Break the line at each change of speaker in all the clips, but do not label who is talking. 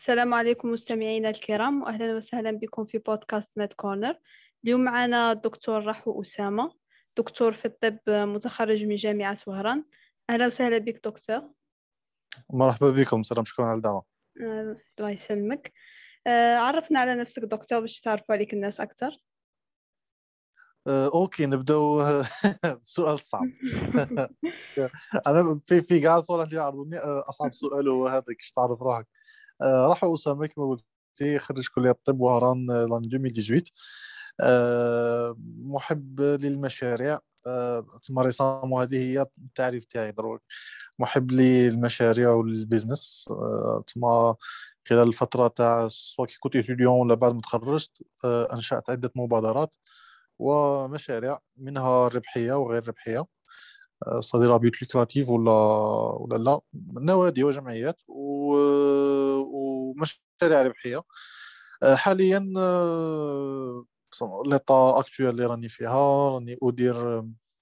السلام عليكم مستمعينا الكرام، وأهلا وسهلا بكم في بودكاست ماد كورنر. اليوم معنا الدكتور رحو أسامة، دكتور في الطب متخرج من جامعة وهران. أهلا وسهلا بك دكتور.
مرحبا بكم. سلام، شكرا على الدعوة.
الله يسلمك. عرفنا على نفسك دكتور باش تعرفوا عليك الناس أكثر.
أوكي، نبدأ. سؤال صعب. أنا في قاعد صورة اللي يعرضوني. أصعب سؤال هو هذا، كيش تعرف روحك. رحو أسامة كما قلت، خريج كلية الطب وهران لان 2018. محب للمشاريع. ثم رسام، هذه هي التعريف تاعي دروك. محب للمشاريع والبيزنس. ثم خلال الفترة تاع سواء كي كنت إتيديون ولا بعد ما تخرجت، أنشأت عدة مبادرات ومشاريع، منها ربحية وغير ربحية. صديرة بيوت لوكراتيف ولا لا، نوادي وجمعيات ومشاريع ربحية. حاليا ليطا اكتويل اللي راني فيها، راني أدير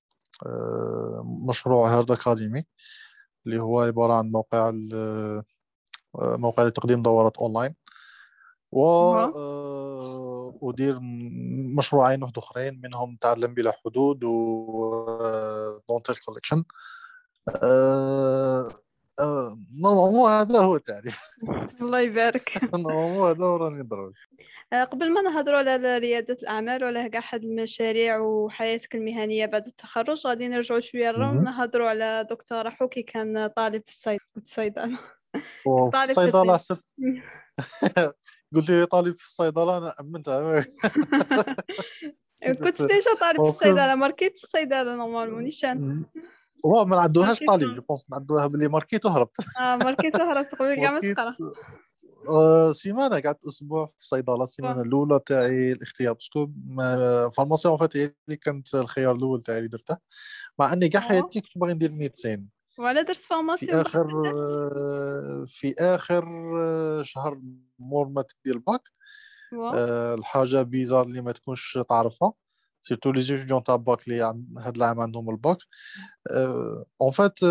مشروع هارد أكاديمي، اللي هو عبارة عن موقع لتقديم دورات أونلاين.
واو.
وأدير مشروعين واحد أخرين، منهم تعلم بلا حدود و دونتال كوليكشن. نورمالمون هذا هو التعريف.
الله يبارك.
نورمالمون هذا هو راني ضروري.
قبل ما نهضروا على ريادة الأعمال وعلى كاع حد المشاريع وحياتك المهنية بعد التخرج، غادي نرجعوا شوية للرا نهضروا على دكتور رحو كي كان طالب في الصيدلة.
وفي
طالب في
الصيدلة
الطب.
صرت. قلت لي طالب في الصيدلة، أنا أمنتها.
كنت ديجا طالب في
باسكو
الصيدلة، ماركيت في الصيدلة نورمالمون نيشان.
هو ما نعدوهاش
ماركيت.
طالب، جو بونس نعدوها باللي ماركيت وهربت.
ماركيت وهرا قبل كاع ما
ماركيت.
تقرا.
سيمانه قعدت اسبوع في الصيدله، السيمانه الاولى تاعي الاختيار، باسكو فارماسيون فات هي اللي كانت الخيار الاول تاعي اللي درته، مع اني كاع
أوه.
حياتي كنت باغي ندير ميدسين.
وعلى درت
في
فارماسي ودخلت
اخر
درت.
في اخر شهر مور ما تدير الباك.
واو.
الحاجه بيزار اللي ما تكونش تعرفها، سيرتو لي ستوديون تاع باك اللي هاد العام عندهم الباك. اون فات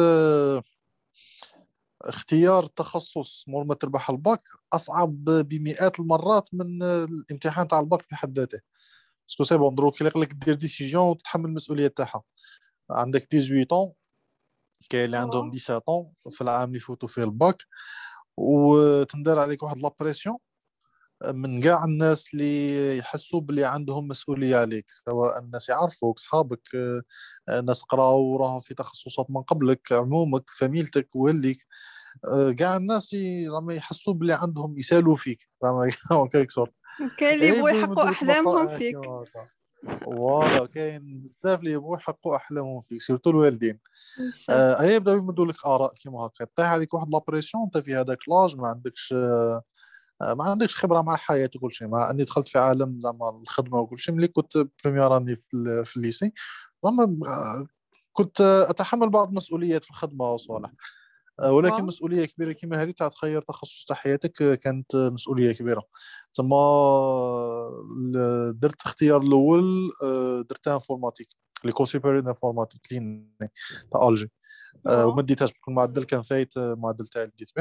اختيار تخصص مور ما تربح الباك اصعب بمئات المرات من الامتحان تاع الباك في حد ذاته. باسكو سي بون دروك يليق لك دير ديسيجن وتتحمل المسؤوليه تاعها. عندك 18 طون، كاين اللي
واو.
عندهم 17 طون في العام اللي يفوتوا فيه الباك، وتندار عليك واحد لابريسيون من كاع الناس اللي يحسوا باللي عندهم مسؤوليه عليك، سواء الناس يعرفوك، صحابك، ناس قراو وراهم في تخصصات من قبلك، عمومك، فاميلتك، والليك. كاع الناس زعما يحسوا باللي عندهم يسالوا فيك، زعما كيك سورت.
كاين اللي يبغوا
يبداو
يحققوا
يمدوا لك
أحلامهم
نصائح
فيك.
كيما هكا. فوالا، كاين بزاف اللي يبغوا يحققوا احلامهم فيك، سيرتو الوالدين.
نيشان.
يبداو يمدوا لك اراء كيما هكا، طيح عليك واحد لابريسيون، انت في هذاك لاج ما عندكش خبره مع الحياه وكل شيء، مع اني دخلت في عالم زعما الخدمه وكل شيء ملي كنت بريمير اني في الليسي. زعما كنت اتحمل بعض المسؤوليات في الخدمه وصالح. ولكن
واو.
مسؤوليه كبيره كما هذه تاع تخير تخصص تاع حياتك، كانت مسؤوليه كبيره. ثم درت اختيار الاول، درت انفورماتيك، ليكول سوبيريور انفورماتيك لين تاع الجي.
واو.
وما ديتهاش بكل المعدل كان فايت المعدل تاعي اللي ديت به.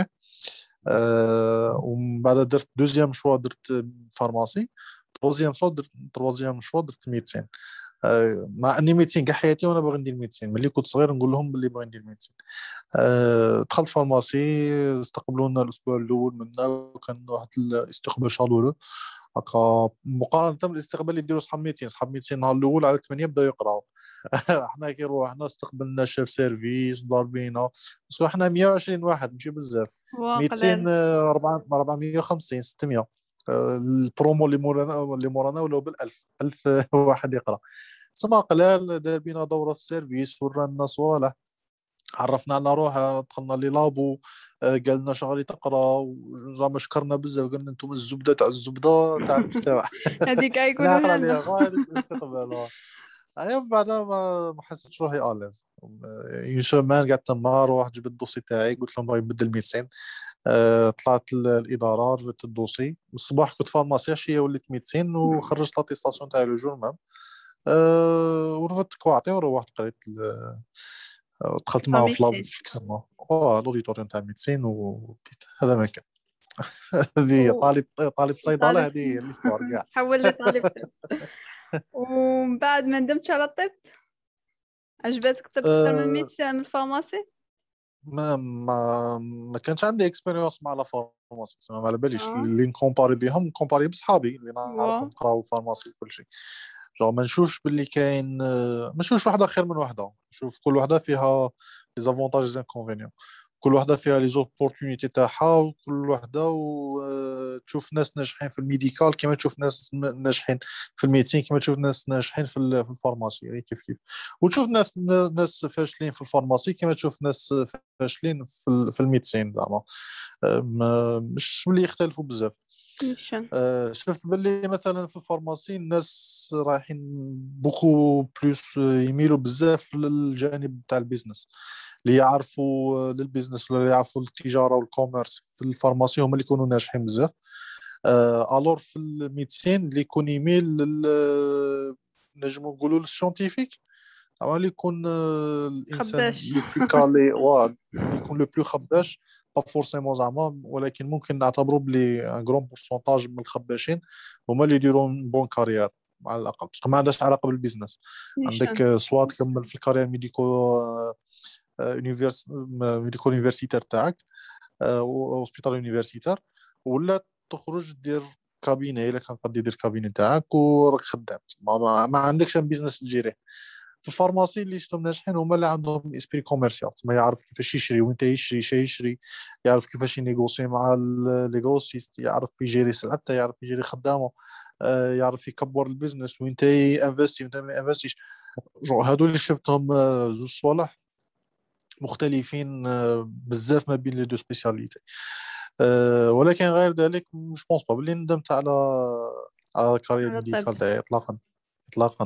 ومن بعد درت دوزيام شوا، درت فارماسي. تروازيام شوا درت ميدسين. مع اني ميدسين كاع حياتي وانا باغي ندير ميدسين، ملي كنت صغير نقول لهم باللي باغي ندير ميدسين. دخلت فارماسي، استقبلونا الاسبوع الاول منا، وكان واحد الاستقبال شالولو هكا، مقارنه بالاستقبال اللي يديروا صحاب ميدسين النهار الاول على 8 بداو يقراو. احنا كي روحنا استقبلنا شيف سيرفيس ضاربينا، بس احنا 120 واحد ماشي بزاف.
واو قلال.
200، 450، 600. البرومو اللي مورانا ولاو بال1000 1000 واحد يقرا. تما قلال دار بينا دوره في السيرفيس، ورانا صوالح، عرفنا على روحه، دخلنا لي لابو. قال لنا شغالي تقرا، زعما شكرنا بزاف، قال لنا انتم الزبده تاع الزبده تاع المجتمع.
هذيك
انا
يقولوها
اقرا
لنا.
لي غايه الاستقبال. انا من بعدها ما حسيتش روحي اليز. اون سومان قعدت تما، روحت جبت الدوسي تاعي، قلت لهم باغي نبدل ميدسين. طلعت الاداره، جبت الدوسي الصباح، كنت فارماسي، عشيه وليت ميدسين، وخرجت لاتيستاسيون تاعي لو جور مام. ورفدت كواعطي وروحت قريت دخلت معاهم في لاب
ميدسين.
فيكسينمون، لوديتوريوم تاع ميدسين، وبديت هذا ما كان. هذه
و-
طالب صيدله،
طالب
هذه هي الاستوار كاع.
تحول لطالب طب. ومن بعد ما ندمتش على الطب، عجبتك الطب اكثر من
أه
100 من الفارماسي؟
ما كانش عندي اكسبيريونس مع لا فارماسي، ما على باليش
اه.
اللي نكومباري بهم، نكومباري بصحابي اللي
واو.
نعرفهم قراو فارماسي وكل شيء. جو ما نشوفش باللي كاين، ما نشوفش واحده خير من واحده، نشوف كل واحده فيها لي زافونتاج لي انكونفينيون، كل واحده فيها لي زوبورتونيتي تاعها، وكل واحده تشوف ناس ناجحين في الميديكال كما تشوف ناس ناجحين في الميديسين، كما تشوف ناس ناجحين في الفارماسي، يعني كيف كيف. وتشوف ناس فاشلين في الفارماسي كما تشوف ناس فاشلين في الميديسين زعما. مش اللي يختلفوا بزاف.
نيشان.
شفت باللي مثلا في الفارماسي الناس رايحين بوكو بلوس، يميلوا بزاف للجانب تاع البيزنس، اللي يعرفوا للبيزنس ولا اللي يعرفوا التجاره والكوميرس في الفارماسي هم اللي يكونوا ناجحين بزاف. الور في الميديسين اللي يكون يميل نجمو نقولوا للسيونتيفيك، أما اللي يكون الانسان
خباش.
لو بلو كالي، اللي يكون لو بلو خباش، با فورسيمون زعما، ولكن ممكن نعتبروا بلي ان غرون بورسونتاج من الخباشين هما اللي يديروا بون كارير على الاقل، باسكو ما عندهاش علاقه بالبيزنس. عندك
نيشان.
سواء تكمل في الكارير ميديكو يونيفرسيتير تاعك، اوسبيتال يونيفرسيتير، ولا تخرج دير كابيني الا كان قد يدير كابيني تاعك وراك خدام، ما عندكش بيزنس تجيريه. في الفارماسي اللي شفتهم ناجحين هما اللي عندهم اسبري كوميرسيال، ما يعرف كيفاش يشري وانت يشري شي يشري، يعرف كيفاش ينيغوسي مع لي غروسيست، يعرف يجيري سلعته، يعرف يجيري خدامه، يعرف يكبر البيزنس وانت انفستي وانت ما انفستيش. هادو اللي شفتهم زوج صوالح مختلفين بزاف ما بين لي دو سبيسياليتي. ولكن غير ذلك مش بونس با بلي ندمت على الكارير
على الطب.
ميديكال تاعي اطلاقا. اطلاقا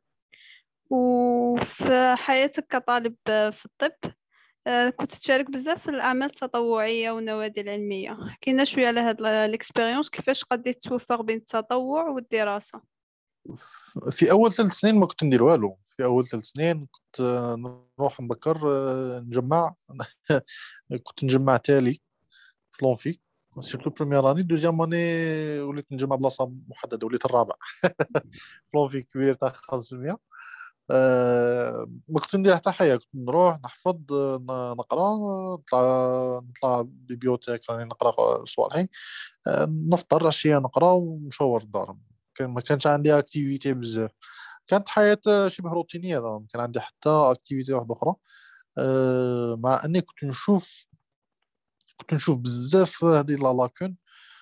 وفي حياتك كطالب في الطب، كنت تشارك بزاف في الأعمال التطوعية والنوادي العلمية. حكينا شوية على هاد الإكسبيريونس، كيفاش قدرت توفق بين التطوع والدراسة؟
في اول 3 سنين ما كنت ندير والو، في اول 3 سنين كنت نروح نبكر نجمع كنت نجمع تالي في لونفي، سيرتو بروميير اني، دوزيام اني وليت نجمع بلاصه محدده، وليت الرابع في لونفي كبير تاع 500. ما كنت ندير حتى حاجه، كنت نروح نحفظ، نقرا، نطلع بيبيوتيك راني نقرا صوالحي، نفطر عشيه نقرا ونشور الدار. ما كانش عندي اكتيفيتي بزاف، كانت حياة شبه روتينية، ما كان عندي حتى اكتيفيتي واحدة أخرى. مع أني كنت نشوف بزاف هذه لا لاكون،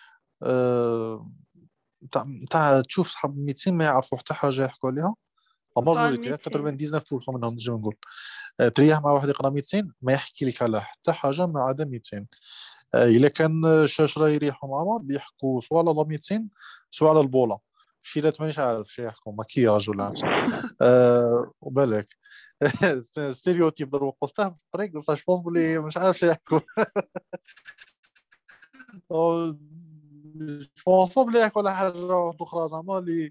تاع تشوف صحاب الميدسين ما يعرفوا حتى حاجة يحكوا عليها، لا
في
ماجوريتي
الميديسين.
99% منهم نجم نقول. تريح مع واحد يقرا ميدسين ما يحكي لك على حتى حاجة ما عدا ميدسين. الا كان الشاشره يريحوا مع بعض يحكوا سواء على لا ميدسين سواء على البوله، شيلات مانيش عارف شي يحكوا مكياج ولا عفسه. وبالك ستيريوتيب ضربوا قصته في الطريق، بصح جو بونس بلي مش عارف شي يحكوا. جو بونس بلي يحكوا على حاجه اخرى زعما اللي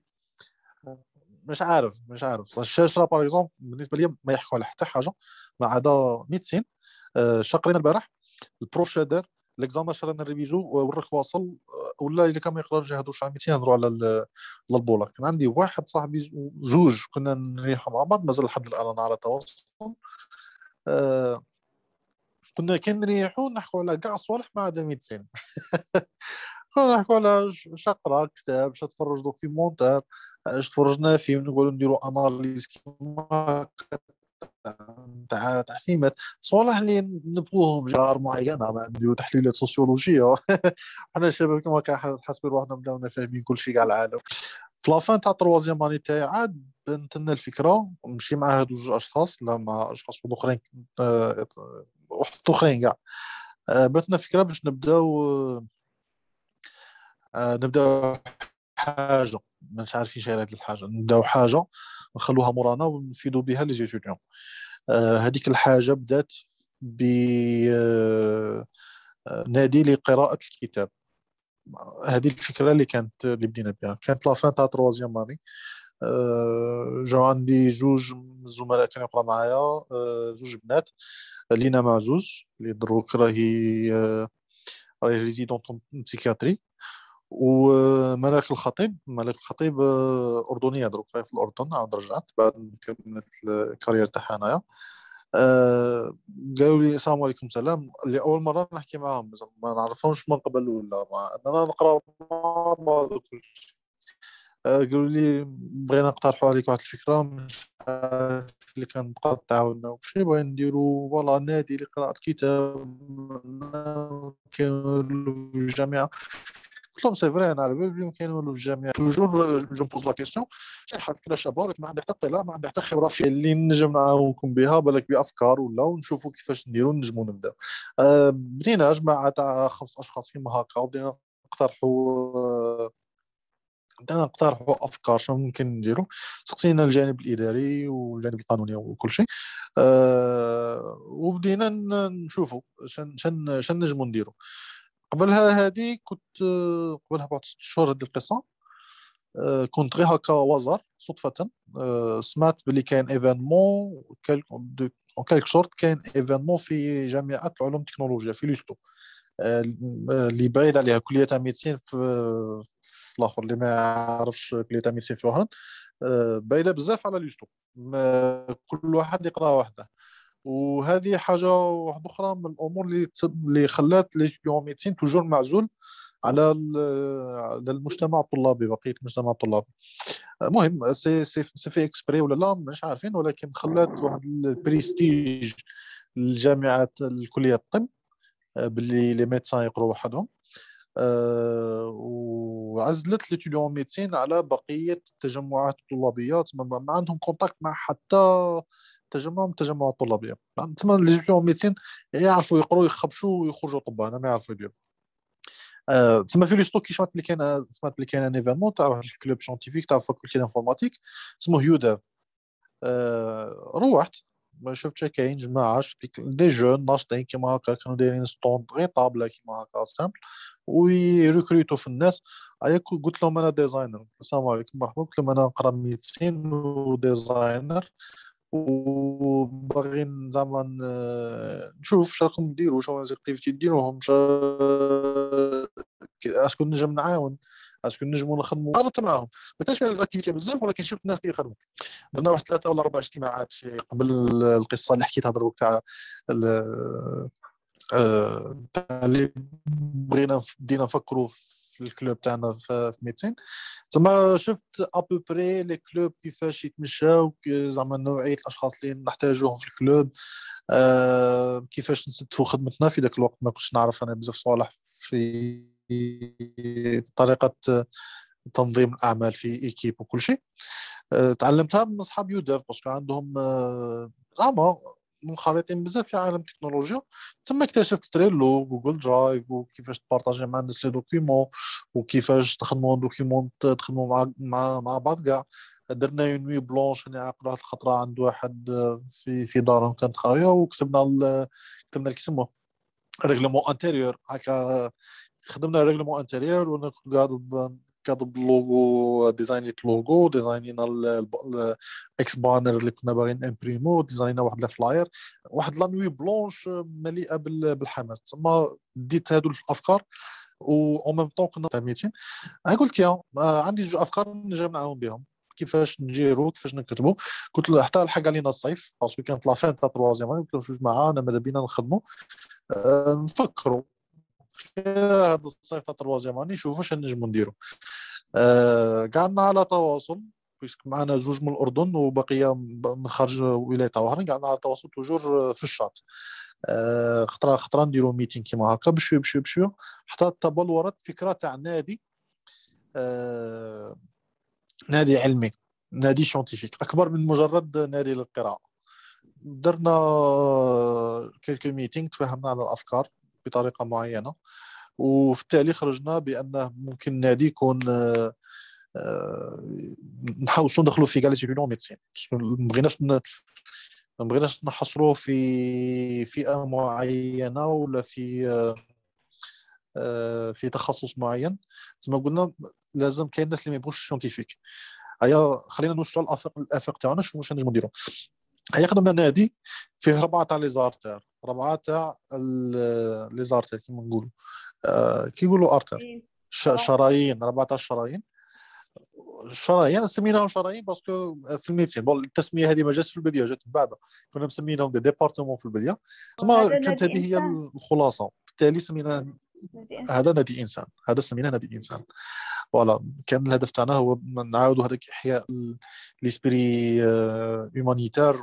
مش عارف الشاشره باغ اكزومبل بالنسبه لي ما يحكوا على حتى حاجه ما عدا ميدسين. شاقرين البارح البروف شادر ليكزامان شرانا نريفيزو وراك واصل، ولا الا كان ما يقدرش يهضروا على 200 نهضروا على البوله. كان عندي واحد صاحبي زوج كنا نريحوا مع بعض مازال لحد الان انا على تواصل. آه كنا كان نريحوا نحكوا على كاع صوالح ما عدا ميدسين. كنا نحكوا على شقرا كتاب، اش تفرج دوكيومونتير، اش تفرجنا فيلم، نقولوا نديروا اناليز كيما تاع فيلمات، صوالح اللي نبغوهم جار معينه، ما نديروا تحليلات سوسيولوجيه. حنا الشباب كما حاسبين روحنا بداونا فاهمين كل شيء كاع العالم. في لافان تاع تروازيام اني تاعي عاد بنت لنا الفكره نمشي مع هادو زوج اشخاص، لا مع اشخاص اخرين، واحد اخرين كاع. بنت لنا فكره باش نبداو حاجه مش عارفين شي هذه الحاجه، نبداو حاجه نخلوها مورانا ونفيدوا بها لي زيتيديون. هذيك الحاجه بدات ب نادي لقراءه الكتاب. هذه الفكره اللي بدينا بها كانت لافان تاع تروازيام اني. جاو عندي زوج من الزملاء كانوا يقرا معايا، زوج بنات، لينا معزوز اللي دروك راهي راهي ريزيدون بسيكياتري. وملك الخطيب أردنية دروك، راهي في الأردن، عاود رجعت بعد ما كملت الكارير تاعها هنايا. قالوا لي السلام عليكم سلام، لأول مرة نحكي معاهم، ما نعرفهمش من قبل ولا مع أننا نقرأ مع بعض وكل شيء. قالوا لي بغينا نقترحوا عليك واحد الفكرة، مش عارف اللي كان تقدر تعاوننا وشي، بغينا نديروا فوالا نادي لقراءة كتاب كانوا في الجامعة. قلت لهم سي فري، انا على بالي بلي كاينوا في الجامعه توجور جو بوز لا كيسيون، شي فكره شابه ولكن ما عندي حتى اطلاع، ما عندي حتى خبره في اللي نجم نعاونكم بها، بالك بافكار ولا ونشوفوا كيفاش نديروا نجموا نبداو. بدينا جماعه تاع 5 اشخاص كيما هكا، وبدينا نقترحوا افكار شنو ممكن نديروا. سقسينا الجانب الاداري والجانب القانوني وكل شيء. وبدينا نشوفوا شن نجموا نديروا. قبلها هذه كنت قبلها بعد 6 شهور هذه القصه. كنت غير هكا وزر صدفه. سمعت بلي كاين ايفينمون اون كالك سورت، كاين ايفينمون في جامعه العلوم التكنولوجيا في لوستو، اللي بعيد عليها كليه تاع ميديسين في الاخر اللي ما يعرفش كليه تاع ميديسين في وهران. بعيده بزاف على لوستو، كل واحد يقرا وحده. وهذه حاجه واحده اخرى من الامور اللي خلات لي ميديسين توجور معزول على المجتمع الطلابي، بقيه المجتمع الطلابي. المهم سي في اكسبري ولا لا مش عارفين، ولكن خلات واحد البريستيج للجامعات الكليه الطب، باللي لي ميدسان يقروا وحدهم. وعزلت ليتيديون ميدسين على بقيه التجمعات الطلابيه، ما عندهم كونتاكت مع حتى تجمع من التجمعات الطلابيه. تما ليتيديون ميدسين يعرفوا يقروا يخبشوا ويخرجوا طبان، ما يعرفوا يديروا. تما في لي ستوك كي سمعت بلي كاين ان ايفينمون تاع واحد الكلوب سيانتيفيك تاع فاكولتي دانفورماتيك اسمه يوداف. روحت ما شفتش كاين جماعه، شفت دي جون ناشطين كيما هكا، كانوا دايرين ستوند غير طابله كيما هكا سامبل، ويريكروتو في الناس. قلت لهم انا ديزاينر، السلام عليكم مرحبا، قلت لهم انا نقرا ميديسين وديزاينر، وباغي زعما نشوف شنو راكم ديروا، شنو زيكتيفيتي ديروهم، اسكو نجم نعاون، اسكو نجموا نخدموا. قررت معاهم ما كانش فيها الاكتيفيتي بزاف، ولكن شفت الناس اللي يخدموا. درنا واحد 3 ولا 4 اجتماعات قبل القصه اللي حكيتها دروك تاع اللي بغينا بدينا نفكروا في الكلوب تاعنا في ميدسين. زعما شفت ابوبري لي كلوب كيفاش يتمشاو، زعما نوعيه الاشخاص اللي نحتاجوهم في الكلوب. كيفاش نستفوا خدمتنا في ذاك الوقت، ما كنتش نعرف انا بزاف صوالح في طريقه تنظيم الاعمال في ايكيب وكل شيء. تعلمتها من اصحاب يوداف، باسكو عندهم زعما منخرطين بزاف في عالم التكنولوجيا. ثم اكتشفت تريلو، جوجل درايف، وكيفاش تبارطاجي مع الناس لي دوكيومون، وكيفاش تخدموا دوكيومون تخدموا مع بعض كاع. درنا اون نوي بلونش، انا عقلت واحد الخطره عند واحد في دارهم كانت خاويه، وكتبنا كتبنا كيسموه ريغلومون انتيريور هكا. خدمنا ريغلومون انتيريور، وانا كنت قاعد كاتب اللوغو، ديزاينيت اللوغو، ديزاينينا الاكس بانر اللي كنا باغيين امبريمو، ديزاينينا واحد الفلاير، واحد لانوي بلونش مليئه بالحماس. تما ديت هادو الافكار، و اون ميم طون كنا ميتين. قلت يا عندي 2 افكار نجم نعاون بهم، كيفاش نجيرو كيفاش نكتبوا. قلت له حتى لحق علينا الصيف، باسكو كانت لا فين تاع تروازيام. قلت له جوج معاه انا ماذا بينا نخدموا، نفكروا هذا الصيف تاع تروازيام اني نشوفوا واش نجموا نديروا. قعدنا على تواصل، بيسك معنا 2 من الاردن وبقيه من خارج ولايه وهران. قعدنا على تواصل توجور في الشات. خطره نديروا ميتين كيما هكا بشويه بشويه بشويه، حتى تبلورت فكره تاع نادي، نادي علمي، نادي شونتيفيك اكبر من مجرد نادي للقراءه. درنا كيلكو ميتينغ، تفاهمنا على الافكار بطريقه معينه، وفي التالي خرجنا بانه ممكن نادي يكون نحاولوا ندخلوا في كاليتي يونيون ميدسين. ما بغيناش نحصروه في فئه معينه ولا في تخصص معين. زي ما قلنا لازم كاين الناس اللي ما يبغوش سيونتيفيك. هيا خلينا نوصلوا الافاق تاعنا، نشوفوا واش نجموا نديروا. هيا خدمنا نادي فيه 4 تاع لي زارتير، 4 تاع لي زارتير كيما نقولوا. كي يقولوا ارتر،
إيه.
شرايين، 14 شرايين. الشرايين سميناهم شرايين باسكو في الميديسين. بون التسميه هذه ما جاتش في البدايه، جات من بعد. كنا مسمينهم دي ديبارتمون في البدايه، تما
وهذا
كانت
نادي
هذه هي
إنسان.
الخلاصه. بالتالي سميناه
نادي إنسان.
هذا نادي انسان، هذا سميناه نادي انسان. فوالا كان الهدف تاعنا هو نعاودوا هذاك احياء ليسبري هومانيتير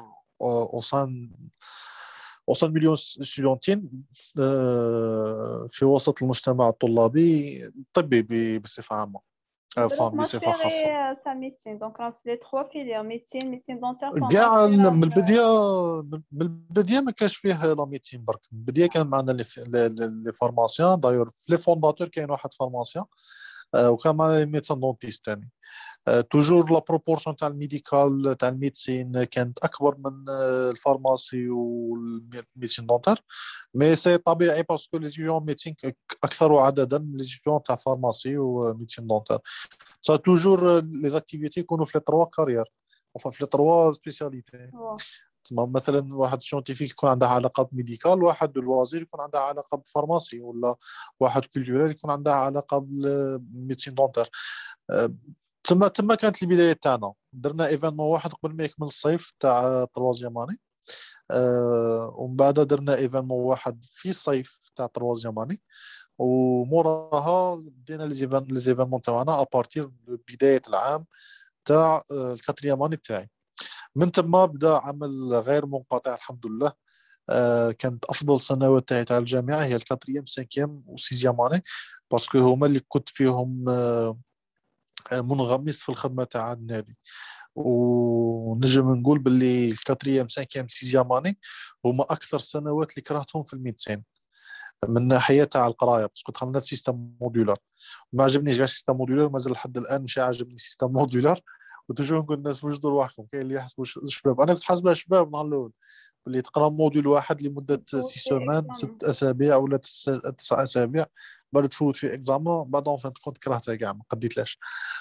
وصل مليون ستودنتين في وسط المجتمع الطلابي الطبي بصفة عامة،
دروك ماش في
بصفة خاصة.
غير تاع ميديسين، دونك راه في لي 3 فيليير، ميديسين دونتير
كاع
فارماسي.
من البداية ما كانش فيه لا ميديسين برك. من البداية كان معنا لي فارماسيان. دايور في لي فونداتور كاين واحد فارماسيان، وكان معنا ميدسان دونتيست ثاني. توجور لا بروبورسيون تاع الميديكال تاع الميديسين كانت اكبر من الفارماسي والميديسين دونتر. مي سي طبيعي باسكو لي ستوديون ميديسين اكثر عددا من لي ستوديون تاع فارماسي وميديسين دونتر. سا توجور لي زاكتيفيتي يكونوا في لي تروا كارير، enfin في لي تروا سبيسياليتي. تسمى مثلا واحد سيونتيفيك يكون عندها علاقه بميديكال، واحد الوزير يكون عندها علاقه بفارماسي، ولا واحد كولتورال يكون عندها علاقه بالميديسين دونتر. تما كانت البدايه تاعنا. درنا ايفينمون واحد قبل ما يكمل الصيف تاع تروازيام اني، ومن بعد درنا ايفينمون واحد في الصيف تاع تروازيام اني، وموراها بدينا لي زيفينمون تاعنا ابارتير بدايه العام تاع الكاتريام اني تاعي. من تما بدا عمل غير منقطع الحمد لله. كانت افضل سنوات تاعي تاع الجامعه هي الكاتريام، سانكيام وسيزيام اني، باسكو هما اللي كنت فيهم منغمس في الخدمه تاع النادي. ونجم نقول باللي الكاتريام سانكيام سيزيام اني هما اكثر سنوات اللي كرهتهم في الميدسين من ناحيه تاع القرايه، باسكو دخلنا في سيستم مودولار. ما عجبنيش كاع سيستم مودولار، مازال لحد الان مش عاجبني سيستم مودولار. وتوجور نقول الناس وجدوا رواحكم، كاين اللي يحسبوا الشباب، انا كنت حاسبها شباب نهار الاول، اللي تقرا موديول واحد لمده 6 سيمان 6 اسابيع ولا 9 اسابيع، بعد تفوت في اكزامان، بعد اون فان كنت كرهتها كاع ما قديتلاش.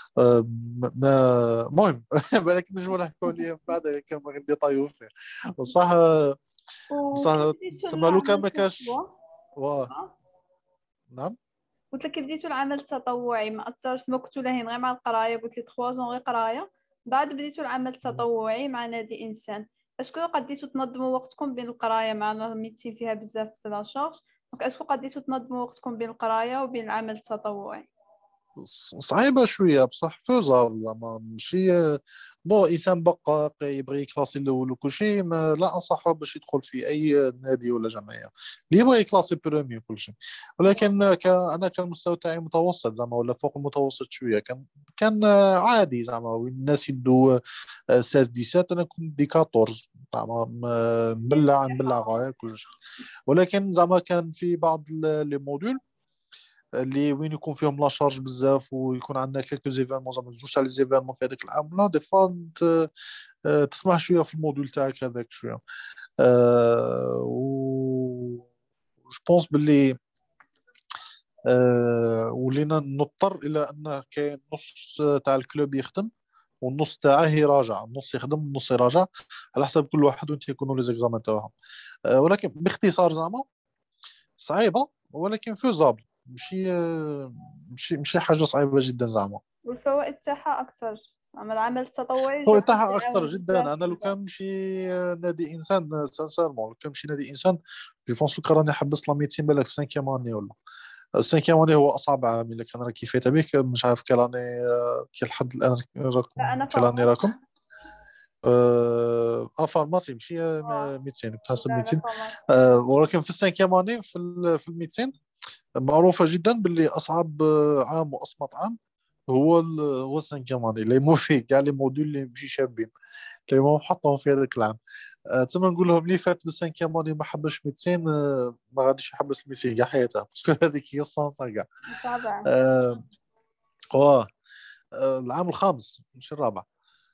ما المهم بالك نجموا نحكوا عليه بعد كان ما غندي طايو فيه بصح.
وكي
بصح
بديتو
تما لو كان
العمل
ما كاش.
التطوعي؟
نعم.
قلت لك كي بديتو العمل التطوعي ما اثرش؟ ما كنتو لاهين غير مع القرايه، قلت لي 3 زون غير قرايه، بعد بديتو العمل التطوعي مع نادي انسان. اسكو قديتو تنظموا وقتكم بين القرايه مع الميديسين فيها بزاف د لا شارج، دونك اسكو قديتو تنظموا وقتكم بين القرايه وبين العمل التطوعي؟
صعيبة شوية بصح فوزابل، زعما ماشي. بون إنسان بقى يبغي يكلاسي الأول وكل شيء، لا أنصحه باش يدخل في أي نادي ولا جمعية اللي يبغي يكلاسي برومي وكل شيء. ولكن أنا كان المستوى تاعي متوسط زعما، ولا فوق المتوسط شوية. كان عادي زعما، وين الناس يدوا 16 17 أنا كنت دي 14 زعما، نبلع غاية كل شيء. ولكن زعما كان في بعض لي موديول اللي وين يكون فيهم لا شارج بزاف، ويكون عندنا كيلكو زيفينمون زعما جوج تاع لي زيفينمون في هذاك العام، لا دي فوا تسمح شويه في الموديل تاعك هذاك شويه. و جو بونس باللي ولينا نضطر الى ان كاين نص تاع الكلوب يخدم والنص تاعه يراجع، النص يخدم النص يراجع على حسب كل واحد وانت يكونوا لي زيكزامان تاعهم. ولكن باختصار زعما صعيبه ولكن فوزابل، ماشي حاجه صعيبه جدا زعما.
والفوائد تاعها اكثر، اما العمل التطوعي
هو
جو بونس
تاعها اكثر
يعاون
جدا.
بزاف
انا لو
بزاف.
كان نمشي نادي انسان سانسيرمون، لو كان نمشي نادي انسان جو بونس لو راني حبست لا ميتين بالك في 5 اني ولا 5 اني هو اصعب عام. الا كان راكي فايته بك مش عارف كيلاني كي لحد الان
لا
راكم
انا
كيلاني
فارماسي.
راكم. فارماسي ماشي ميدسين بتحسب
لا لا
ميدسين.
فارماسي.
ولكن في 5 اني في الميدسين معروفه جدا باللي اصعب عام واصمت عام هو السانكيام اللي مو فيه كاع لي موديول اللي ماشي شابين اللي ما حطهم في هذاك العام. تما نقول لهم اللي فات بالسانكيام ما حبش ميدسين، ما غاديش يحبس الميدسين كاع حياته، باسكو هذيك هي السونطه كاع.
طبعا.
آه واه العام الخامس مش الرابع.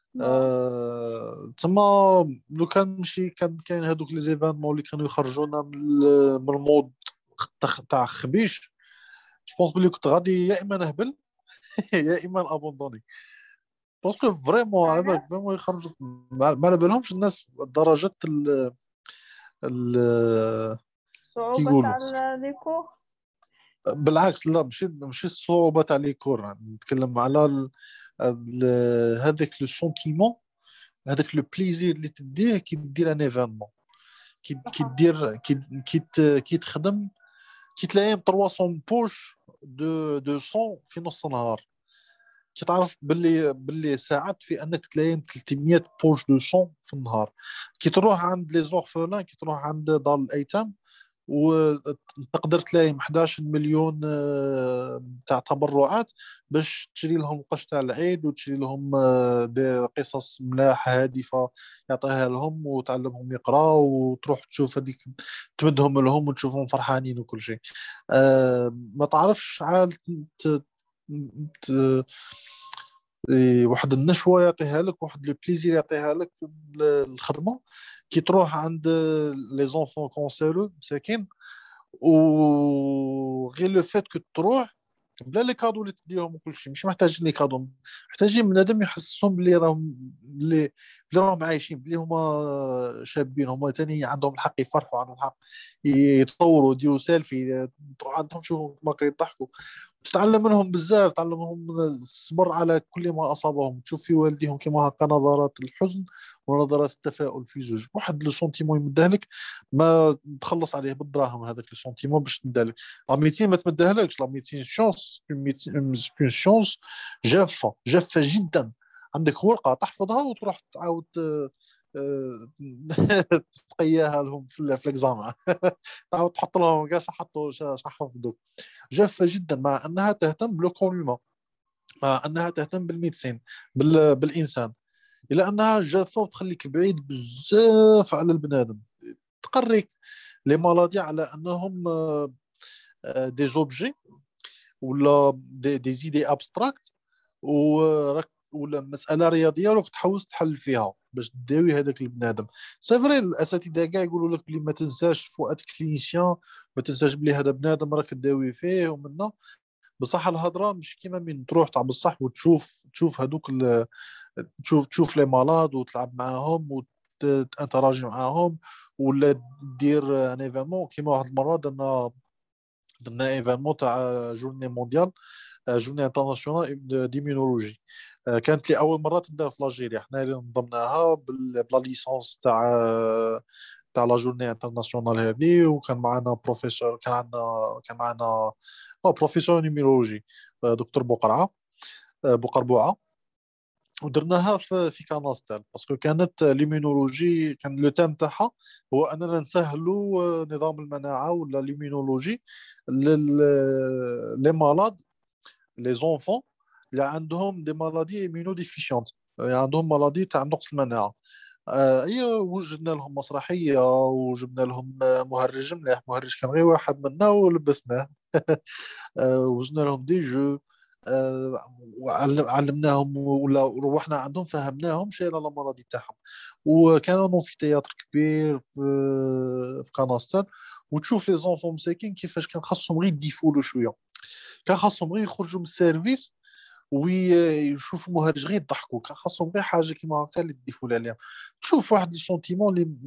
تما لو كان نمشي كان كاين هذوك لي زيفينمون اللي كانوا يخرجونا من المود تاع خبيش. جو بونس بلي كنت غادي يا اما نهبل يا اما ابوندوني، باسكو فريمون على بالك فريمون يخرجوا ما على بالهمش الناس درجه ال كي
الصعوبة
يقولوا
تاع لي كور.
بالعكس، لا مش الصعوبة تاع لي كور، نتكلم على هذاك لو سونتيمون، هذاك لو بليزير اللي تديه كي دير ان ايفينمون، كي دير كي تخدم، كي تلاقي 300 بوش دو سون في نص النهار، كي تعرف باللي ساعدت في انك تلاقي 300 بوش دو سون في النهار. كي تروح عند لي زورفلان، كي تروح عند دار الايتام، وتقدر تلاقي 11 مليون تاع تبرعات باش تشري لهم قش تاع العيد، وتشري لهم دي قصص ملاح هادفة يعطيها لهم وتعلمهم يقراوا، وتروح تشوف هذيك تمدهم لهم وتشوفهم فرحانين وكل شيء. ما تعرفش شحال ت- واحد النشوة يعطيها لك، واحد لو بليزير يعطيها لك الخدمة، كي تروح عند لي زونفون كونسيرو مساكين، وغير لو فات كو تروح بلا لي كادو اللي تديهم وكل شيء، مش محتاجين لي كادو، محتاجين بنادم يحسسهم بلي راهم بلي راهم عايشين، بلي هما شابين، هما تاني عندهم الحق يفرحوا، عندهم الحق يطوروا، يديروا سيلفي، تروح عندهم شوفوا ما يضحكوا، تتعلم منهم بزاف، تعلم منهم الصبر على كل ما أصابهم، تشوف في والديهم كما هكا نظرات الحزن ونظرات التفاؤل في زوج، واحد لو سونتيمون يمدهلك ما تخلص عليه بالدراهم، هذاك لو سونتيمون باش تمدهلك. لا ميتين ما تمدهلكش، لا ميتين شونس، اون شونس جافة جدا. عندك ورقة تحفظها وتروح تعاود تقياها لهم في الاكزامان تعاود تحط لهم كاع حطوا حفظوا. جافة جدا، مع أنها تهتم بالكونيوما، مع أنها تهتم بالميدسين، بالإنسان، إلا أنها جافة وتخليك بعيد بزاف على البنادم، تقريك لي مالادي على أنهم دي زوبجي، ولا دي زيدي ابستراكت، وراك ولا مساله رياضيه وراك تحوس تحل فيها باش تداوي هذاك البنادم. سي فري الاساتذه كاع يقولوا لك بلي ما تنساش فؤاد كلينيسيان، ما تنساش بلي هذا بنادم راك تداوي فيه ومنه، بصح الهضره مش كيما من تروح تاع بصح تشوف هذوك تشوف لي مالاد وتلعب معاهم وتانتراجي معاهم، ولا دير ان ايفينمون كيما واحد المره درنا ايفينمون تاع جورني مونديال، جورني انترناسيونال ديمينولوجي، كانت لي اول مره تدار في الجيريا، حنا اللي نظمناها بلا ليسونس تاع لا جورني انترناسيونال هذه، وكان معنا بروفيسور، كان معنا بروفيسور نيميولوجي دكتور بقرعه، بقربوعه، ودرناها في كاناستال، باسكو كانت ليمينولوجي، كان لو تام تاعها هو اننا نسهلوا نظام المناعه ولا ليمينولوجي لي مالاد، لي زونفون اللي عندهم دي مالادي ايمينو ديفيشيونت، يعني عندهم مالادي تاع نقص المناعه. هي وجدنا لهم مسرحيه، وجبنا لهم مهرج مليح، مهرج كان غير واحد منا ولبسناه وزنا لهم دي جو، وعلمناهم ولا روحنا عندهم فهمناهم شيء على المرض تاعهم. وكانوا نو في تياتر كبير في كاناستر، وتشوف لي زونفون مساكين كيفاش كان خاصهم غير يديفولوا شويه، كان خاصهم غير يخرجوا من السيرفيس ويشوفوا مهرج غير يضحكوا، كان خاصهم غير حاجه كيما هكا اللي تديفوا عليها، تشوف واحد السونتيمون اللي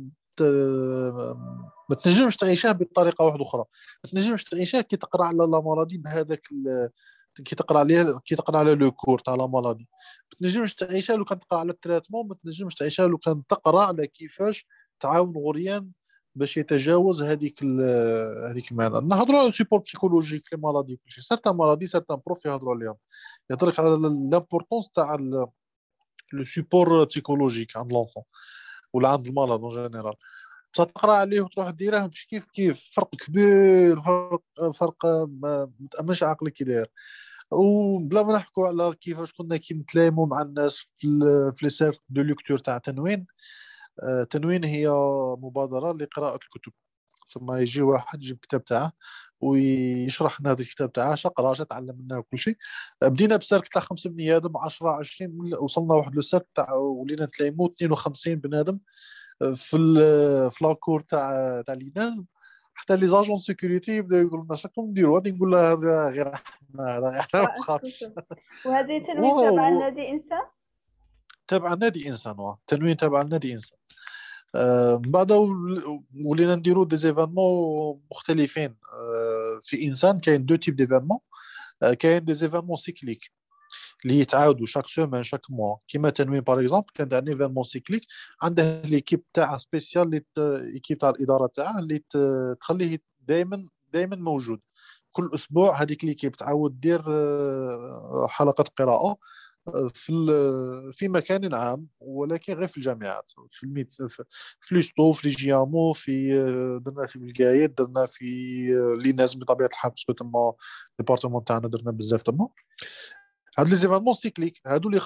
ما تنجمش تعيشها بطريقه واحده اخرى، ما تنجمش تعيشها كي تقرا على لا مالادي بهذاك كي تقرا عليه، كي تقرا على لو كور تاع لا مالادي، ما تنجمش تعيشها لو كان تقرا على التريتمون، ما تنجمش تعيشها لو كان تقرا على كيفاش تعاون غريان باش يتجاوز هذيك المعنى. نهضروا على سيبور بسيكولوجيك في مالادي كل شيء، سيرتان مالادي سيرتان بروف يهضروا عليهم، يهضرك على لامبورطونس تاع لو سيبور بسيكولوجيك عند لونفون ولا عند المرض اون جينيرال، بصح تقرا عليه وتروح ديره مش كيف فرق كبير، فرق ما تامنش عقلك كي داير. وبلا ما نحكوا على كيفاش كنا كي نتلايموا مع الناس في لي سيرك دو ليكتور تاع تنوين. تنوين هي مبادره لقراءه الكتب، ثم يجي واحد يجيب الكتاب تاعه ويشرح لنا هذا الكتاب تاعه، قرا تعلم منه كل شيء. بدينا بسيرك تاع 5 بني ادم، 10 20، وصلنا واحد لو سيرك تاع ولينا نتلايموا 52 بنادم في لاكور تاع ليناز، حتى لي زاجون سيكوريتي بداو يقولوا لنا شكون نديروا، غادي نقول له هذا غير احنا، هذا غير احنا، ما
قراءة
تخافش.
الكتب. وهذه تنوين تابعة
واو،
لنادي إنسان.
تابع نادي انسان، تنوين تابع نادي انسان. من بعد ولينا نديرو دي زيفينمون مختلفين. في انسان كاين دو تيب ديفينمون. كاين دي زيفينمون سيكليك اللي يتعاودوا شاك سومان شاك موا، كيما تنوين باغ اكزومبل كان عندنا ايفينمون سيكليك، عنده ليكيب تاعه سبيسيال اللي ايكيب تاع الاداره تاعه اللي تخليه دائما دائما موجود. كل اسبوع هذيك ليكيب تعاود دير حلقه قراءه في مكان عام، ولكن غير في الجامعات، في الميت في ليستو، في لي جيامو، في درنا في البلقايات، درنا في لي ناس بطبيعه الحال باسكو تما ديبارتمون تاعنا درنا بزاف تما. هاد لي زيفالمون سيكليك هادو اللي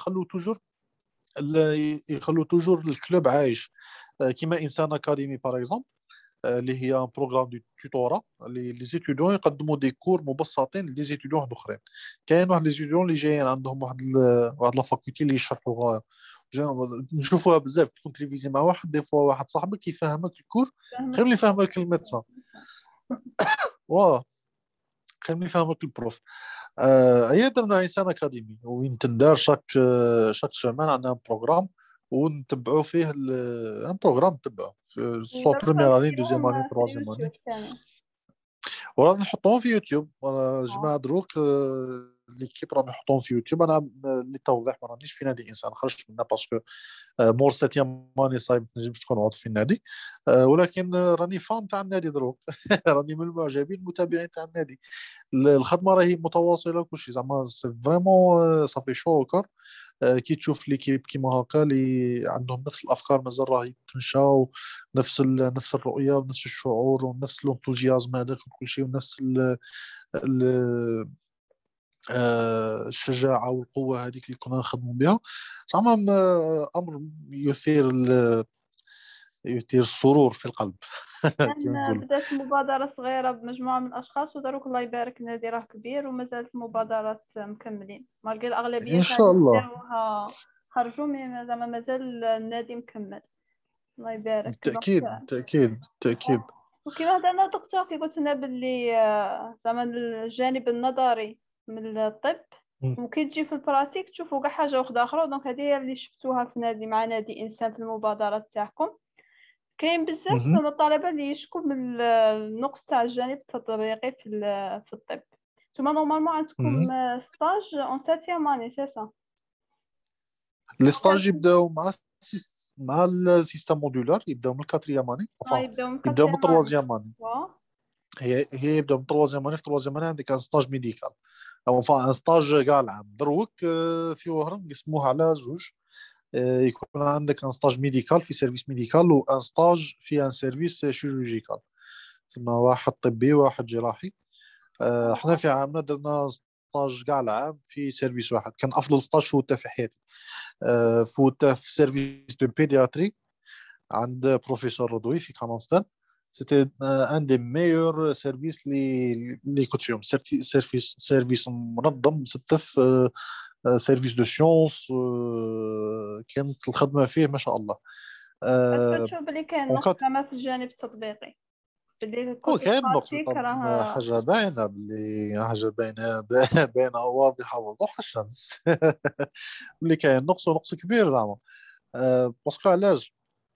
يخلوا توجور الكلوب عايش. كيما انسان اكاديمي باغ اكزومبل، اللي هي ان بروغرام دو توتورا اللي لي زيتيديون يقدموا دي كور مبسطين لي زيتيديون واحد اخرين. كاين واحد لي زيتيديون اللي جايين عندهم واحد لا فاكولتي اللي يشرحوا غايه، نشوفوها بزاف، تكون تلفزيون مع واحد دي فوا واحد صاحبك يفهمك الكور
فهمك.
خير من اللي يفهمك الميدسان. واه خير من اللي يفهمك البروف. هي درنا انسان اكاديمي وين تندار شاك سيمان عندنا بروغرام ونتبعوا فيه ان بروغرام نتبعوه سوا
ودرتهم
بروميير اني دوزيام اني
فيهم في
تروازيام
اليوتيوب
اني.
تاني.
ورانا نحطوهم في يوتيوب، جماعة
اه
دروك ليكيب راهم يحطوهم في يوتيوب. انا للتوضيح ما رانيش في نادي انسان، خرجت منه باسكو مور سيتيام ماني صايب ما نجمش تكون عضو في النادي. ولكن راني فان تاع النادي دروك. راني من المعجبين المتابعين تاع النادي. الخدمه راهي متواصله كلشي زعما فريمون صافي شو كور. كي تشوف ليكيب كيما هكا اللي عندهم نفس الافكار مازال راه يتمشاو، نفس الرؤيه ونفس الشعور ونفس الانثوزيازم هذاك وكل شيء، ونفس ال الشجاعه والقوه هذيك اللي كنا نخدموا بها. زعما امر يثير السرور في القلب. كما
كان
نقول.
بدات مبادرة صغيرة بمجموعة من الأشخاص، ودروك الله يبارك النادي راه كبير ومازالت المبادرات مكملين، مالغي الأغلبية
ان شاء
كانوا
الله.
داروها خرجوا، زعما مازال النادي مكمل. الله يبارك
بالتاكيد
دونك.
بالتاكيد بالتاكيد.
وكما هضرنا الدكتور كي قلت لنا باللي زعما الجانب النظري من الطب، وكي تجي في البراتيك تشوفوا كاع حاجه واحده اخرى. دونك هذه هي اللي شفتوها في نادي مع نادي انسان في المبادرات تاعكم. كاين بزاف
مهم.
من الطلبه اللي يشكوا من النقص تاع الجانب التطبيقي في الطب. نتوما نورمالمون عندكم
مهم.
ستاج اون سيتيام اني سي سا؟
لي ستاج يبداو مع السيستم مودولار، يبداو من الكاتريام اني،
يبداو من
يبداو من
كاتريام اني.
التروازيام اني.
وا
هي يبداو من التروازيام اني. في التروازيام اني عندك ان ستاج ميديكال او ان ستاج كاع العام. دروك في وهران قسموه على زوج. يكون عندك ان ستاج ميديكال في سيرفيس ميديكال، وان ستاج في ان سيرفيس شيرورجيكال، ثم واحد طبي وواحد جراحي. احنا في عامنا درنا ستاج كاع العام في سيرفيس واحد، كان افضل ستاج فوتها في حياتي. فوتها في سيرفيس دو بيدياتري عند بروفيسور رضوي في كالونستان. سيتي ان دي ميور سيرفيس اللي كنت فيهم. سيرفيس منظم مستف، سيرفيس دو سيونس. كانت الخدمه فيه ما شاء الله.
اسكو
آه،
تشوف بلي كاين نقص
وكانت
زعما في الجانب التطبيقي، بلي
هو
كوتي
كان نقص
براتيك
طبعا،
راه؟
حاجه باينه باللي حاجه باينه باينه واضحه وضوح الشمس. اللي كاين نقص كبير زعما. باسكو علاش؟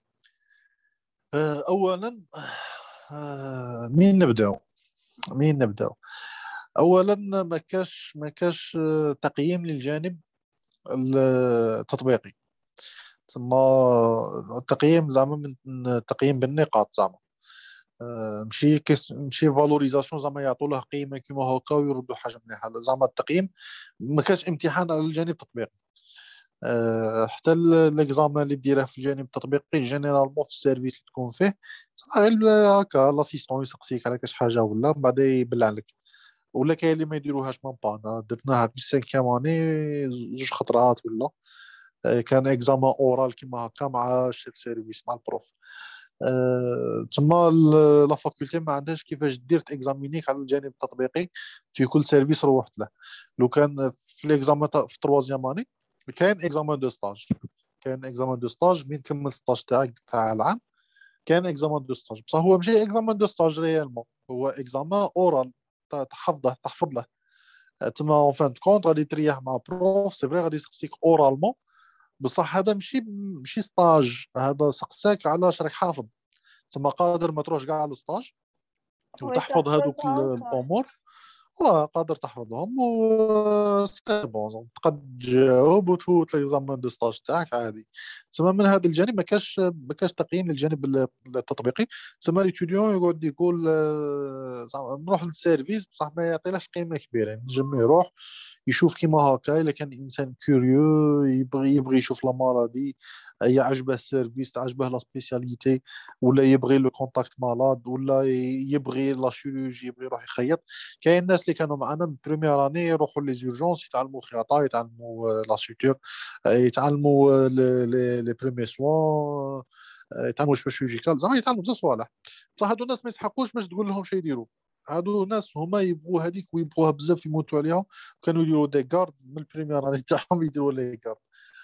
اولا منين نبداو؟ اولا ما كاش تقييم للجانب التطبيقي. ثم التقييم زعما من تقييم بالنقاط زعما. ماشي فالوريزاسيون زعما يعطوا له قيمه كيما هكا ويردوا حاجه مليحه. زعما التقييم ما كانش امتحان على الجانب التطبيقي. حتى ليكزامان اللي ديره في الجانب التطبيقي جينيرالمون في السيرفيس اللي تكون فيه غير هكا لاسيستون يسقسيك على كاش حاجه ولا من بعد يبلع لك. ولا كاين اللي ما يديروهاش مام با. أنا درناها في السانكيام اني زوج خطرات ولا. كان اكزامان اورال كيما هكا مع الشيف سيرفيس مع البروف. تما لا فاكولتي ما عندهاش كيفاش دير تاكزامينيك على الجانب التطبيقي في كل سيرفيس روحت له. لو كان في ليكزامان في التروازيام اني كاين اكزامان دو ستاج. كاين اكزامان دو ستاج من تكمل ستاج تاعك تاع العام. كان اكزامان دو ستاج بصح هو ماشي اكزامان دو ستاج ريالمون، هو اكزامان اورال تحفظ له. تما اون فان كونت غادي تريح مع بروف سي فري غادي يسقسيك اورالمون بصح هذا ماشي ستاج، هذا سقساك على اش راك حافظ. تما قادر ما تروحش كاع على الستاج وتحفظ هذوك الامور، قادر تحفظهم و سي بون تقد تجاوب وتفوت ليكزامان دو ستاج تاعك عادي. تسمى من هذا الجانب ما كاش تقييم للجانب التطبيقي. تسمى ليتيديون يقعد يقول زعما نروح للسيرفيس بصح ما يعطيلاش قيمه كبيره، يعني نجم يروح يشوف كيما هكا. الا كان انسان كوريو يبغي يشوف لا مالادي، يعجبه السيرفيس، تعجبه لا سبيسياليتي، ولا يبغي لو كونتاكت مالاد، ولا يبغي لا شيروجي، يبغي يروح يخيط. كاين الناس اللي كانوا معنا من بريمير اني يروحوا لي زورجونس يتعلموا خياطه، يتعلموا لا سوتور، يتعلموا لي بريمي سوان، يتعلموا شويه شيرجيكال، زعما يتعلموا بزاف صوالح. بصح هادو الناس ما يسحقوش باش تقول لهم شي يديروا. هادو ناس هما يبغوا هذيك ويبغوها بزاف يموتوا عليها. كانوا يديروا دي كارد من البريمير اني تاعهم، يديروا لي كارد.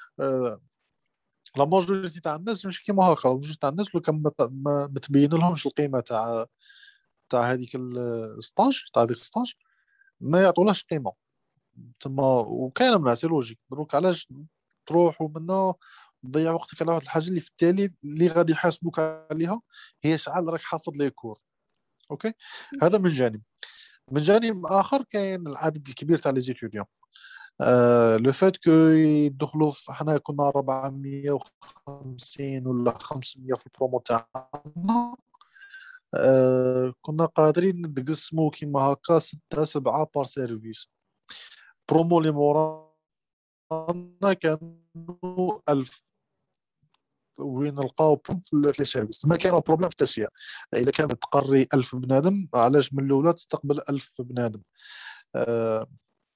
لا ماجوريتي تاع الناس مش كيما هكا. لا ماجوريتي تاع الناس لو كان ما تبين لهمش القيمه تاع هذيك الستاج، تاع هذيك الستاج ما يعطولهاش قيمه. تما وكاين من سي لوجيك. دروك علاش تروح ومنا تضيع وقتك على واحد الحاجه اللي في التالي اللي غادي يحاسبوك عليها هي شحال راك حافظ لي كور. اوكي، هذا من جانب. من جانب اخر كاين العدد الكبير تاع لي زيتيديون. لو فات كو يدخلوا حنا كنا 450 ولا 500 في البرومو تاعنا. كنا قادرين نقسمو كيما هكا 6 7 بار سيرفيس. برومو اللي مورانا كانوا 1000 وين نلقاو في لي سيرفيس. ما كان بروبليم في التسيير. الا كانت تقري 1000 بنادم، علاش من الاولى تستقبل 1000 بنادم. آه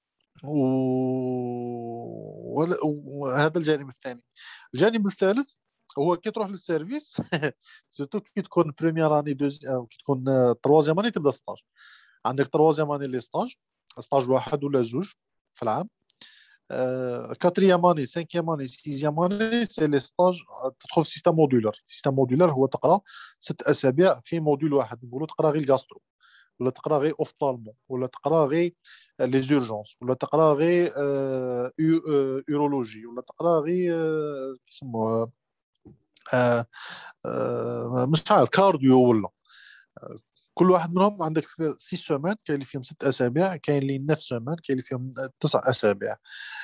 وهذا الجانب الثاني. الجانب الثالث هو كي تروح للسيرفيس سورتو كي تكون بريمير اني او كي تكون تروازيام اني تبدا ستاج. عندك تروازيام اني لي ستاج واحد ولا زوج في العام. كاتريام اني سانكيام اني سيزيام اني سي لي ستاج. تدخل في سيستم مودولار. سيستم مودولار هو تقرا 6 اسابيع في موديول واحد. نقولوا تقرا غير الجاسترو، ولا تقرا غير اوفطالمون، ولا تقرا غير لي زورجونس، ولا تقرا غير اورولوجي، ولا تقرا غير كيسموه مش عارف كارديو ولا. كل واحد منهم عندك 6 سومان، كاين اللي فيهم 6 اسابيع، كاين اللي 9 سومان، كاين اللي فيهم 9 اسابيع.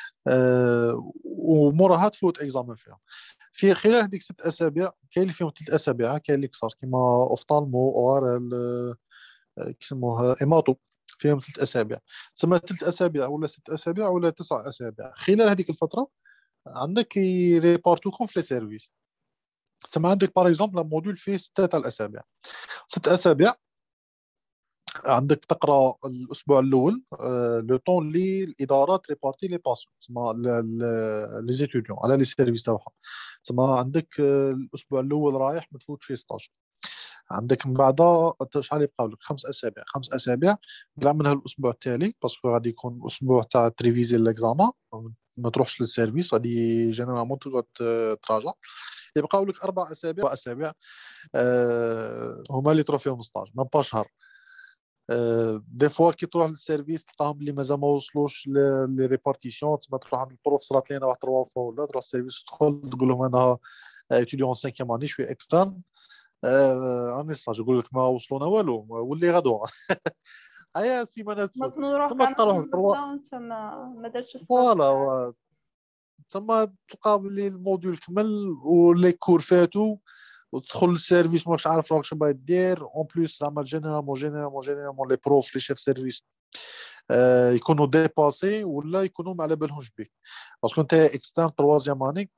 وموراها تفوت اكزامان فيها. في خلال هذيك 6 اسابيع كاين اللي فيهم 3 اسابيع كاين اللي كثر كيما اوفطالمو اوار كيسموها ايماتو، فيهم 3 اسابيع. تسمى 3 اسابيع ولا 6 اسابيع ولا 9 اسابيع. خلال هذيك الفتره عندك يريبارتوكم في لي سيرفيس. تسمى عندك باغ اكزومبل موديول فيه 6 اسابيع. 6 اسابيع عندك تقرا الاسبوع الاول لو طون اللي الادارات ريبارتي لي باسيون، تسمى لي زيتيديون على لي سيرفيس تاعهم. تسمى عندك الاسبوع الاول رايح ما تفوتش فيه ستاج. عندك من بعدها شحال يبقاو لك 5 اسابيع. 5 اسابيع كاع منها الاسبوع التالي باسكو غادي يكون اسبوع تاع تريفيزي ليكزامان، ما تروحش للسيرفيس، غادي جينيرالمون تقعد تراجع. يبقاو لك 4 اسابيع. 4 اسابيع هما اللي تروح فيهم ستاج ما با شهر. دي فوا كي تروح للسيرفيس تلقاهم اللي مازال ما وصلوش لي ريبارتيسيون. تما تروح عند البروف صرات لينا واحد 3 فوا ولا تروح للسيرفيس تدخل تقول لهم انا اتيديون 5 اني شوي اكسترن راني ستاج. يقول لك ما وصلونا والو واللي غدوه هيا سيمانه تفوت.
نروح
ثم
كاع
تلقى روحك
ما درتش ستاج.
فوالا. ثم تلقى بلي الموديول كمل ولي كور فاتوا وتدخل للسيرفيس ماكش عارف راك شنو باغي دير. اون بليس زعما جينيرالمون لي بروف لي شيف سيرفيس يكونوا ديباسي ولا يكونوا ما على بالهمش بك باسكو انت اكسترن تروازيام اني.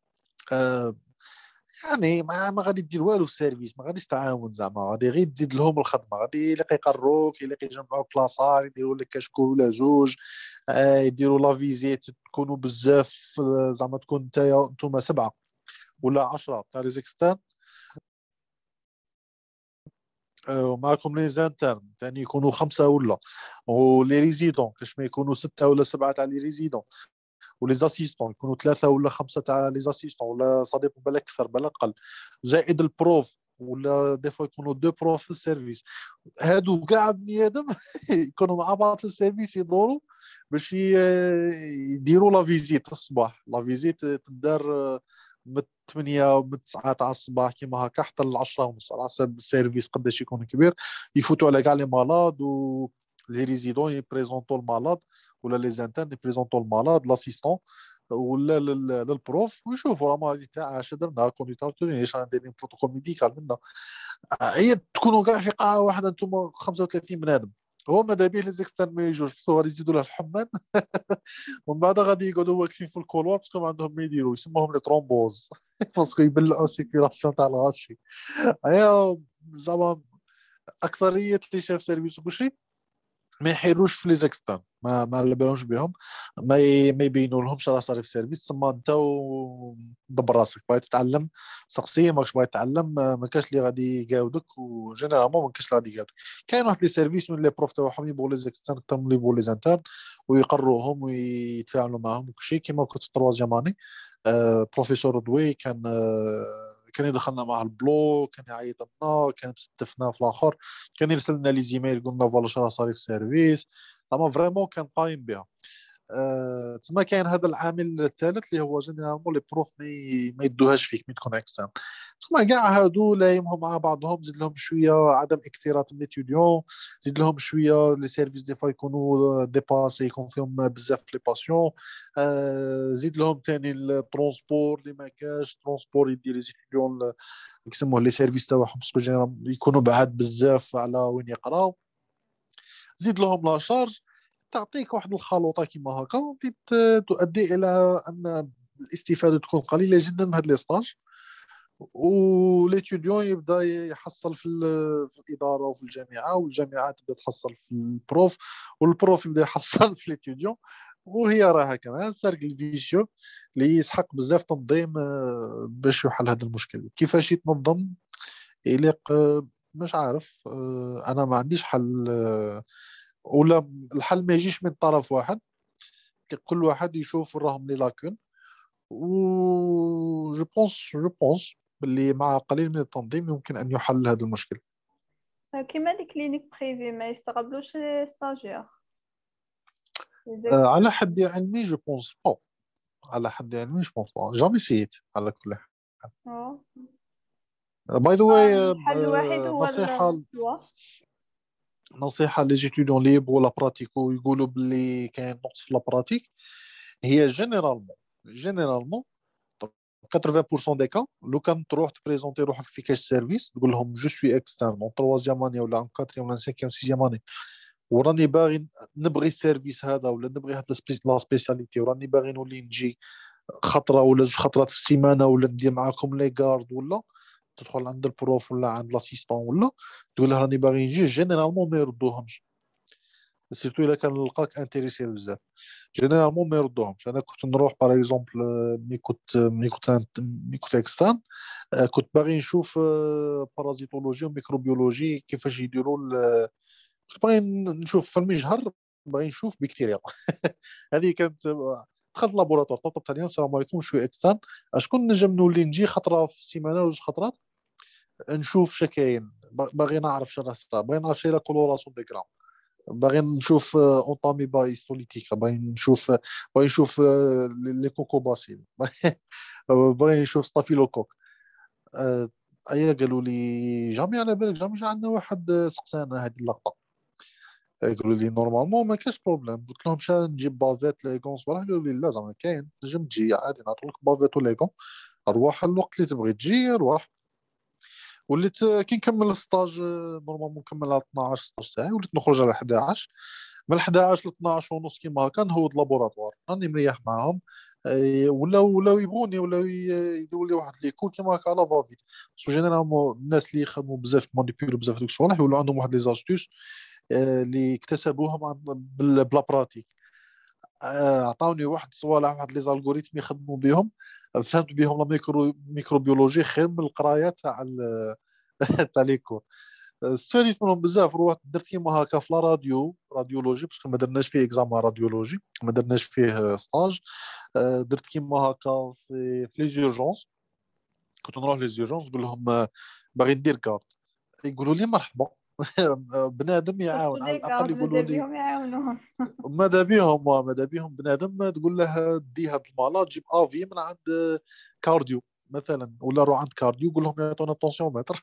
يعني ما غادي دير والو في السيرفيس، ما غاديش تعاون زعما، غادي غير تزيد لهم الخدمه. غادي يلاقي يقروك، يلاقي يجمعوك كلاصار، يديروا لك كشكول ولا زوج، يديروا لا فيزيت تكونوا بزاف. زعما تكون نتوما 7 ولا 10 تاع لي زيكسترن، ومعكم لي زانترن ثاني يكونوا 5 ولا، ولي ريزيدون كاش ما يكونوا 6 ولا 7 تاع لي ريزيدون، ولي زاسيستون يكونوا 3 ولا 5 تاع لي زاسيستون، ولا صديق بالك اكثر بالك اقل، زائد البروف ولا دي فوا يكونوا دو بروف في السيرفيس. هادو كاع بني ادم يكونوا مع بعض في السيرفيس يدوروا باش يديروا لا فيزيت الصباح. لا فيزيت تدار من 8 ومن 9 تاع الصباح كيما هكا حتى ل 10 ونص على حسب السيرفيس قداش يكون كبير. يفوتوا على كاع لي مالاد و لي ريزيدون يبريزونطوا المالاد، ولا لي زانترن يبريزونطوا المالاد لاسيستون ولا للبروف، ويشوفوا راه هذه تاع اش درنا كونيتارتوني ايش ندير بروتوكول ميديكال منا. هي تكونوا كاع في قاعه واحده انتم 35 بنادم. هو ماذا بيه لي زيكسترن ما يجوش، بس غادي يزيدوا له الحمان ومن بعد غادي يقعدوا واقفين في الكولوار باسكو ما عندهم ما يديروا، يسموهم لي ترومبوز باسكو يبلعوا السيركيلاسيون تاع الغاشي. هي زعما اكثريه اللي شاف سيرفيس وكلشي ما يحيروش في لي زيكسترن، ما على بالهمش بهم، ما يبينوا لهمش راه صار في سيرفيس. تما انت دبر راسك، بغيت تتعلم سقسي، ماكش بغيت تتعلم ما كاش اللي غادي يقاودك، وجينيرالمون ما كاش اللي غادي يقاودك. كاين واحد لي سيرفيس من لي بروف تاعهم يبغوا لي زيكسترن اكثر من اللي يبغوا لي زانترن، ويقروهم ويتفاعلوا معهم وكلشي. كيما كنت في التروازيام اني بروفيسور دوي كان يدخلنا معاه البلو، كان يعيط لنا، كان يستفنا في الاخر، كان يرسل لنا لي زيميل يقول لنا فوالا شرا صاري في السيرفيس. اما فريمون كان قايم بها. تما كاين هذا العامل الثالث اللي هو جينيرالمون لي بروف ما يدوهاش فيك مي تكون اكسترن. تما كاع هادو لايمهم مع بعضهم، زيد لهم شويه عدم اكتراث ليتيديون، زيد لهم شويه لي سيرفيس دي فوا يكونوا ديباسي، يكون فيهم بزاف لي باسيون. زيد لهم ثاني الترونسبور اللي ما كاش ترونسبور يدير لي ستوديون يسموه لي سيرفيس تاعهم باسكو يكونوا بعاد بزاف على وين يقراو. زيد لهم لا شارج، تعطيك واحد الخلوطه كيما هكا اللي تؤدي الى ان الاستفاده تكون قليله جدا من هاد لي ستاج، وليتيديون يبدا يحصل في الاداره وفي الجامعه، والجامعه تبدا تحصل في البروف، والبروف يبدا يحصل في ليتيديون. وهي راها كمان سيركل فيشيو اللي يسحق بزاف تنظيم باش يحل هذا المشكل. كيفاش يتنظم يليق مش عارف. انا ما عنديش حل، ولا الحل ما يجيش من طرف واحد، كل واحد يشوف راهم لي لاكون. و جو بونس باللي مع قليل من التنظيم يمكن ان يحل هذا المشكل.
كيما لي كلينيك بريفي ما يستقبلوش لي ستاجير
على حد علمي جو بونس با، على حد علمي جو بونس با، جامي سيت على كل حال. باي ذا واي،
الحل الوحيد هو
نصيحه نصيحه لي جيتيديون اللي يبغوا لا براتيكو يقولوا باللي كاين نقص في لا براتيك. هي جينيرالمون 80% دي كا لو كان تروح تبريزونتي روحك في كاش سيرفيس تقول لهم جو سوي اكسترن اون تروازيام اني ولا اون كاتريام ولا سانكيام سيزيام اني، وراني باغي نبغي السيرفيس هذا ولا نبغي هاد لا سبيسياليتي، وراني باغي نولي نجي خطره ولا زوج خطرات في السيمانه، ولا ندير معاكم لي غارد، ولا تدخل عند البروف ولا عند لاسيستون ولا تقول له راني باغي نجي. جينيرالمون ما يردوهمش، سيرتو الا كان لقاك انتريسي بزاف جينيرالمون ما يردوهمش. انا كنت نروح باغ اكزومبل مي كنت اكسترن، كنت باغي نشوف بارازيتولوجي وميكروبيولوجي كيفاش يديروا كنت باغي نشوف في المجهر، باغي نشوف بكتيريا هذه كانت. دخلت لابوراتوار طلبت عليهم السلام عليكم شويه اكسترن، اشكون نجم نولي نجي خطره في السيمانه ولا خطرات نشوف شكاين، باغي نعرف شنو صار، باغي نعرف شي لا كولوراسيون دي كرام، باغي نشوف اونطامي بايستوليتيك، باغي نشوف لي كوكو باسيل باغي نشوف ستافيلوكوك. ايا قالوا لي جامي على بالك، جامي جا عندنا واحد سقسانا هذه اللقطه، قالوا لي نورمالمون ما كاش بروبليم. قلت لهم شا نجيب بافيت ليغونس ولا، قالوا لي لا زعما كاين نجم تجي عادي نعطيك بافيت وليغون، روح الوقت اللي تبغي تجي روح. وليت كي نكمل الستاج نورمالمون نكمل على 12 ستاج تاعي، وليت نخرج على 11، من 11 ل 12 ونص كيما هكا نهود لابوراتوار راني مريح معاهم. ولاو يبغوني، ولاو يديروا لي واحد لي كور كيما هكا على فافيت، باسكو جينيرالمون الناس اللي يخدموا بزاف مانيبيولو بزاف دوك الصوالح يولوا عندهم واحد لي زاستوس اللي اكتسبوهم بلا براتيك. عطاوني واحد الصوالح، واحد لي زالغوريثم يخدموا بهم، فهمت بهم لا ميكروبيولوجي خير من القرايه تاع تاع لي كور. استفاديت منهم بزاف. روحت درت كيما هكا في لا راديولوجي باسكو ما درناش فيه اكزامان راديولوجي، ما درناش فيه ستاج. درت كيما هكا في لي زورجونس، كنت نروح لي زورجونس نقول لهم باغي ندير كارد، يقولوا لي مرحبا. بنادم يعاون على الاقل، يقولوا لي
بهم يعاونوهم.
ماذا بيهم بنادم تقول له دي هاد المالاد جيب افي من عند كارديو مثلا، ولا روح عند كارديو قول لهم يعطونا طونسيومتر.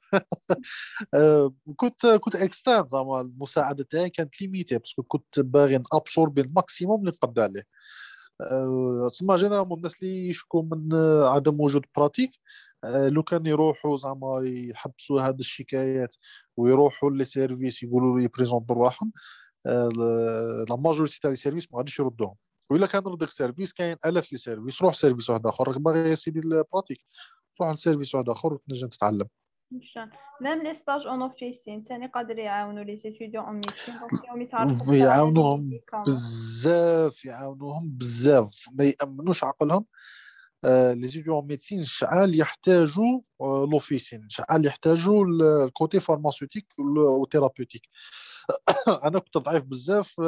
كنت اكسترن زعما المساعده تاعي كانت ليميتي، باسكو كنت باغي نابسوربي الماكسيموم اللي نقدر عليه. تسمى جينيرالمون الناس اللي يشكوا من عدم وجود براتيك، لو كان يروحوا زعما يحبسوا هذه الشكايات ويروحوا لي سيرفيس يقولوا لي بريزونطوا رواحهم، لا ماجوريتي تاع لي سيرفيس ما غاديش يردوهم. وإلا كان ردك سيرفيس كاين الاف لي سيرفيس، روح سيرفيس واحد اخر راك باغي يا سيدي البراتيك، روح لسيرفيس واحد اخر وتنجم تتعلم.
مشان ميم لي ستاج اون اوفيسين ثاني قادر يعاونوا لي ستوديون اون ميديسين دونك يوم يتعرفوا بكاع لي
يعاونوهم
ميديكامون.
بزاف، يعاونوهم بزاف، ما يامنوش عقلهم. لي ستوديون ميديسين شعال يحتاجوا لوفيسين، شعال يحتاجوا الكوتي فارماسيوتيك وثيرابيوتيك. انا كنت ضعيف بزاف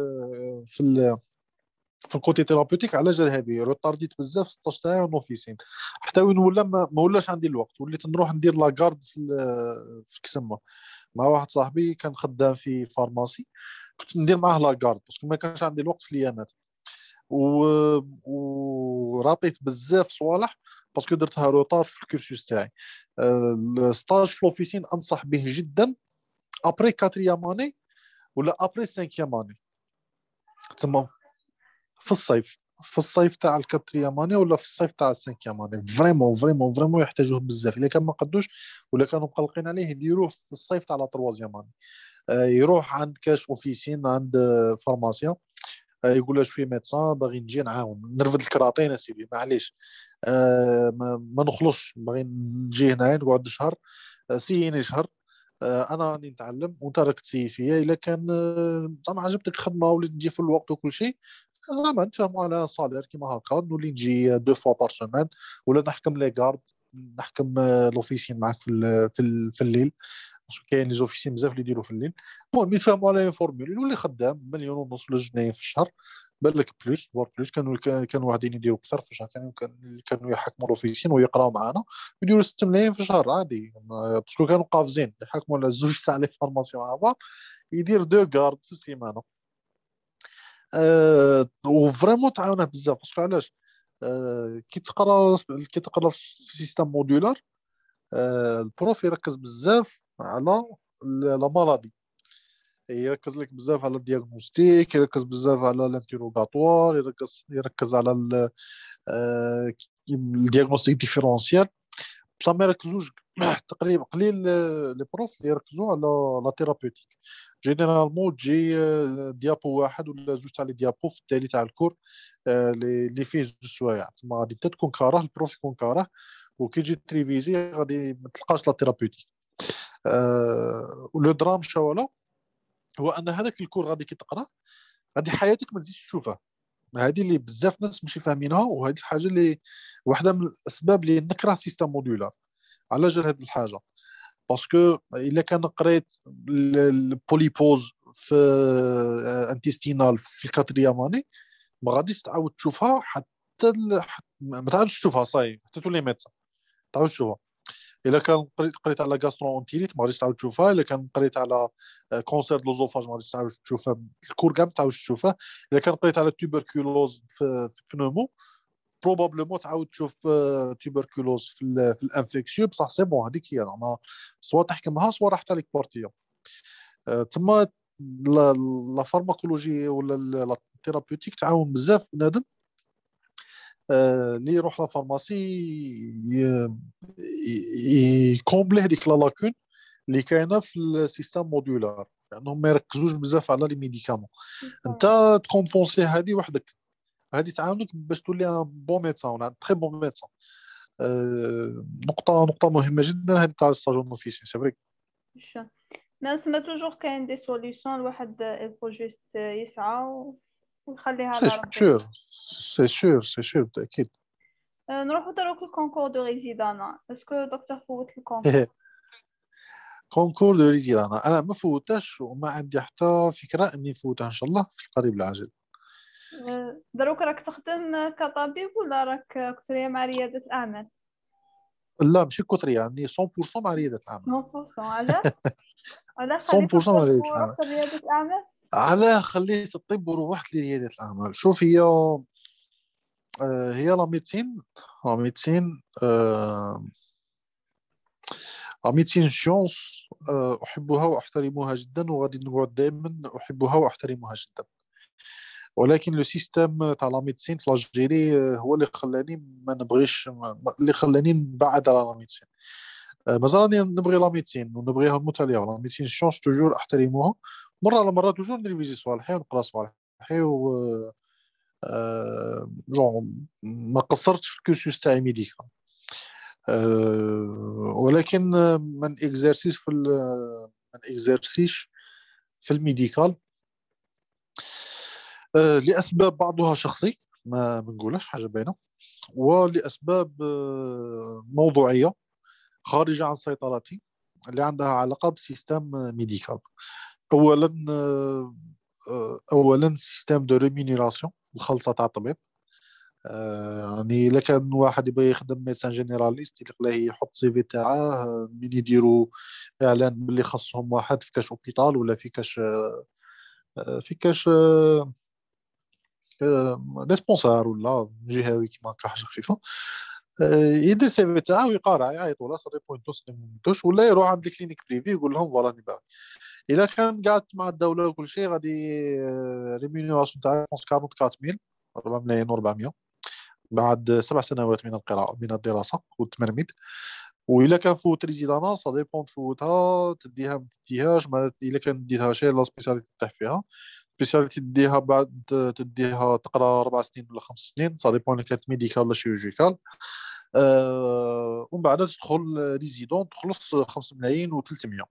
في الكوتي ثيرابيوتيك، على جال هذه روتارديت بزاف 16 ساعه نوفيسين، حتى وين ولا ما ولاش عندي الوقت، وليت نروح ندير لاكارد في كسمه مع واحد صاحبي كان خدام في فارماسي، كنت ندير معاه لاكارد باسكو ما كانش عندي الوقت في الايامات. و... ورابيت بزاف صوالح باسكو درتها روطار في الكورسوس تاعي. الستاج في لوفيسين انصح به جدا ابري 4 اني ولا ابري 5 اني، تسمى في الصيف، في الصيف تاع الكاترياماني ولا في الصيف تاع السانكياماني، فريمون يحتاجوه بزاف. الا كان ما قدوش ولا كانوا مقلقين عليه يديروه في الصيف تاع لا تروازياماني. يروح عند كاش اوفيسين عند فارماسيان، يقول له شويه ميدسان باغي نجي نعاون نرفد الكراطين اسيدي معليش، ما نخلصش باغي نجي هنا نقعد شهر، سيني شهر، انا راني نتعلم وانت راك تسيي فيا. الا كان زعما عجبتك الخدمه وليت تجي في الوقت وكل شيء، زعما نتفاهموا على صالير كيما هكا، نولي نجي 2 فوا بار سومان، ولا نحكم لي كارد، نحكم لوفيسين معاك في الليل، باسكو كاين لي زوفيسين بزاف اللي يديروا في الليل. المهم يتفاهموا على فورمول يولي خدام 1.5 مليون ولا 2 في الشهر، بالك بلوس فور بلوس. كانوا واحدين يديروا اكثر في الشهر، كانوا يحكموا لوفيسين ويقراوا معنا يديروا 6 ملايين في الشهر عادي، باسكو كانوا قافزين يحكموا على زوج تاع لي فارماسيون مع بعض، يدير 2 كارد في السيمانه. وفريمون تعاونه بزاف باسكو علاش؟ كي تقرا في سيستم موديولار، البروف يركز بزاف على لا مالادي، يركز لك بزاف على الدياغنوستيك، يركز بزاف على الانتيروغاتوار، يركز على الدياغنوستيك ديفيرونسيال، بصح ما يركزوش تقريبا قليل لي بروف اللي يركزوا على لا ثيرابيوتيك. جينيرالمون تجي ديابو واحد ولا زوج تاع لي ديابو في التالي تاع الكور، اللي فيه 2 سوايع، تما غادي تكون كاره البروف يكون كاره، وكي تجي تريفيزي غادي ما تلقاش لا ثيرابيوتيك. ولو درام شوالا هو ان هذاك الكور غادي كي تقرا غادي حياتك ما تزيدش تشوفها. هذه اللي بزاف ناس ماشي فاهمينها، وهذه الحاجه اللي واحده من الاسباب اللي نكره سيستم موديولار على جال هذه الحاجه. باسكو الا كان قريت البوليبوز في انتستينال في الكاترياماني ما غاديش تعاود تشوفها ما تعاودش تشوفها صاي حتى تولي ميدسان تعاود تشوفها. الا كان قريت على غاسترو اونتيريت ما غاديش تعاود تشوفها، الا كان قريت على كونسير لوزوفاج ما غاديش تعاود تشوفها، الكور كاع ما تعاودش تشوفها. الا كان قريت على توبركولوز في بنومو بروبابلمون تعاود تشوف توبركولوز في الانفيكسيو، بصح سي بون هذيك هي زعما سوا تحكمها سوا راح عليك بارتيا. تما لا فارماكولوجي ولا لا ثيرابيوتيك تعاون بزاف بنادم اللي يروح لا فارماسي يكومبلي هذيك لا لاكون اللي كاينه في السيستم موديولار، لانهم ما يركزوش بزاف على لي ميديكامون. انت تكومبونسي هذه وحدك، هذه تعاونك باش تولي ان بون ميدسان ولا تري بون ميدسان. نقطه مهمه جدا هذه تاع الستاجون اوفيسي سي فري.
ما سما توجور كاين دي سوليوشن الواحد الفو جوست يسعى ويخليها
سي
على ربي.
سور سي سور بالتاكيد.
نروحو دروك الكونكور دو ريزيدانا، اسكو دكتور فوت الكونكور؟
كونكور دو ريزيد انا ما فوتاش وما عندي حتى فكره اني نفوتها ان شاء الله في القريب العاجل.
دروك راك تخدم كطبيب ولا راك قلت لي مع ريادة الأعمال؟
لا ماشي كثريه، يعني 100% مع رياده الاعمال.
100%. على خليت
100% مع
الطب
رياده الاعمال.
ورحت ريادة أعمال.
على خليت الطب ورحت لرياده الاعمال. شوف هي هي لا ميديسين. لا ميديسين لا ميديسين شونس، احبها واحترمها جدا، وغادي نقعد دائما احبها واحترمها جدا. ولكن لو سيستم تاع لا ميديسين في الجيري هو اللي خلاني ما نبغيش، اللي خلاني نبعد على لا ميديسين. مازال راني نبغي لا ميديسين ونبغيها المتاليه، لا ميديسين شونس توجور احترموها. مره على مره توجور نريفيزي صوالحي ونقرا صوالحي جون ما قصرتش في الكورسوس تاعي ميديكال. ولكن من اكزرسيس في من اكزرسيش في الميديكال لاسباب بعضها شخصي ما بنقولش حاجه باينه، ولاسباب موضوعيه خارجه عن سيطرتي، اللي عندها علاقه بسيستم ميديكال. اولا اولا سيستم دو ريمونيراسيون، الخلطه تاع الطبيب. يعني الا كان واحد يبغي يخدم ميدسان جينيراليست يلقى يحط سي في تاعه من يديروا اعلان باللي خصهم واحد في كاش اوبيتال ولا في كاش في كاش ديسبونسار ولا جهوي كيما هكا حاجه خفيفه. يدير سي في تاعه ويقارع يعيطوا له صدي بوينتوس نمتوش، ولا يروح عند الكلينيك بريفي يقول لهم فوالا راني باغي. الا كان قعدت مع الدوله وكل شيء غادي ريمينيراسيون تاعها 44000 4 ملايين و400 بعد 7 سنوات من القراءة من الدراسة والتمرميد. وإلا كان فوت ريزيدانا سا ديبون تفوتها تديها ما تديهاش. إلا كان ديتها شي لا سبيسياليتي تطيح فيها، سبيسياليتي تديها بعد تديها تقرا 4 سنين ولا 5 سنين سا ديبون إلا كانت ميديكال ولا شيروجيكال. ومن بعد تدخل ريزيدون تخلص 5 ملايين و300.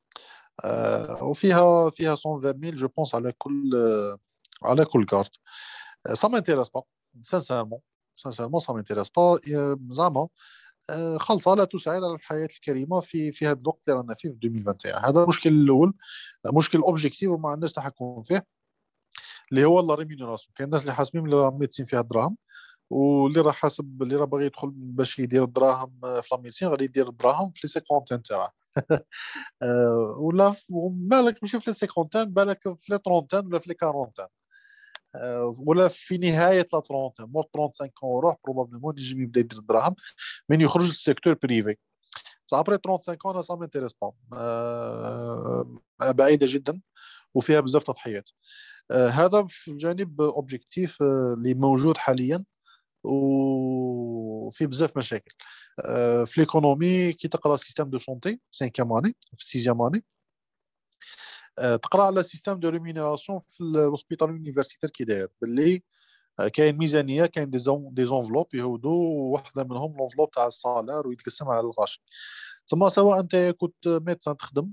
وفيها 120 ميل جو بونس على كل كارت. سا مانتيريس با سانسيرمون. سانسيرمون سا مانتيريس با زعما. خلصه لا تساعد على الحياه الكريمه في هذا الوقت اللي رانا فيه في 2021. هذا المشكل الاول، مشكل اوبجيكتيف وما عندناش تحكم فيه، اللي هو لا ريمينيراسيون. كاين الناس اللي حاسبين بلي ميديسين فيها الدراهم، واللي راه حاسب اللي راه باغي يدخل باش يدير الدراهم في لا ميديسين غادي يدير الدراهم في لي سيكونتين تاعه. ولا بالك ماشي في لي سيكونتين، بالك في لي طرونتين ولا في لي كارونتين. ولا في نهايه لا طرونتين مور 35 روح بروبابلمون يجي يبدا يدير الدراهم من يخرج للسيكتور بريفي. ابري 35 انا سا مانتيريس با، بعيده جدا وفيها بزاف تضحيات. هذا في الجانب اوبجيكتيف اللي موجود حاليا، وفي بزاف مشاكل. في ليكونومي كي تقرا سيستيم دو سونتي 5 اني في 6 اني تقرا على سيستيم دو ريمينيراسيون في الهوسبيتال يونيفرسيتير كي داير باللي كاين ميزانيه، كاين دي زونفلوب يهودوا، واحده منهم لونفلوب تاع الصالير ويتقسم على الغاشي. تسمى سواء انت كنت ميدسان تخدم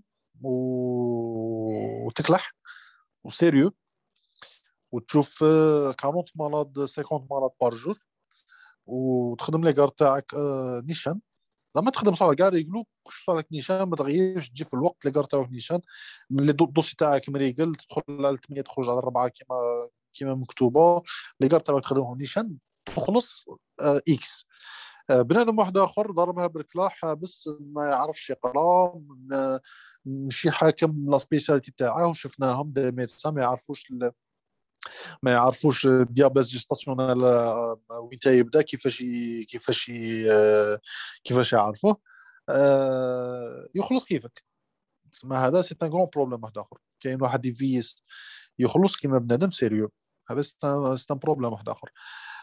وتكلح وسيريو وتشوف 40 مرض 50 مرض بار جور، وتخدم لي كار تاعك نيشان. لما تخدم صالة كاع يقولوا كش صالك نيشان ما تغيرش تجي في الوقت اللي كار تاعك نيشان، من الدوسي تاعك مريقل تدخل على 8 تخرج على 4 كيما مكتوبه. لي كار تاعك تخدمهم نيشان تخلص اكس. بنادم واحد اخر ضربها بالكلاح حابس ما يعرفش يقرا، ماشي حاكم لا سبيسياليتي تاعه، وشفناهم دي ميدسان ما يعرفوش الدياباز جيستاسيونال وين يبدا كيفاش يعرفوه. يخلص كيفك. تسمى هذا سي ان غران بروبليم واحد اخر. كاين واحد يفيس يخلص كيما بنادم سيريو، هذا سي ان بروبليم واحد اخر.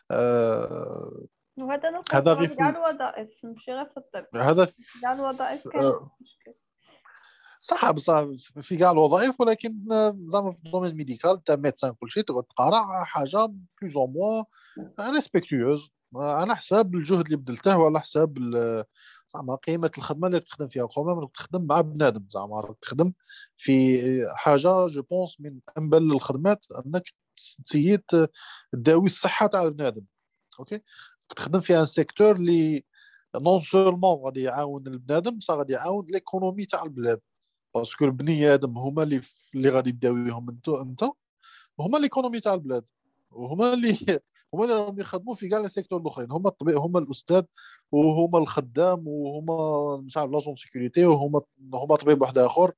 وهذا
هذا
نلقاو
غير
في كاع الوظائف ماشي غير في الطب.
هذا
كاع الوظائف كاين مشكل.
صح بصح في كاع الوظائف، ولكن زعما في الدومين ميديكال تاع ميدسان كلشي تقعد تقرا حاجه بلوز او موان ريسبكتيوز على حساب الجهد اللي بذلته وعلى حساب زعما قيمه الخدمه اللي تخدم فيها. كومام تخدم مع بنادم، زعما تخدم في حاجه جو بونس من انبل الخدمات انك تسيد تداوي الصحه تاع البنادم. اوكي تخدم في ان سيكتور اللي نون سولمون غادي يعاون البنادم، بصح غادي يعاون ليكونومي تاع البلاد. باسكو البني ادم هما اللي غادي تداويهم انت هما ليكونومي تاع البلاد، وهما اللي هما اللي راهم يخدموا في كاع لي سيكتور الاخرين، هما الطبيب، هما الاستاذ، وهما الخدام، وهما مش عارف لاجون سيكوريتي، هما طبيب واحد اخر،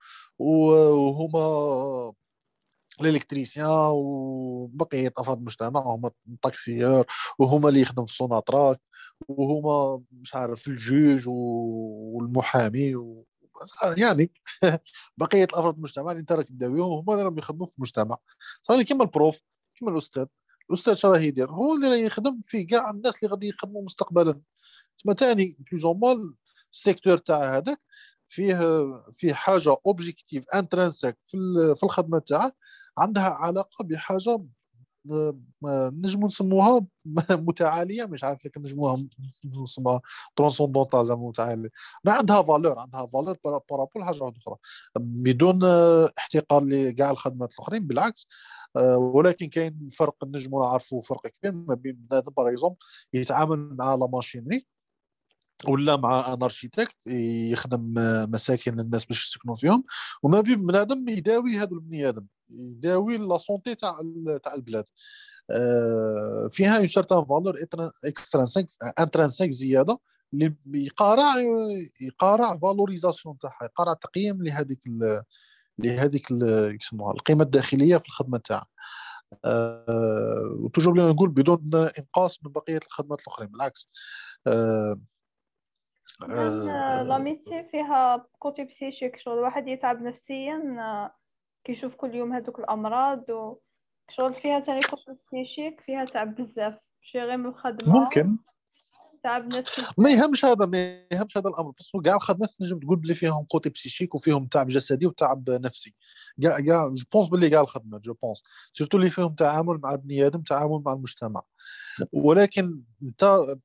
وهما الالكتريسيان وبقيه افراد المجتمع، هما الطاكسيور، وهما اللي يخدم في السوناتراك، وهما مش عارف الجوج والمحامي يعني بقيه افراد المجتمع اللي انت راك تداويهم هما اللي راهم يخدموا في المجتمع. صافي كيما البروف، كيما الاستاذ شنو راه يدير؟ هو اللي راه يخدم في كاع الناس اللي غادي يخدموا مستقبلا. تسمى ثاني بلوز او مول السيكتور تاع هذاك فيه حاجه اوبجيكتيف انترنسيك في الخدمه تاعه، عندها علاقه بحاجه نجمو نسموها متعاليه، مش عارف لكن نسموها ترانسوندونتال زعما متعاليه، ما عندها فالور، عندها فالور بارابول حاجه اخرى، بدون احتقار لكاع الخدمات الاخرين بالعكس. ولكن كاين فرق نجمو نعرفوا فرق كبير ما بين بنادم باغ اكزومبل يتعامل مع لا ماشينري، ولا مع ان اركيتكت يخدم مساكن الناس باش يسكنوا فيهم، وما بين بنادم يداوي هذو البني ادم، يداوي لا سونتي تاع البلاد. فيها اون سيرتان فالور اكسترانسيك انترانسيك زياده اللي يقارع فالوريزاسيون تاعها، يقارع تقييم يسموها القيمه الداخليه في الخدمه تاعها. وتوجور بلي نقول بدون انقاص من بقيه الخدمات الاخرين، بالعكس. أه
نعم. لا ميدسين فيها كوتي بسيشيك، شغل الواحد يتعب نفسيا كيشوف كل يوم هذوك الأمراض، وشغل فيها تاني كوتي بسيشيك، فيها تعب بزاف، ماشي غير من الخدمة،
ممكن
تعب نفسي
ما
بزاف.
يهمش هذا، ما يهمش هذا الامر، بس كاع الخدمات نجم تقول بلي فيهم كوتي بسيشيك وفيهم تعب جسدي وتعب نفسي. كاع جو بونس بلي كاع الخدمات جو بونس سورتو اللي فيهم تعامل مع بني ادم، تعامل مع المجتمع. ولكن انت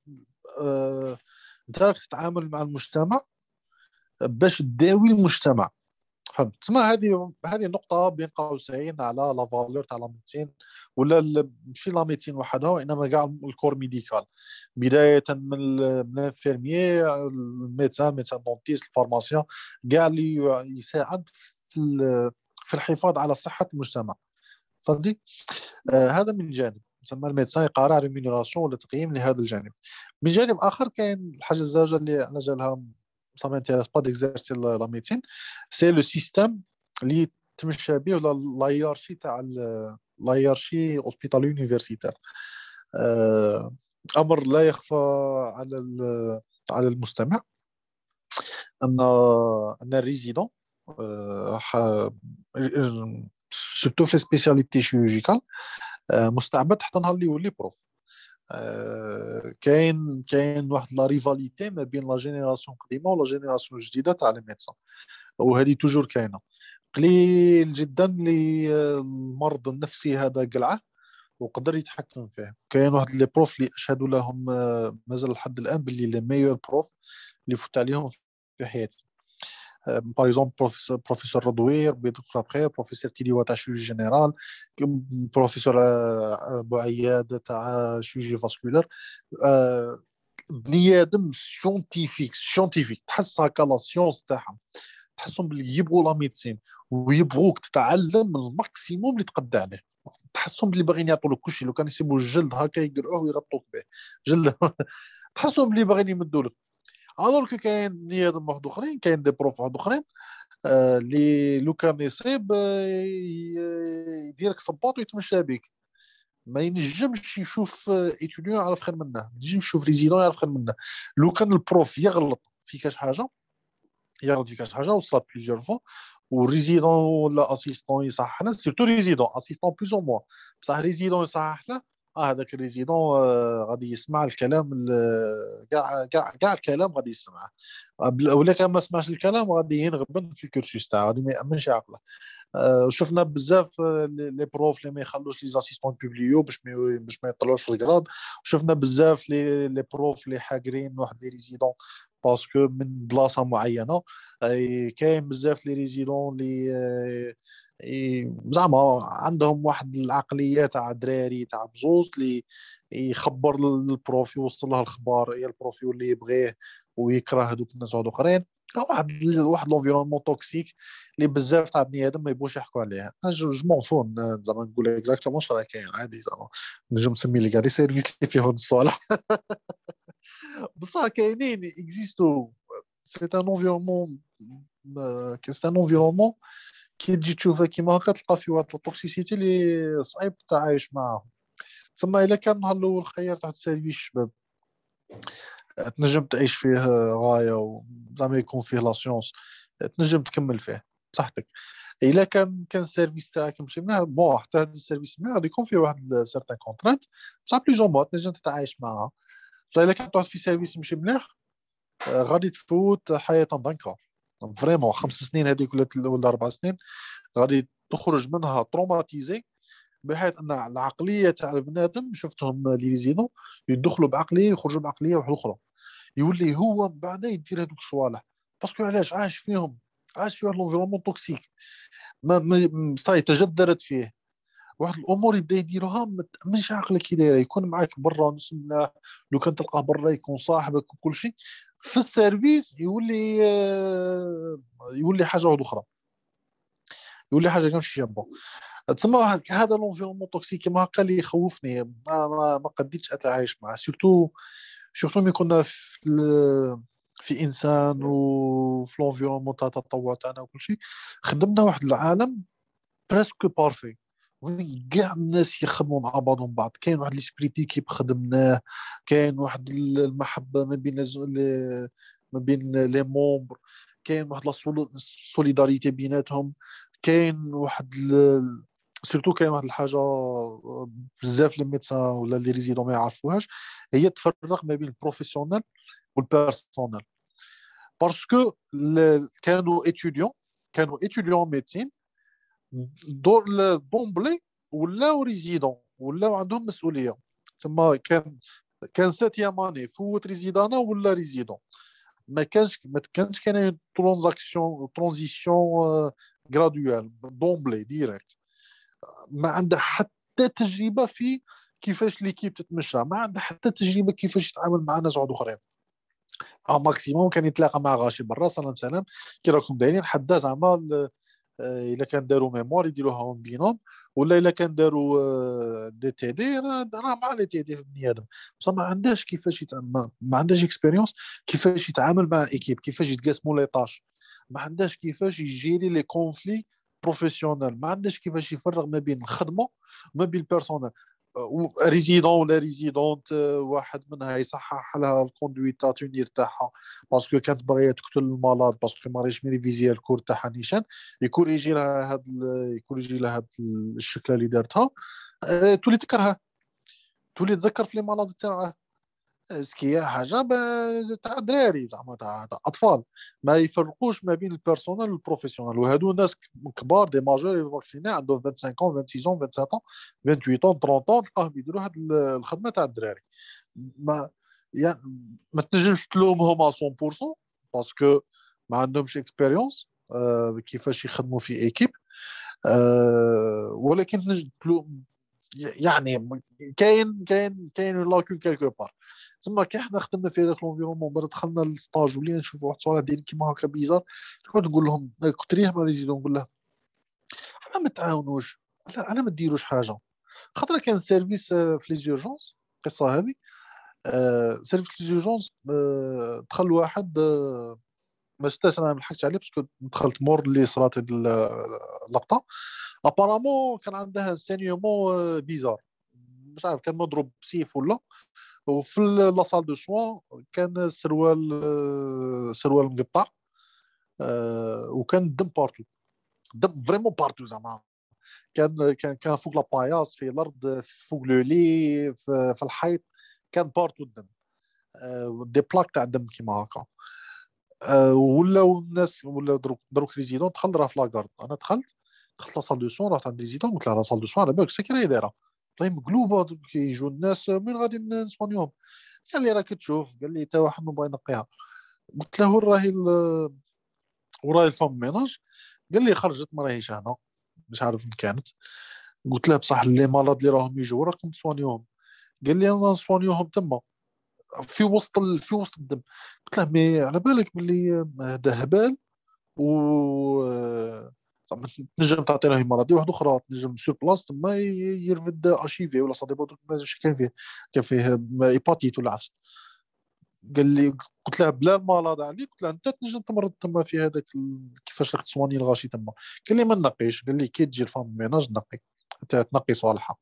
انت راك تتعامل مع المجتمع باش تداوي المجتمع، فهمت؟ تسمى هذه النقطة بين قوسين على لا فالور تاع لا ميديسين، ولا ماشي لا ميديسين وحدها وانما كاع الكور ميديكال، بداية من الانفيرميي، الميدسان دونتيست، الفارماسيان، كاع اللي يساعد في الحفاظ على صحة المجتمع، فهمتي؟ هذا من جانب تسمى الميدسان يقارع ريمينيراسيون ولا تقييم لهذا الجانب. من جانب اخر كاين الحاجه الزوجه اللي على جالها ça m'intéresse pas d'exercer la médecine, c'est le système اللي تمشى به ولا لا هيرارشي تاع لا هيرارشي اوسبيتالي يونيفرسيتير. امر لا يخفى على على المستمع ان الريزيدون سورتو في سبيسياليتي شيروجيكال مستعبد حتى نهار اللي يولي بروف. كاين واحد لا ريفاليتي ما بين لا جينيراسيون قديمه ولا جينيراسيون جديده تاع لي ميدسان، وهذه توجور كاينه. قليل جدا اللي المرض النفسي هذا قلعه وقدر يتحكم فيه. كاين واحد لي بروف اللي اشهد لهم مازال لحد الان باللي لي ميور بروف اللي فوت عليهم في حياتي. باغ اكزومبل بروفيسور رضوير بيدخل بخير، بروفيسور تيليوا تاع شيروجي جينيرال، بروفيسور بوعياد تاع شيروجي فاسكولار. بني ادم سيونتيفيك تحس هكا لا سيونس تاعهم، تحسهم باللي يبغوا لا ميديسين ويبغوك تتعلم الماكسيموم اللي تقدر عليه. تحسهم باللي باغيين يعطوا لك كلشي، لو كان يسيبوا الجلد هكا يقرعوه ويغطوك به جلد تحسهم باللي باغيين يمدوا لك. الوغ كو كاين بني ادم واحد اخرين، كاين دي بروف واحد اخرين اللي لو كان يصيب يديرك صباط ويتمشى بك، ما ينجمش يشوف ايتوديون يعرف خير منه، ما ينجمش يشوف ريزيدون يعرف خير منه. لو كان البروف يغلط في كاش حاجه، وصلت بليزيور فوا، وريزيدون ولا اسيستون يصحح له، سيرتو ريزيدون اسيستون بلوز او موا، بصح ريزيدون يصحح له، هذاك الريزيدون غادي يسمع الكلام كاع الكلام غادي يسمعه، ولا كان ما سمعش الكلام غادي ينغبن في الكورسوس تاعو، غادي ما يامنش عقله. شفنا بزاف لي بروف اللي ما يخلوش لي زاسيستون بوبليو باش ما يطلعوش في الكراد. شفنا بزاف لي بروف اللي حاقرين واحد لي ريزيدون باسكو من بلاصه معينه. كاين بزاف لي ريزيدون اللي زعما عندهم واحد العقليه تاع دراري تاع بزوز اللي يخبر للبروف، يوصل له الخبر، يا البروف يولي يبغيه ويكره هذوك الناس هذو اخرين. واحد لونفيرونمون توكسيك اللي بزاف تاع بني ادم ما يبغوش يحكوا عليه. جو مون فون زعما نقول اكزاكتومون واش راه كاين عادي، زعما نجم نسمي لي كاع دي سيرفيس اللي فيهم الصوالح بصح كاينين اكزيستو. سي ان انفيرونمون سي ان انفيرونمون كي تجي تشوفها كيما هكا تلقى فيه واحد التوكسيسيتي اللي صعيب تعايش معاهم. تسمى الا كان النهار الاول خيرت واحد السيرفيس شباب تنجم تعيش فيه غايه وزعما يكون فيه لا سيونس تنجم تكمل فيه بصحتك. الا كان السيرفيس تاعك ماشي مليح، بون حتى هذا السيرفيس مليح غادي يكون فيه واحد سيرتان كونترانت بصح بلوز او موا تنجم تتعايش معها. بصح الا كان تقعد في سيرفيس ماشي مليح غادي تفوت حياه ضنكا فريمون 5 سنين هذيك ولا 4 سنين غادي تخرج منها تروماتيزي، بحيث ان العقليه تاع البنادم شفتهم لي ريزيدون يدخلوا بعقليه يخرجوا بعقليه واحده اخرى، يولي هو من بعد يدير هذوك الصوالح باسكو علاش عاش فيهم، عاش في واحد لونفيرونمون توكسيك صاي تجذرت فيه واحد الامور يبدا يديروها ما تامنش عقلك كي دايره. يكون معاك برا نص ملاح، لو كان تلقاه برا يكون صاحبك وكل شيء، في السيرفيس يولي حاجه واحده اخرى، يولي حاجه كامل شي بون. تسمى هذا لونفيرونمون توكسيك كيما هكا اللي يخوفني، ما قديتش اتعايش معه. سورتو ملي كنا في انسان وفي لونفيرونمون تاع التطوع تاعنا وكل شيء، خدمنا واحد العالم بريسك بارفي وين كاع الناس يخدموا مع بعضهم بعض. كاين واحد ليسبري ديكيب خدمناه، كاين واحد المحبه ما بين لي مومبر، كاين واحد السوليداريتي بيناتهم، كاين واحد سورتو كاين واحد الحاجه بزاف لي ميدسان ولا لي ريزيدون ما يعرفوهاش، هي تفرق ما بين البروفيسيونيل والبيرسونيل. باسكو كانوا اتيديون ميديسين دور دومبلي ولاو ريزيدون، ولاو عندهم مسؤوليه. تما كان ساتيام اني فوت ريزيدانا ولا ريزيدون، ما كانش كاين ترانزيسيون غرادوال دومبلي ديريكت. ما عنده حتى تجربه في كيفاش ليكيب تتمشى، ما عنده حتى تجربه كيفاش يتعامل مع ناس عود اخرين. او ماكسيموم كان يتلاقى مع غاشي برا سلام سلام كي راكم دايرين، حدا زعما الا كان داروا ميموار يديروها بينهم، ولا الا كان داروا دي تي دي راه مع لي تي دي في بني ادم. بصح ما عندهاش كيفاش ما عندهاش اكسبيريونس كيفاش يتعامل مع ايكيب، كيفاش يتقاسموا لي طاش، ما عندهاش كيفاش يجيري لي كونفلي بروفيسيونيل، ما عندهاش كيفاش يفرق ما بين الخدمه وما بين البيرسونيل. ريزيدون ولا ريزيدونت واحد منها يصحح لها الكوندويت تاعها تاعها باسكو كانت باغيه تقتل المرض باسكو ما ريش ميريفيزي الكور تاعها نيشان، يكوريجي لها هاد الشكله اللي دارتها. تولي تكرهها، تولي تذكر في لي مرض تاعها. اسكي حاجه تاع دراري زعما تاع اطفال، ما يفرقوش ما بين البيرسونال والبروفيسيونال. وهادو ناس كبار دي ماجور فاكسيني عندهم 25 ans 26 ans 27 ans 28 ans 30 ans تلقاهم يديروا هاد الخدمه تاع الدراري. ما يعني ما تنجمش تلومهم 100% باسكو ما عندهمش اكسبيريونس كيفاش يخدموا في ايكيب. ولكن تنجم يعني كاين لاكون كالكو بار. تما كي حنا خدمنا في هذاك لونفيرونمون بعد دخلنا للستاج ولينا نشوفوا واحد الصوالح دايرين كيما هكا بيزار، نقول لهم كنت ريح ما ريزيدون نقول له انا ما تعاونوش، لا انا ما ديروش حاجه. خاطر كان سيرفيس في لي زيرجونس القصه هذه. سيرفيس لي زيرجونس دخل واحد ما شفتش انا ما لحقتش عليه باسكو دخلت مور اللي صرات هاد اللقطه. ابارامون كان عندها سينيومون بيزار، مش عارف كان مضروب بسيف ولا. وفي لا سال دو سوان كان سروال مقطع، وكان الدم بارتو، الدم فريمون بارتو زعما. كان فوق لاباياس في الارض فوق لو لي في الحيط، كان بارتو الدم، دي بلاك تاع الدم كيما هكا. ولاو الناس ولا دروك ريزيدون دخل راه في لاكارد. انا دخلت لا سال دو سون، رحت عند ريزيدون قلت له لا سال دو سون على بالك سكي راهي دايره، راهي مقلوبه كيجوا الناس من غادي نسبانيوهم. قال لي راك تشوف، قال لي تا واحد ما بغى ينقيها. قلت له وراهي الفم ميناج. قال لي خرجت ما راهيش هنا، مش عارف فين كانت. قلت له بصح لي مالاد اللي راهم يجوا راكم تسوانيوهم. قال لي انا نسوانيوهم تما. في وسط الدم. قلت له مي على بالك باللي هذا هبال و زعما تنجم تعطي له مرضيه واحده اخرى، تنجم سور بلاص تما يرفد اشيفي ولا صديق كان فيه ايباتيت ولا عفس. قال لي، قلت له بلا المرض عليك، قلت له انت تنجم تمرض تما في هذاك كيفاش راك تصواني الغاشي تما. قال لي ما نقيش، قال لي كي تجي الفام ميناج نقي، تنقي صالحه.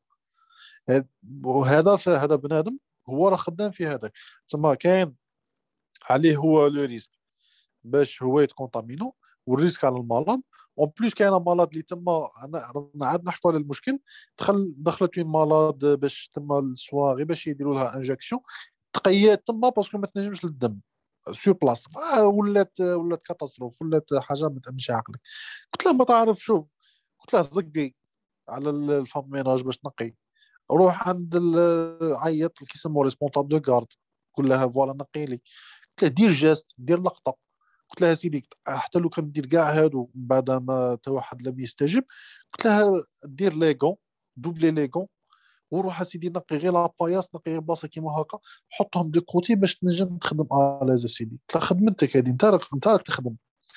وهذا بنادم هو راه خدام في هذاك تما، كاين عليه هو لو ريسك باش هو يتكونتامينو، والريسك على المرض. اون بليس كاين مرض اللي تما انا عاد نحكوا على المشكل. دخلت وين مرض باش تما الصواغي باش يديروا لها انجكسيون، تقيات تما باسكو ما تنجمش للدم سور بلاص. ولات كاتاستروف، ولات حاجه ما تامنش عقلك. قلت له ما تعرف شوف، قلت له زقي على الفام ميناج باش تنقي، روح عند عيط اللي كيسموه ريسبونسابل دو غارد، قول لها فوالا نقي لي. قلت له دير جاست، دير لقطه. قلت لها سيدي حتى لو كان دير كاع هادو بعد ما تا واحد لم يستجب، قلت لها دير ليغون، دوبلي ليغون، وروح سيدي نقي غير لاباياس، نقي غير بلاصه كيما هكا، حطهم دو كوتي باش تنجم تخدم الاز سيدي. قلت لها خدمتك هذه، انت راك تخدم.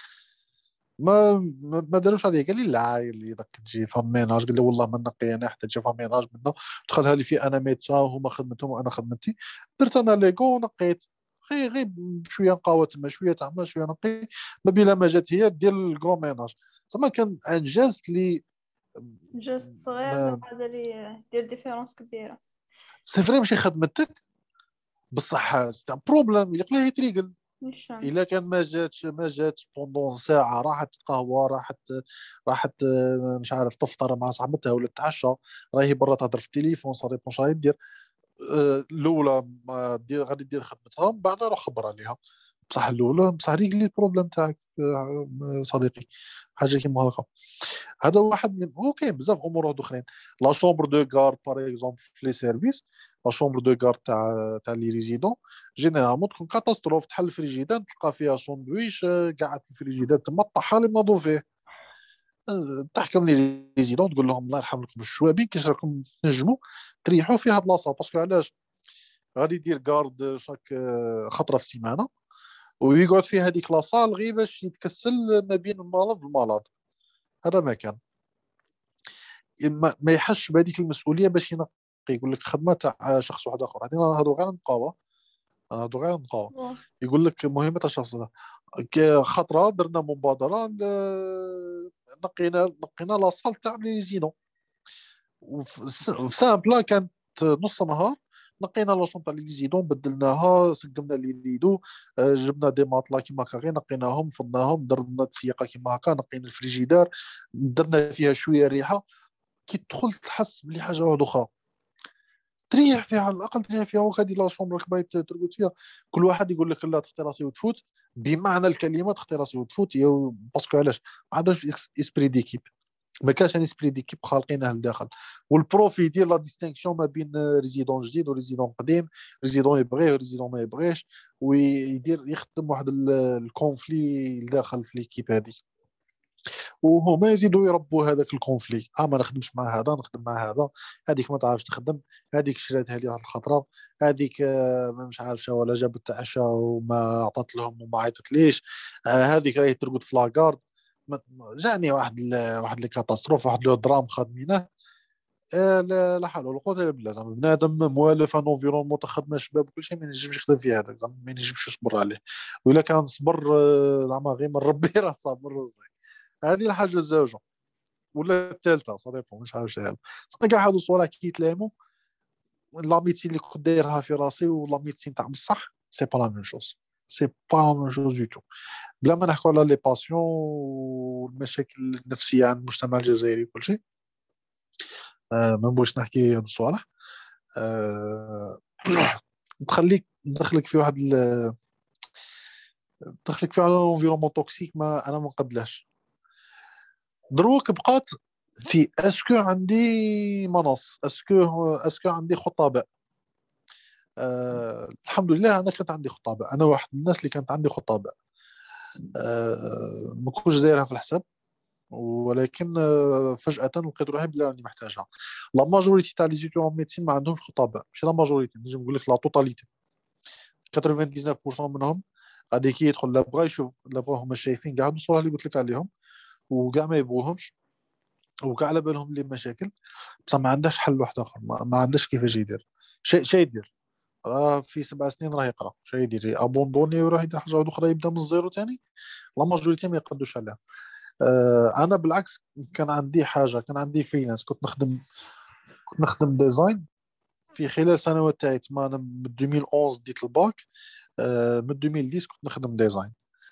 ما داروش عليه. قال لي لا، اللي داك تجي فاميناج، قال لي والله ما نقي انا حتى تجي فاميناج منه، دخلها لي في انا ميدسا وهما خدمتهم وانا خدمتي. درت انا ليغو ونقيت غير بشويه نقاوه تما، شويه تعمل شويه نقي، ما بلا ما جات هي دير الكرو ميناج. زعما كان انجاز لي.
جست صغير من
ما
قادر يدير ديفيرونس كبيرة.
سي فري ماشي خدمتك بصح سي بروبليم يقليه يتريقل.
نيشان.
الا كان ما جاتش بوندون ساعه، راحت تقهوى، راحت مش عارف تفطر مع صاحبتها ولا تتعشى، راهي برا تهضر في التليفون، صافي واش راهي دير. الاولى ما دير غادي دير خدمتها، من بعد روح خبر عليها. بصح الاولى بصح ريقلي البروبليم تاعك صديقي، حاجه كيما هكا. هذا واحد من اوكي بزاف امور اخرين. لا شومبر دو غارد باغ اكزومبل في لي سيرفيس، لا شومبر دو غارد تاع لي ريزيدون جينيرالمون تكون كاتاستروف. تحل الفريجيدان تلقى فيها ساندويش قاعد في الفريجيدان تما، طحال اللي ناضوا فيه. تحكم لي ريزيدون تقول لهم الله يرحم لكم الشوابين كيش راكم تنجموا تريحوا فيها بلاصه. باسكو علاش غادي يدير غارد شاك خطره في السيمانه، ويقعد في هذيك لاصال غير باش يتكسل ما بين المرض والمرض. هذا ما كان ما يحسش بهذيك المسؤوليه باش ينقي، يقول لك خدمه تاع شخص واحد اخر. هذه نهضروا غير نقاوه، نهضروا غير نقاوه. يقول لك مهمه الشخص هذا. خطره درنا مبادره نقينا لاصال تاع لي زينو، سامبلا كانت نص نهار. نقينا لاشون تاع لي زيدون، بدلناها، سقمنا لي ليدو، جبنا دي ماطلا كيما هكا غير نقيناهم، فضناهم، درنا تسيقه كيما هكا، نقينا الفريجيدار، درنا فيها شويه ريحه. كي تدخل تحس بلي حاجه واحده اخرى، تريح فيها على الاقل، تريح فيها. وهذه لا شومبر بايت ترقد فيها. كل واحد يقول لك لا تختي راسي وتفوت، بمعنى الكلمه تختي راسي وتفوت. باسكو علاش ما عندهاش اسبري ديكيب، ما كانش ان اسبري ديكيب خالقينه لداخل. والبروف يدير لا ديستينكسيون ما بين ريزيدون جديد وريزيدون قديم، ريزيدون يبغيه وريزيدون ما يبغيش، ويدير يخدم واحد الكونفلي لداخل في ليكيب هذه. وهما يزيدوا يربوا هذاك الكونفلي. ما نخدمش مع هذا، نخدم مع هذا. هذيك ما تعرفش تخدم، هذيك شراتها لي واحد الخطره، هذيك مش عارف شو ولا جابت عشاء وما عطات لهم وما عيطت ليش، هذيك راهي ترقد في لاكارد. جاني واحد الكاتاستروف، واحد لو درام خادمينه. لا حول ولا قوه الا بالله. زعما بنادم موالف ان انفيرونمون تاع خدمه شباب وكل شيء ما ينجمش يخدم في هذاك، زعما ما ينجمش يصبر عليه. وإلا كان صبر زعما غير من ربي راه صابر. هذه الحاجه الزوجه ولا الثالثه صديقهم مش عارف شحال. صافي كاع هادو الصوالح كي يتلايموا، لا ميتين اللي كنت دايرها في راسي ولا ميتين تاع بصح سي با لا ميم شوز. سي با لا ميم شوز دو تو. بلا ما نحكوا على لي باسيون والمشاكل النفسيه عند المجتمع الجزائري وكل شيء. ما نبغيش نحكي هاد الصوالح. آه ندخلك في واحد ندخلك في واحد الانفيرومون توكسيك ما انا ما نقدلاش. دروك بقات في اسكو عندي منص، اسكو عندي خطاباء. الحمد لله انا كانت عندي خطاباء، انا واحد من الناس اللي كانت عندي خطاباء. ما كنتش دايرها في الحساب، ولكن فجأة لقيت روحي بلي راني محتاجها. لا ماجوريتي تاع لي زيتيون ميديسين ما عندهمش خطاباء، ماشي لا ماجوريتي، نجم نقول لك لا توتاليتي 99% منهم غادي كي يدخل لا بغا يشوف لا بغا هما شايفين كاع الصور اللي قلت لك عليهم وكاع ما يبغوهمش وكاع على بالهم اللي مشاكل، بصح ما عندهاش حل واحد اخر، ما عندهاش كيفاش يدير شيء يدير. راه في 7 سنين راه يقرا شيء يدير ابوندوني ويروح يدير حاجه اخرى يبدا من الزيرو ثاني. لا ماجوريتي ما يقدوش عليها. انا بالعكس كان عندي حاجه، كان عندي فريلانس، كنت نخدم ديزاين في خلال سنوات تاعي. تما انا من 2011 ديت الباك، من 2010 كنت نخدم ديزاين.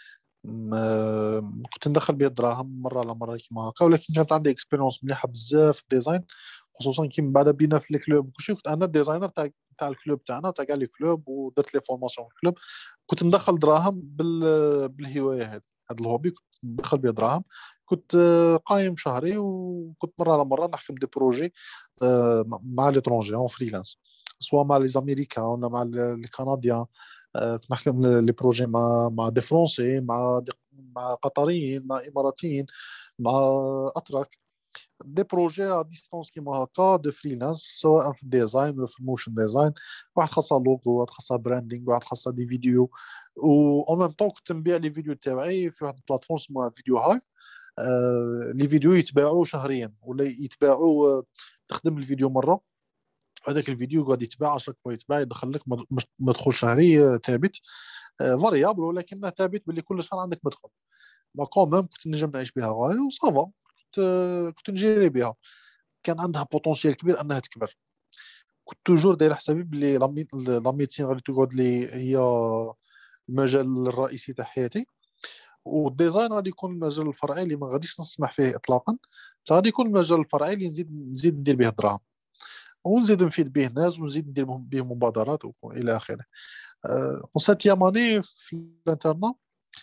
كنت ندخل به الدراهم مره على مره كيما هكا، ولكن كانت عندي اكسبيريونس مليحه بزاف في الديزاين، خصوصا كي من بعد بينا في الكلوب وكلشي. كنت انا الديزاينر تاع الكلوب تاعنا وتاع كاع لي كلوب، ودرت لي فورماسيون في الكلوب. كنت ندخل دراهم بالهوايه هذا الهوبي، كنت ندخل به دراهم. كنت قايم شهري، وكنت مره على مره نحكم دي بروجي مع ليترونجي اون فريلانس، سواء مع لي زاميريكان ولا مع لي كنديان. كنت نحكم لي بروجي مع دي فرونسي، مع قطريين، مع اماراتيين، مع اتراك. دي بروجي ا ديستونس كيما هكا دو فريلانس، سواء في الديزاين ولا في الموشن ديزاين. واحد خاصها لوغو، واحد خاصها براندينغ، واحد خاصها دي فيديو. و اون ميم طون كنت نبيع لي فيديو تاعي في واحد البلاتفورم اسمها فيديو هاي. لي فيديو يتباعوا شهريا ولا يتباعوا، تخدم الفيديو مره، هذاك الفيديو غادي يتباع 10 بوينت، يتباع يدخل لك مدخول شهري ثابت، فاريابل ولكنه ثابت باللي كل شهر عندك مدخل. ما كومام كنت نجم نعيش بها غايه وصافا. كنت نجيري بها، كان عندها بوتونسيال كبير انها تكبر. كنت توجور داير حسابي بلي لا ميديسين غادي تقعد لي هي المجال الرئيسي تاع حياتي، والديزاين غادي يكون المجال الفرعي اللي ما غاديش نسمح فيه اطلاقا. غادي يكون المجال الفرعي اللي نزيد ندير به الدراهم، ونزيد نفيد به الناس، ونزيد ندير به مبادرات والى اخره. وساتيام اني في الانترنا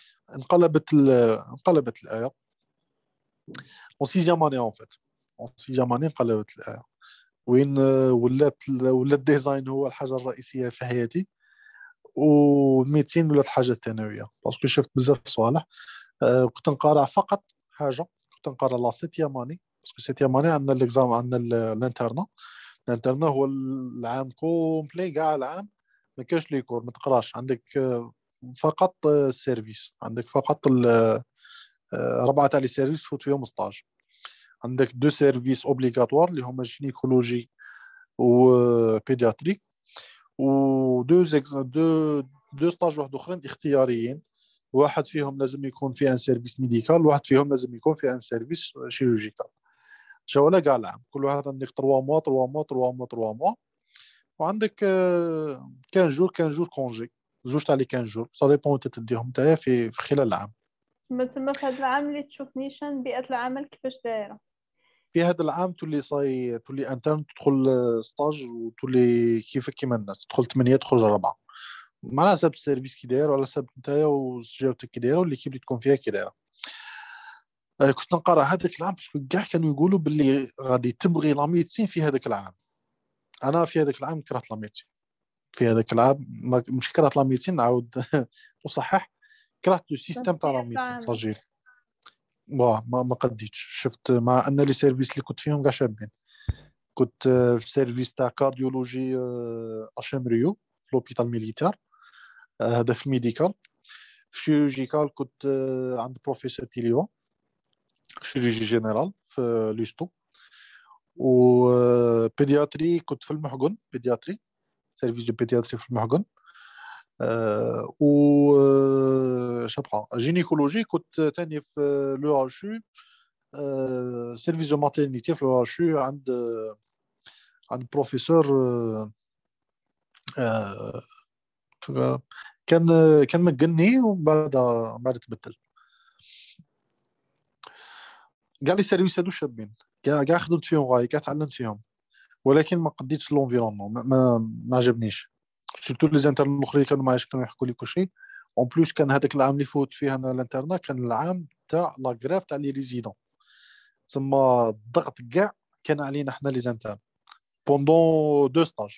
انقلبت الايه. وسيزيام اني اون فيت، سيزيام اني انقلبت الايه، وين ولات الديزاين هو الحاجه الرئيسيه في حياتي، والميتين ولات الحاجه الثانويه. باسكو شفت بزاف صوالح. كنت نقارع فقط حاجه، كنت نقارع لا سيتيام اني، باسكو سيتيام اني عندنا ليكزام، عندنا الانترنا. الانترنا هو العام كومبلي، كاع العام ما كاش لي كور، ما تقراش، عندك فقط السيرفيس، عندك فقط 4 تاع لي سيرفيس تفوت فيهم ستاج. عندك 2 سيرفيس اوبليغاتوار اللي هما جينيكولوجي و بيدياتري، و دو ستاج واحد اخرين اختياريين. واحد فيهم لازم يكون في ان سيرفيس ميديكال، واحد فيهم لازم يكون في ان سيرفيس شيروجيكال. جوله كاع العام كل واحد عندك 3 موا 3 موا 3 موا 3 موا. وعندك 15 جور كونجي، زوج تاع لي 15 جور، سا ديبون انت تديهم نتايا في خلال العام.
تما في هذا العام اللي تشوف نيشان بيئة العمل كيفاش دايرة؟
في هذا العام تولي انترن، تدخل ستاج وتولي كيفك كيما الناس، تدخل 8 تخرج 4، على حسب السيرفيس كي داير وعلى حسب نتايا وسجاوتك كي دايره والليكيب اللي تكون فيها كي دايره. كنت نقرا هذاك العام باسكو كاع كانوا يقولوا باللي غادي تبغي لا ميديسين في هذاك العام. انا في هذاك العام كرهت لا ميديسين. في هذاك العام مش كرهت لا ميديسين، نعاود نصحح، كرهت لو سيستيم تاع لا ميديسين
العمل.
تاجيل. ما قديتش، شفت مع ان لي سيرفيس اللي كنت فيهم كاع شابين. كنت في سيرفيس تاع كارديولوجي اش ام ريو في لوبيتال ميليتير، هذا في الميديكال. في شيروجيكال كنت عند بروفيسور تيليو، شيروجي جينيرال في ليستو. و بيدياتري كنت في المحقن، بيدياتري سيرفيس دو بيدياتري في المحقن. و شبقى جينيكولوجي كنت تاني في لو اتش يو، سيرفيس دو ماتيرنيتي في لو اتش يو، عند بروفيسور آه، كان كان مجني، ومن بعد تبدل. كاع لي سيرفيس هادو شابين، كاع خدمت فيهم غاية، كاع تعلمت فيهم، ولكن ما قديتش لونفيرونمون، ما عجبنيش. سورتو لي زانترن الاخرين كانوا معايا، كانوا يحكوا لي كلشي. اون بلوس كان هذاك العام اللي فوت فيه انا الانترنا كان العام تاع لا غريف تاع لي ريزيدون، تسمى الضغط كاع كان علينا حنا لي زانترن بوندون 2 ستاج.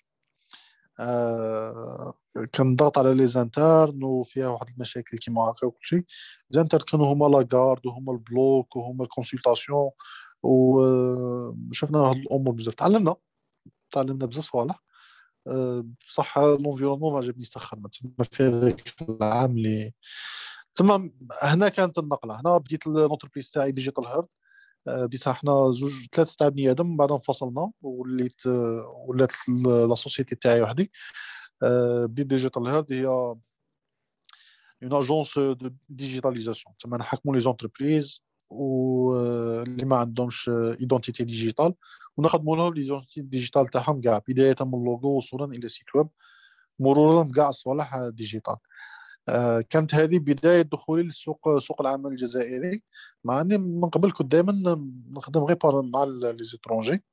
آه كان ضغط على لي زانترن وفيها واحد المشاكل كيما هكا وكلشي. زانترن كانوا هما لاكارد وهما البلوك وهما الكونسلطاسيون، وشفنا هاد الامور بزاف، تعلمنا بزاف صوالح. بصح لونفيرونمون ما عجبنيش تا خدمه تما في هذاك العام اللي تما. هنا كانت النقله، هنا بديت لونتربريز تاعي ديجيتال هيرد. بديتها حنا زوج ثلاثه تاع بني ادم، بعد انفصلنا ولات لا سوسيتي تاعي وحدي. بديت ديجيتال هيرد، هي اون اجونس دو ديجيتاليزاسيون، تما نحكموا لي زونتربريز واللي ما عندهمش ايدونتيتي ديجيتال، ونخدموا لهم ليزونتيتي ديجيتال تاعهم كاع، بدايه من اللوغو وصولا الى سيت ويب، مرورا بكاع الصوالح ديجيتال. كانت هذه بدايه دخولي سوق العمل الجزائري، مع اني من قبل كنت دائما نخدم غير مع لي زيترونجي.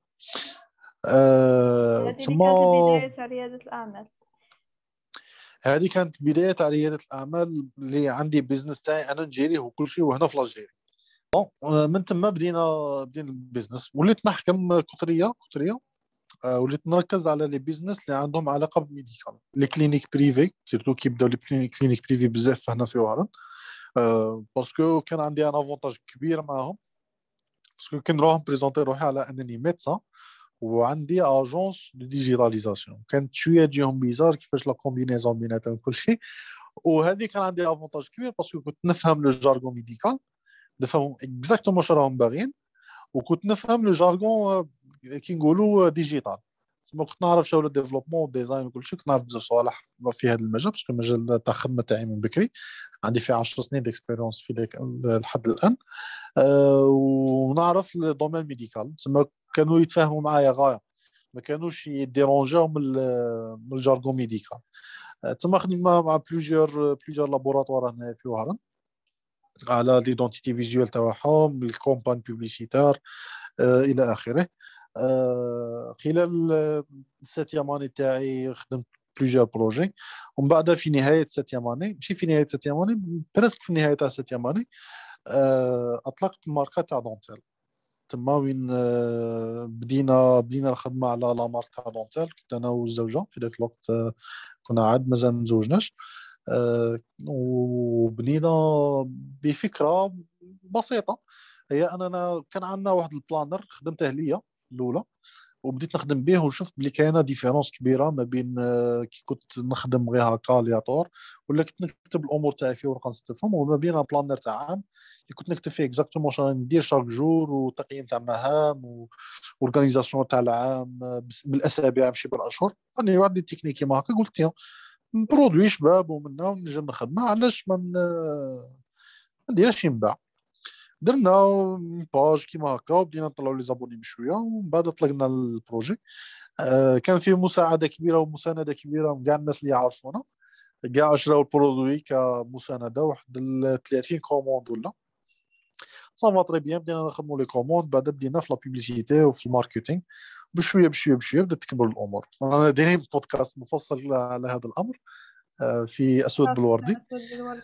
هذه اللي
تما
كانت البداية تاع ريادة الأعمال.
هذه كانت بدايه تاع رياده الاعمال، اللي عندي بيزنس تاعي انا نجيريه وكل شيء، وهنا في الجزائر. من تما بدينا البيزنس، وليت نحكم كتريه. وليت نركز على لي بيزنس اللي عندهم علاقه بالميديكال، لي كلينيك بريفي، سيرتو كي بداو لي كلينيك بريفي بزاف هنا في وهران. باسكو كان عندي ان افونتاج كبير معاهم، باسكو كي نروح بريزونتي روحي على انني ميدسان وعندي اجونس دو ديجيتاليزاسيون، كانت شويه تجيهم بيزار كيفاش لا كومبينيزون بيناتهم كل شيء. وهذه كان عندي افونتاج كبير باسكو كنت نفهم لو جارغون ميديكال، نفهم اكزاكتومون واش راهم باغيين، وكنت نفهم لو جارغون كي نقولوا ديجيتال. ما كنت نعرف شغل الديفلوبمون والديزاين وكل شيء، كنت نعرف بزاف صوالح في هذا المجال، باسكو المجال تاع الخدمه تاعي من بكري عندي فيه 10 سنين ديكسبيريونس في ذاك لحد الان. ونعرف الدومين ميديكال، تسمى كانوا يتفاهموا معايا غايه، ما كانوش يديرونجاو من الجارغون ميديكال. تما خدمنا مع بلوزيور لابوراتوار هنا في وهران على ليدونتيتي فيزيوال تاعهم، الكومبان بوبليسيتار الى اخره. خلال الساتيام اني تاعي خدمت بلوزيور بروجي، ومن بعد في نهايه الساتيام اني، ماشي في نهايه الساتيام اني، برسك في نهايه تاع الساتيام اني، اطلقت ماركه تاع دونتيل. تما وين بدينا الخدمه على لا مارك تاع دونتيل. كنت انا والزوجه في ذاك الوقت، كنا عاد مازال ما تزوجناش. وبنينا بفكره بسيطه، هي اننا كان عندنا واحد البلانر خدمته ليا الاولى، وبديت نخدم به، وشفت بلي كاينه ديفيرونس كبيره ما بين كي كنت نخدم غير هكا لياتور، ولا كنت نكتب الامور تاعي في ورقه نستفهم، وما بين بلانر تاع عام اللي كنت نكتب فيه اكزاكتومون واش راني ندير شاك جور، وتقييم تاع مهام، واورغانيزاسيون تاع العام بالاسابيع ماشي بالاشهر. انا واحد التكنيك كيما هكا قلت يا برودوي شباب ومنا ونجم نخدمها، علاش ما نديرش ينباع. درنا باج كيما هكا، وبدينا نطلعوا لي زابوني بشويه، ومن بعد طلقنا البروجي. كان فيه مساعده كبيره ومسانده كبيره من كاع الناس اللي يعرفونا، كاع شراو البرودوي كمسانده، واحد 30 كوموند ولا صافا تري بيان. بدينا نخدموا لي كوموند، بعد بدينا في لا بيبليسيتي وفي الماركتينغ، بشويه بشويه بشويه بدات تكبر الامور. انا دايرين بودكاست مفصل على هذا الامر في اسود بالوردي.
أسود بالورد.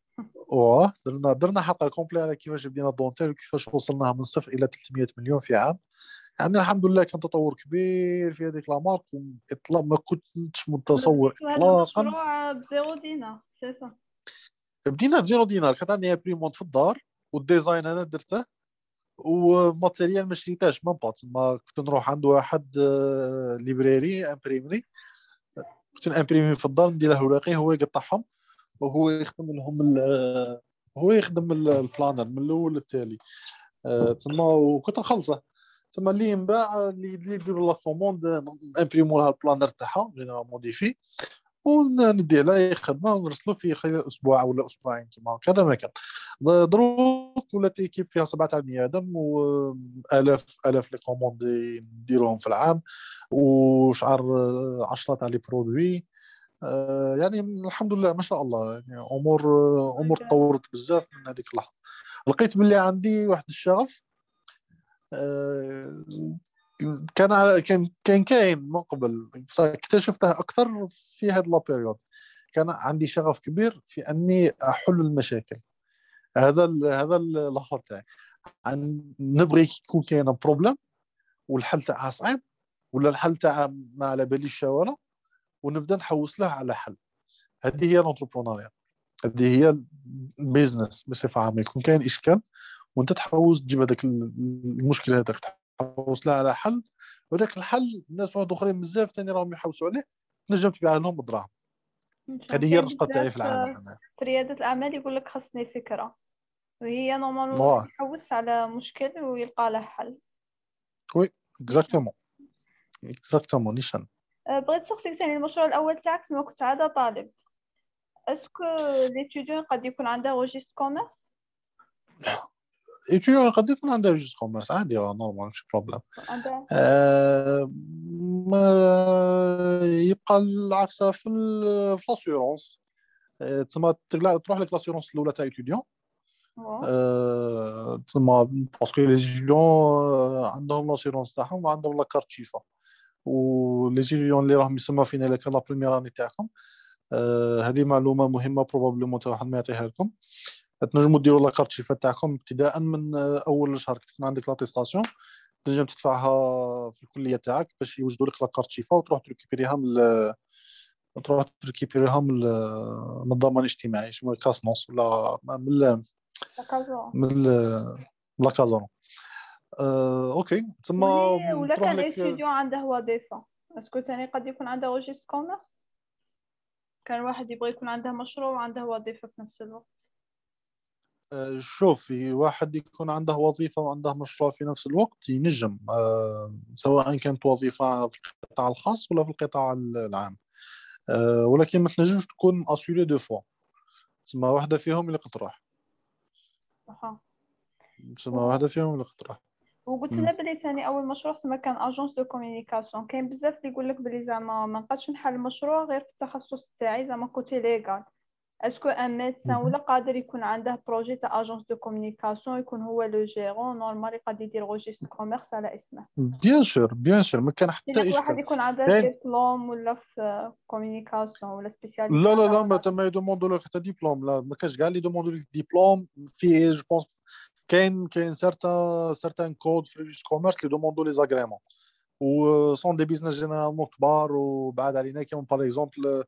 درنا حلقه كومبلي على كيفاش بدينا دونتيل، وكيفاش وصلناها من صفر الى 300 مليون في عام. يعني الحمد لله كان تطور كبير في هذيك لامارك، واطلاق ما كنتش متصور
بديتوا هذا
اطلاقا.
المشروع بزيرو دينار سي سا؟
بدينا بزيرو دينار، كانت عندي امبريمونت في الدار، والديزاين انا درته، وماتيريال ما شريتهاش من بات. ما كنت نروح عند واحد ليبراري امبريمري، كنت نامبريمي في الدار، ندير له الوراقي هو يقطعهم، وهو يخدم لهم هو يخدم البلانر من الاول للتالي. تما وكنت نخلصه. تما اللي ينباع اللي يديروا لا كوموند امبريمو لها البلانر تاعها جينيرال موديفي، وندي عليه خدمه ونرسلو في خلال اسبوع ولا اسبوعين. تما كذا ما كان. دروك ولات ايكيب فيها 17 بني ادم، والاف لي كوموند نديروهم في العام، وشعر 10 تاع لي برودوي. يعني الحمد لله ما شاء الله، يعني امور تطورت بزاف من هذيك اللحظه. لقيت باللي عندي واحد الشغف آه، كان كاين من قبل، بصح اكتشفته اكثر في هذا لابيريود. كان عندي شغف كبير في اني احل المشاكل. هذا الاخر تاعي، نبغي يكون كاين بروبليم والحل تاعها صعيب، ولا الحل تاعها ما على باليش شواله، ونبدا نحوس له على حل. هذه هي الانتربرونيا، هذه هي البيزنس بصفه عامه. يكون كاين اشكال وانت تحوس تجيب هذاك المشكله هذاك، تحوس لها على حل، وذاك الحل الناس واحد اخرين بزاف ثاني راهم يحوسوا عليه، تنجم تبيع لهم بدراهم. هذه هي
كاين
الرشقه تاعي
بزاف
في العالم انا.
في ريادة الأعمال يقول لك خصني فكرة، وهي نورمالمون
واه
الواحد يحوس على مشكل ويلقى له حل.
وي
نيشان.
اكزاكتومون اكزاكتومون نيشان.
بغيت نسقسيك ثاني، المشروع الأول تاعك سما كنت عادة طالب، اسكو ليتيديون قد يكون عنده روجيست كوميرس؟
ايتيو قد يكون عنده ريجيست كوميرس عادي، نورمال مش بروبليم.
عنده.
ما يبقى العكس في لاسيورونس. تسمى تروح لك لاسيورونس الاولى تاع ايتيديون. تسمى باسكو لي ستوديون عندهم لاسيورونس تاعهم وعندهم لاكارت شيفا، ولي ستوديون اللي راهم يسمى فينا لك لا بريمير اني تاعكم. هذه معلومه مهمه بروبابلمون واحد ما يعطيها لكم. تنجموا ديروا لاكارت شيفا تاعكم ابتداء من اول الشهر كي تكون عندك لاتيستاسيون، تنجم تدفعها في الكليه تاعك باش يوجدوا لك لاكارت شيفا وتروح تريكيبيريها من الضمان الاجتماعي، شنو كاسنوس ولا
كازون.
من لا كازون. اوكي تسمى
ولا
تروح
كان
لك.
اتيديون عنده وظيفة، اسكو ثاني قد يكون عنده روجيست كوميرس؟ كان واحد يبغى يكون عنده مشروع وعنده وظيفة في نفس الوقت.
شوفي واحد يكون عنده وظيفة وعنده مشروع في نفس الوقت ينجم، سواء كانت وظيفة في القطاع الخاص ولا في القطاع العام. ولكن ما تنجمش تكون اسيوري دو فوا، تسمى واحدة فيهم اللي قتروح.
صح.
تسمى واحدة فيهم اللي قتروح.
وقلت لها بلي ثاني اول مشروع زعما كان اجونس دو كومونيكاسيون، كاين بزاف اللي يقول لك بلي زعما ما نقدش نحل مشروع غير في التخصص تاعي زعما كوتي ليغال. اسكو ان ميدسان ولا قادر يكون عنده بروجي تاع اجونس دو كومونيكاسيون يكون هو لو جيرون نورمال يقدر يدير روجيست كوميرس على اسمه؟
بيان سور بيان سور ما كان
يجيك
حتى
واحد
اشكال.
يكون عنده
كاين
ديبلوم ولا في كومونيكاسيون ولا سبيسياليزي
لا لا
على
لا ما
مناطق.
يدوموندو لك حتى ديبلوم، لا ما كاش كاع اللي يدوموندو لك ديبلوم في جو بونس. كاين سارتان كود في ريجيست كوميرس اللي دوموندو لي زاغريمون و سون دي بيزنس جينيرالمون كبار وبعاد علينا، كيما باغ اكزومبل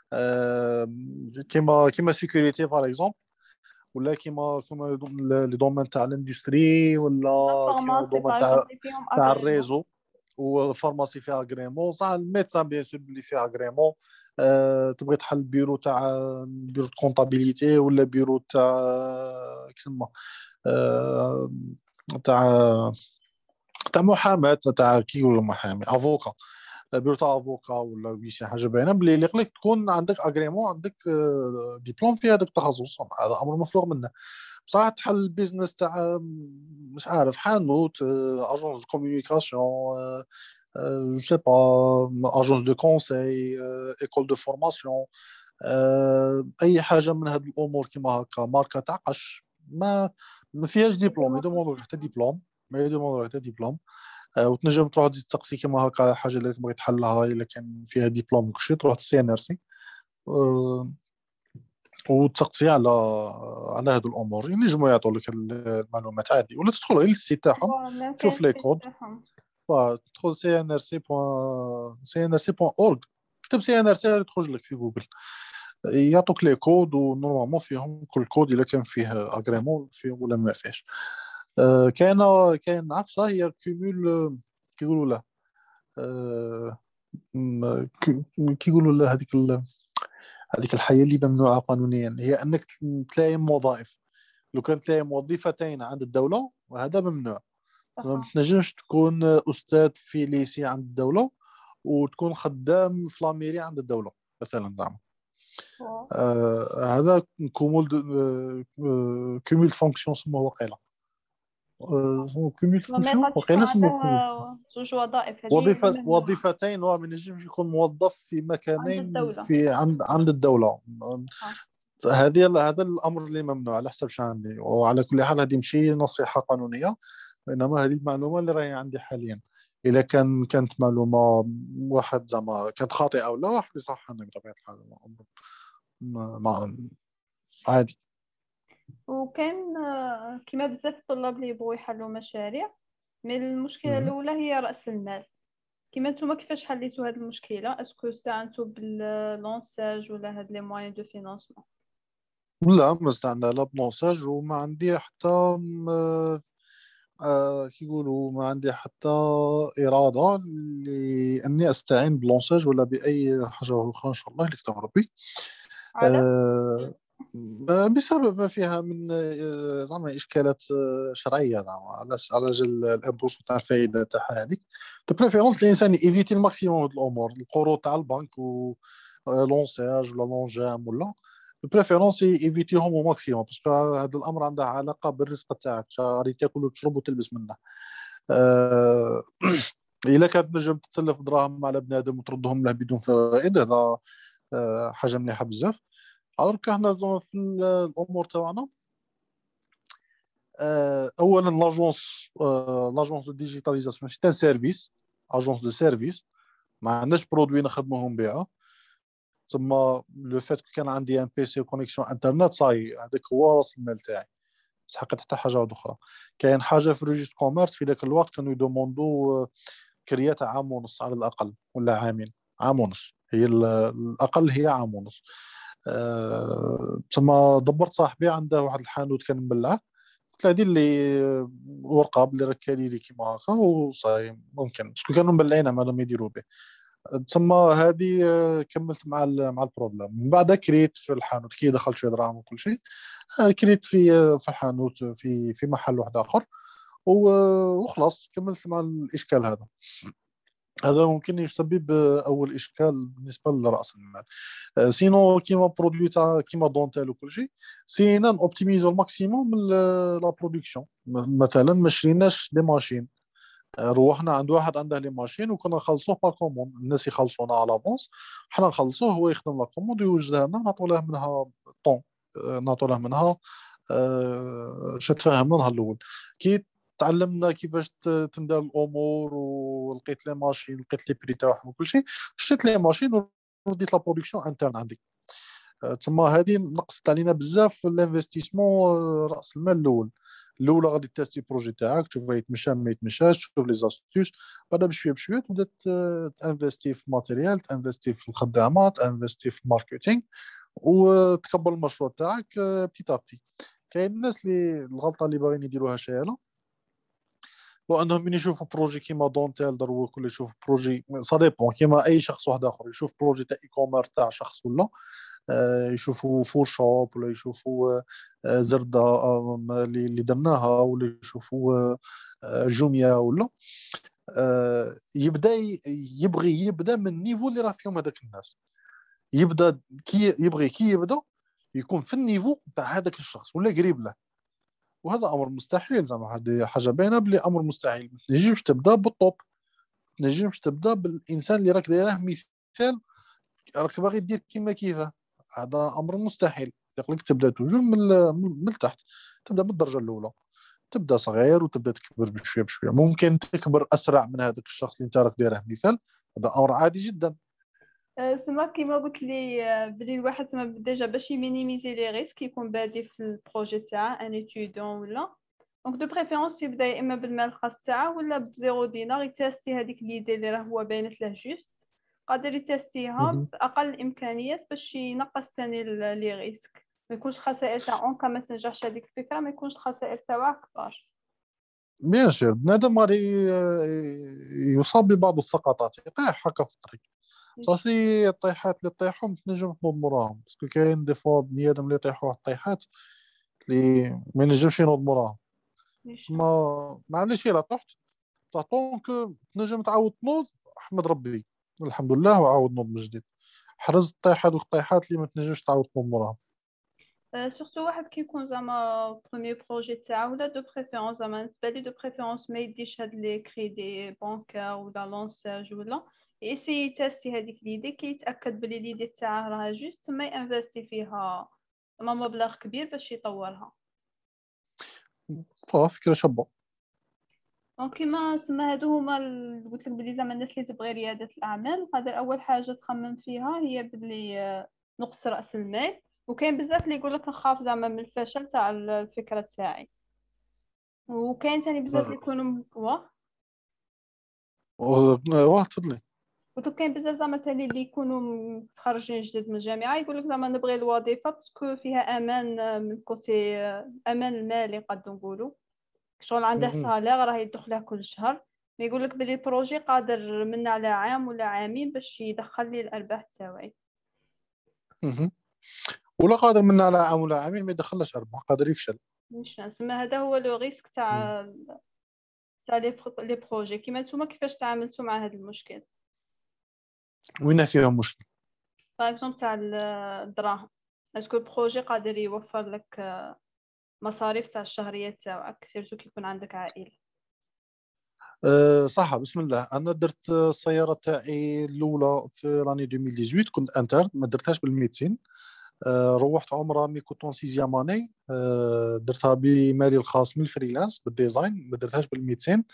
كيما سيكوريتي باغ اكزومبل، ولا كيما لي دومين تاع الاندستري، ولا كيما
فارماسي
دومين
باغ
تاع
اكزومبل فيهم
تاع
اغريمون.
الريزو. وفارماسي فيها اغريمون صح، الميدسان بيان سور اللي فيها اغريمون. تبغي تحل بيرو كونطابيليتي ولا بيرو تاع كيسمى آه، تاع تاع محاماه، تاع كي يقولوا محامي افوكا، بيرو تاع افوكا ولا شي حاجه باينه بلي اللي يقول لك تكون عندك اغريمون، عندك ديبلوم في هذاك التخصص، هذا امر مفروغ منه. بصح تحل البيزنس تاع مش عارف حانوت، اجونس دو كومونيكاسيون، جو سي با اجونس دو كونساي، ايكول دو فورماسيون، اي حاجه من هذه الامور كيما هكا ماركه تاع قش، ما فيهاش ديبلوم، يدوموندو حتى ديبلوم، ما يدوموندو حتى ديبلوم. وتنجم تروح تزيد تقصي كيما هكا على حاجه اللي بغيت تحلها الا كان فيها ديبلوم وكلشي، تروح تسي ان ار سي وتسقسي على هذو الامور، ينجموا يعطوا لك المعلومات عادي، ولا تدخل غير للسيت تاعهم
ما
تشوف
كاينش
لي
سبيس
كود.
تاعهم.
تدخل cnrc.org، كتب سي ان ار سي تخرج لك في جوجل، يعطوك لي كود ونورمالمون فيهم كل كود الا كان فيه اغريمون فيهم ولا ما فيهش. كاين عفسه هي كيمول كيقولوا له، كيقولوا له هذيك الحياه اللي ممنوعه قانونيا، هي انك تلايم وظائف. لو كان تلايم وظيفتين عند الدوله وهذا ممنوع. ما
صح.
تنجمش تكون استاذ في ليسي عند الدوله وتكون خدام في لاميري عند الدوله مثلا، زعما. هذا كومول فونكسيون اسمه وقيله. كومول
ما
فونكسيون
يقدش يكون
وقيله
عنده
اسمه كومول.
زوج وظائف، هذه اللي ممنوعة
وظيفتين، وما ينجمش يكون موظف في
عند
مكانين
الدولة.
في عند الدوله.
صح.
هذا الامر اللي ممنوع على حسب شو عندي، وعلى كل حال هذه ماشي نصيحه قانونيه، وانما هذه المعلومه اللي راهي عندي حاليا. اذا كانت معلومه واحد زعما كانت خاطئه ولا واحد يصححنا بطبيعه الحال، عادي.
وكان كيما بزاف الطلاب اللي يبغوا يحلوا مشاريع، من المشكلة الأولى هي رأس المال. كيما نتوما كيفاش حليتوا هذه المشكلة؟ اسكو استعنتوا باللونساج ولا هاد لي موين دو فينانسمون؟
لا ما استعنا لا بنوساج، وما عندي حتى كيقولوا ما عندي حتى إرادة لأني أستعين بلونساج ولا بأي حاجة أخرى إن شاء الله اللي كتب ربي.
على
آه، بسبب ما فيها من زعما إشكالات شرعية، زعما على جال الإمبوس تاع الفائدة تاعها هذيك. دو بريفيرونس الإنسان يفيتي الماكسيموم هاد الأمور، القروض تاع البنك و لونساج ولا لونجام ولا دو بريفيرونس يفيتيهم او ماكسيموم، باسكو هذا الأمر عنده علاقة بالرزق تاعك، غادي تاكل وتشرب وتلبس منه. آه، الا كانت نجم تتسلف دراهم على بنادم وتردهم له بدون فوائد، هذا حاجه مليحه بزاف. درك حنا في الامور تاعنا، اولا لاجونس دو ديجيتاليزاسيون سي ان سيرفيس، اجونس دو سيرفيس، ما عندناش برودوي نخدموهم بها. تما لو فات كان عندي ان بي سي كونيكسيون انترنت صاي، هذاك هو راس المال تاعي، تحقق حتى حاجه اخرى. كاين حاجه في ريجيست كوميرس في ذاك الوقت كانوا يدوموندو كريات عام ونص على الاقل ولا عامين، عام ونص هي الاقل، هي عام ونص. تما دبرت صاحبي عنده واحد الحانوت كان مبلعه، قلت له دير لي ورقه بلي راك كاري لي كيما هكا وصاي، ممكن باسكو كانوا مبلعينها ما لم يديروا به. تما هذه كملت مع البروبليم. من بعد كريت في الحانوت كي دخلت شويه دراهم وكل شيء، كريت في الحانوت في محل واحد اخر، وخلاص كملت مع الاشكال هذا. هذا ممكن يسبب اول اشكال بالنسبه لراس المال. سينو كيما برودوي تاع كيما دونتيل وكل شيء، سينا اوبتيميزو الماكسيموم لا برودكسيون. مثلا ما شريناش دي ماشين، روحنا عند واحد عنده لي ماشين وكنا نخلصوه با كوموند، الناس يخلصونا على لافونس، حنا نخلصوه هو يخدم لا كوموند ويوجدها لنا، نعطوا له منها طون، نعطوا له منها شو تفاهمنا نهار الاول. كي تعلمنا كيفاش تندار الامور ولقيت لي ماشين، لقيت لي بري تاعهم وكل شيء، شريت لي ماشين ورديت لا برودكسيون انترن عندي. تما هذه نقصت علينا بزاف الانفستيسمون، راس المال الاولى غادي تيستي بروجي تاعك، تشوف يتمشى ما يتمشاش، تشوف لي زاستيوس، بعدا بشويه بشويه تبدا تانفستي في ماتيريال، تانفستي في الخدامات، تانفستي في الماركتينغ، وتكبر المشروع تاعك بتي بتي. كاين الناس اللي الغلطه اللي باغيين يديروها شايله، وانهم من يشوفوا بروجي كيما دونتيل دروا كل يشوف بروجي سا ديبون كيما اي شخص واحد اخر يشوف بروجي تاع اي كوميرس تاع شخص، ولا يشوفوا فور شوب، ولا يشوفوا زردة اللي درناها، ولا يشوفوا جوميا، ولا يبدا يبغي من النيفو اللي راه فيهم هذاك الناس، يبدا كي يبدا يكون في النيفو تاع هذاك الشخص ولا قريب له. وهذا امر مستحيل، زعما هذه حاجه باينه بلي امر مستحيل. ما تنجمش تبدا بالطوب، ما تنجمش تبدا بالانسان اللي راك دايره مثال، راك باغي دير كيما كيفاه، هذا امر مستحيل. يقولك تبدا توجور من التحت، تبدا من الدرجه الاولى، تبدا صغير وتبدا تكبر بشويه بشويه. ممكن تكبر اسرع من هذاك الشخص اللي انت راك دايره مثال، هذا امر عادي جدا.
سما كيما قلت لي بلي الواحد تما ديجا باش يمينيميزي لي ريسك يكون بادي في البروجي تاعه ان اتيدون ولا دونك دو بريفيرونس يبدا يا اما بالمال الخاص تاعه ولا بزيرو دينار يتاستي هذيك ليدي اللي راه هو باينت له جوست، قادر يتاستيها
مهم.
باقل الامكانيات باش ينقص ثاني لي ريسك، ما يكونش خسائر تاع اونكا ما تنجحش هذيك الفكره، ما يكونش الخسائر تاعها كبار.
بيان سور بنادم غادي يصاب ببعض السقطات، يطيح هكا في الطريق. صافي الطيحات اللي طيحهم تنجم تنوض موراهم، باسكو كاين دي فوا بنيادم اللي يطيحوا واحد الطيحات اللي ما ينجمش ينوض موراهم. تما ما عنديش الا طحت، طونك تنجم تعاود تنوض، احمد ربي الحمد لله وعاود نوض من جديد. حرز طيح هذوك الطيحات اللي ما تنجمش تعاود تنوض موراهم.
سورتو واحد كيكون زعما بروميير بروجي تاعو ولا دو بريفيرونس زعما بالنسبه لي دو بريفيرونس ما يديش هاد لي كريدي بانكار ولا لونساج ولا يسي يتاستي هذيك ليدي كي يتاكد بلي ليدي تاعه راها جوست ما ينفستي فيها زعما مبلغ كبير باش يطورها.
فكره شابه.
دونك كيما سما هادو هما قلت لك بلي زعما الناس اللي تبغي رياده الاعمال هذا اول حاجه تخمم فيها هي بلي نقص راس المال، وكاين بزاف اللي يقول لك نخاف زعما من الفشل تاع الفكره تاعي، وكاين تاني بزاف اللي يكونوا
واه تفضلي.
قلت لك كاين بزاف زعما تاني اللي يكونوا متخرجين جدد من الجامعه يقول لك زعما نبغي الوظيفه باسكو فيها امان من كوتي امان المالي قد نقولوا، شغل عنده
مهم.
صالير راه يدخله كل شهر، ما يقول لك بلي بروجي قادر من على عام ولا عامين باش يدخل لي الارباح تاعي.
مهم. ولا قادر من على عام ولا عامين ما يدخلش ارباح، قادر يفشل.
مش نسمى هذا هو لو ريسك
مم.
تاع لي بروجي. كيما نتوما كيفاش تعاملتوا مع هذا المشكل؟
وين فيهم مشكل؟
باغ اكزومبل تاع الدراهم، اسكو البروجي قادر يوفر لك مصاريف تاع الشهرية تاعك، سيرتو كي يكون عندك عائلة.
صح، بسم الله. انا درت السياره تاعي الاولى في لاني 2018، كنت انتر، ما درتهاش بالميتين. روحت عمره مي كنت اون سيزيام اني، درتها بمالي الخاص من الفريلانس بالديزاين، ما درتهاش بالميتين.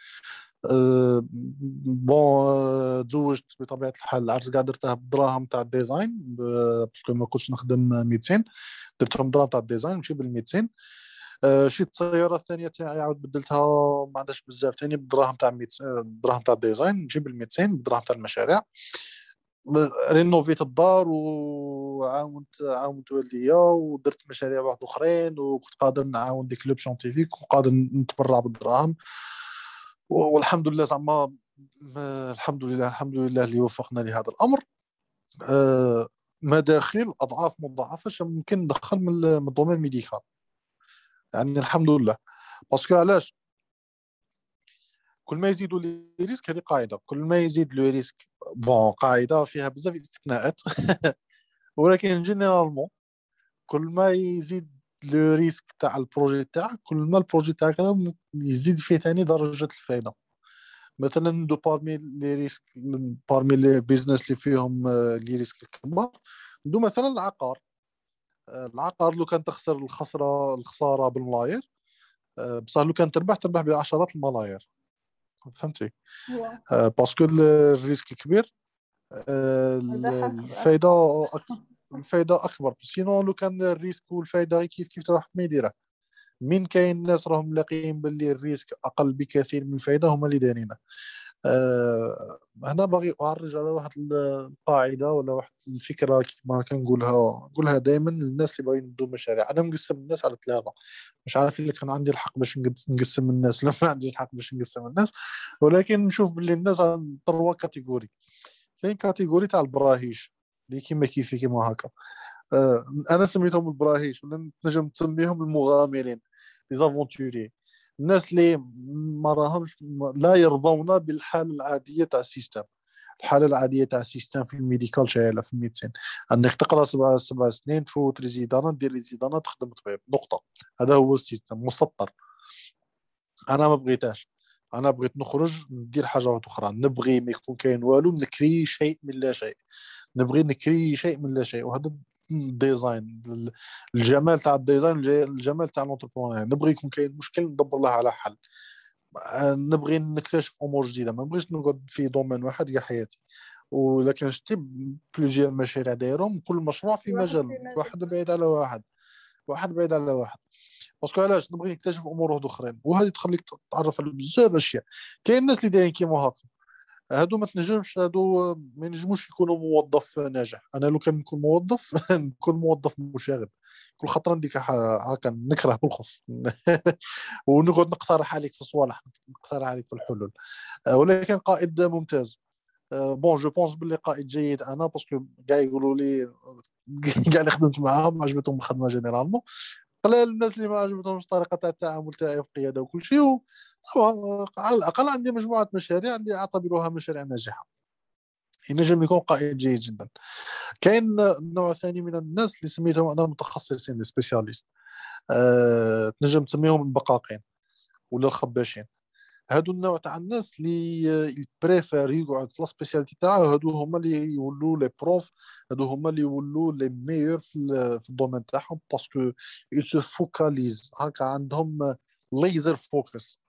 بون، تزوجت بطبيعه الحال، العرس كاع درته بالدراهم تاع الديزاين، باسكو ما كنتش نخدم 200، درتهم دراهم تاع الديزاين ماشي بال200. شريت السياره الثانيه تاعي عاود بدلتها، ما عندهاش بزاف ثاني بالدراهم تاع 100، الدراهم تاع الديزاين ماشي بال200، بالدراهم تاع المشاريع. رينوفيت الدار عاونت والديا ودرت مشاريع واحد اخرين، وكنت قادر نعاون دي كلوب سيونتيفيك وقادر نتبرع بالدراهم. والحمد لله زعما، الحمد لله الحمد لله اللي وفقنا لهذا الامر. مداخيل اضعاف مضاعفه ممكن ندخل من الدومين الميديكال، يعني الحمد لله. باسكو علاش؟ كل ما يزيدوا لي ريسك، هذه قاعده، كل ما يزيد لو ريسك، بون قاعده فيها بزاف استثناءات ولكن جينيرالمون كل ما يزيد لو ريسك تاع البروجي تاعك، كل ما البروجي تاعك هذا يزيد فيه ثاني درجه الفائده. مثلا دو بارمي لي ريسك، بارمي لي بيزنس اللي فيهم لي ريسك الكبار، دو مثلا العقار. العقار لو كان تخسر الخساره بالملاير، بصح لو كان تربح بعشرات الملاير. فهمتي؟
هو
باسكو الريسك كبير،
الربح
الفايده
أكبر.
الفايده اكبر. سينو لو كان الريسك والفايده كيف واحد ما يديره. من كاين ناس راهم لاقيين باللي الريسك اقل بكثير من الفايده، هما اللي دايرينه. هنا باغي اعرج على واحد القاعده ولا واحد الفكره كما كنقولها، نقولها دائما للناس اللي باغيين يبدوا مشاريع. انا مقسم الناس على ثلاثه، مش عارف اللي كان عندي الحق باش نقسم الناس ولا ما عنديش الحق باش نقسم الناس، ولكن نشوف باللي الناس على تروا كاتيجوري. كاين كاتيجوري تاع البراهيش اللي كيما كيفي كيما هكا. انا سميتهم البراهيش، ولا تنجم تسميهم المغامرين، لي زافونتوري، الناس اللي ما راهمش لا يرضون بالحاله العاديه تاع السيستم. الحاله العاديه تاع السيستم في الميديكال شايله في الميديسين، انك تقرا سبع سنين، تفوت ريزيدانا، دير ريزيدانا، تخدم طبيب، نقطه. هذا هو السيستم مسطر. انا ما بغيتهاش، انا بغيت نخرج ندير حاجه واحده اخرى، نبغي ما يكون كاين والو، نكري شيء من لا شيء، نبغي نكري شيء من لا شيء. وهذا الديزاين، الجمال تاع الديزاين، الجمال تاع الانتربرونيا، نبغي يكون كاين مشكل ندبر له على حل. نبغي نكتشف امور جديده، ما بغيتش نقعد في دومين واحد كاع حياتي. ولكن شتي بلوزيور مشاريع دايرهم، كل مشروع في
واحد
مجال
في مجال.
واحد بعيد على واحد، واحد بعيد على واحد. باسكو علاش؟ نبغي نكتشف امور واحد اخرين، وهذه تخليك تتعرف على بزاف اشياء. كاين الناس اللي دايرين كيما هكا، هادو ما تنجمش، هادو ما ينجموش يكونوا موظف ناجح. انا لو كان نكون موظف نكون موظف مشاغب، كل خطره نديك هكا نكره بالخف ونقعد نقترح عليك في الصوالح، نقترح عليك في الحلول. ولكن قائد ممتاز. بون جو بونس باللي قائد جيد انا، باسكو كاع يقولوا لي كاع اللي خدمت معاهم عجبتهم الخدمه جينيرالمون. قلال الناس اللي ما عجبتهمش الطريقه تاع التعامل تاعي في القياده وكل شيء. طبعا على الاقل عندي مجموعه مشاريع اللي اعتبرها مشاريع ناجحه، ينجم يكون قائد جيد جدا. كاين نوع ثاني من الناس اللي سميتهم انا المتخصصين، السبيسياليست. تنجم تسميهم البقاقين ولا الخباشين. هادو النوع تاع الناس اللي بريفير يقعد في السبيسياليتي تاعو، هادو هما اللي يولوا لي بروف، هادو هما اللي يولوا لي ميور في الدومين تاعهم، باسكو يسو فوكاليز هكا، عندهم ليزر فوكس،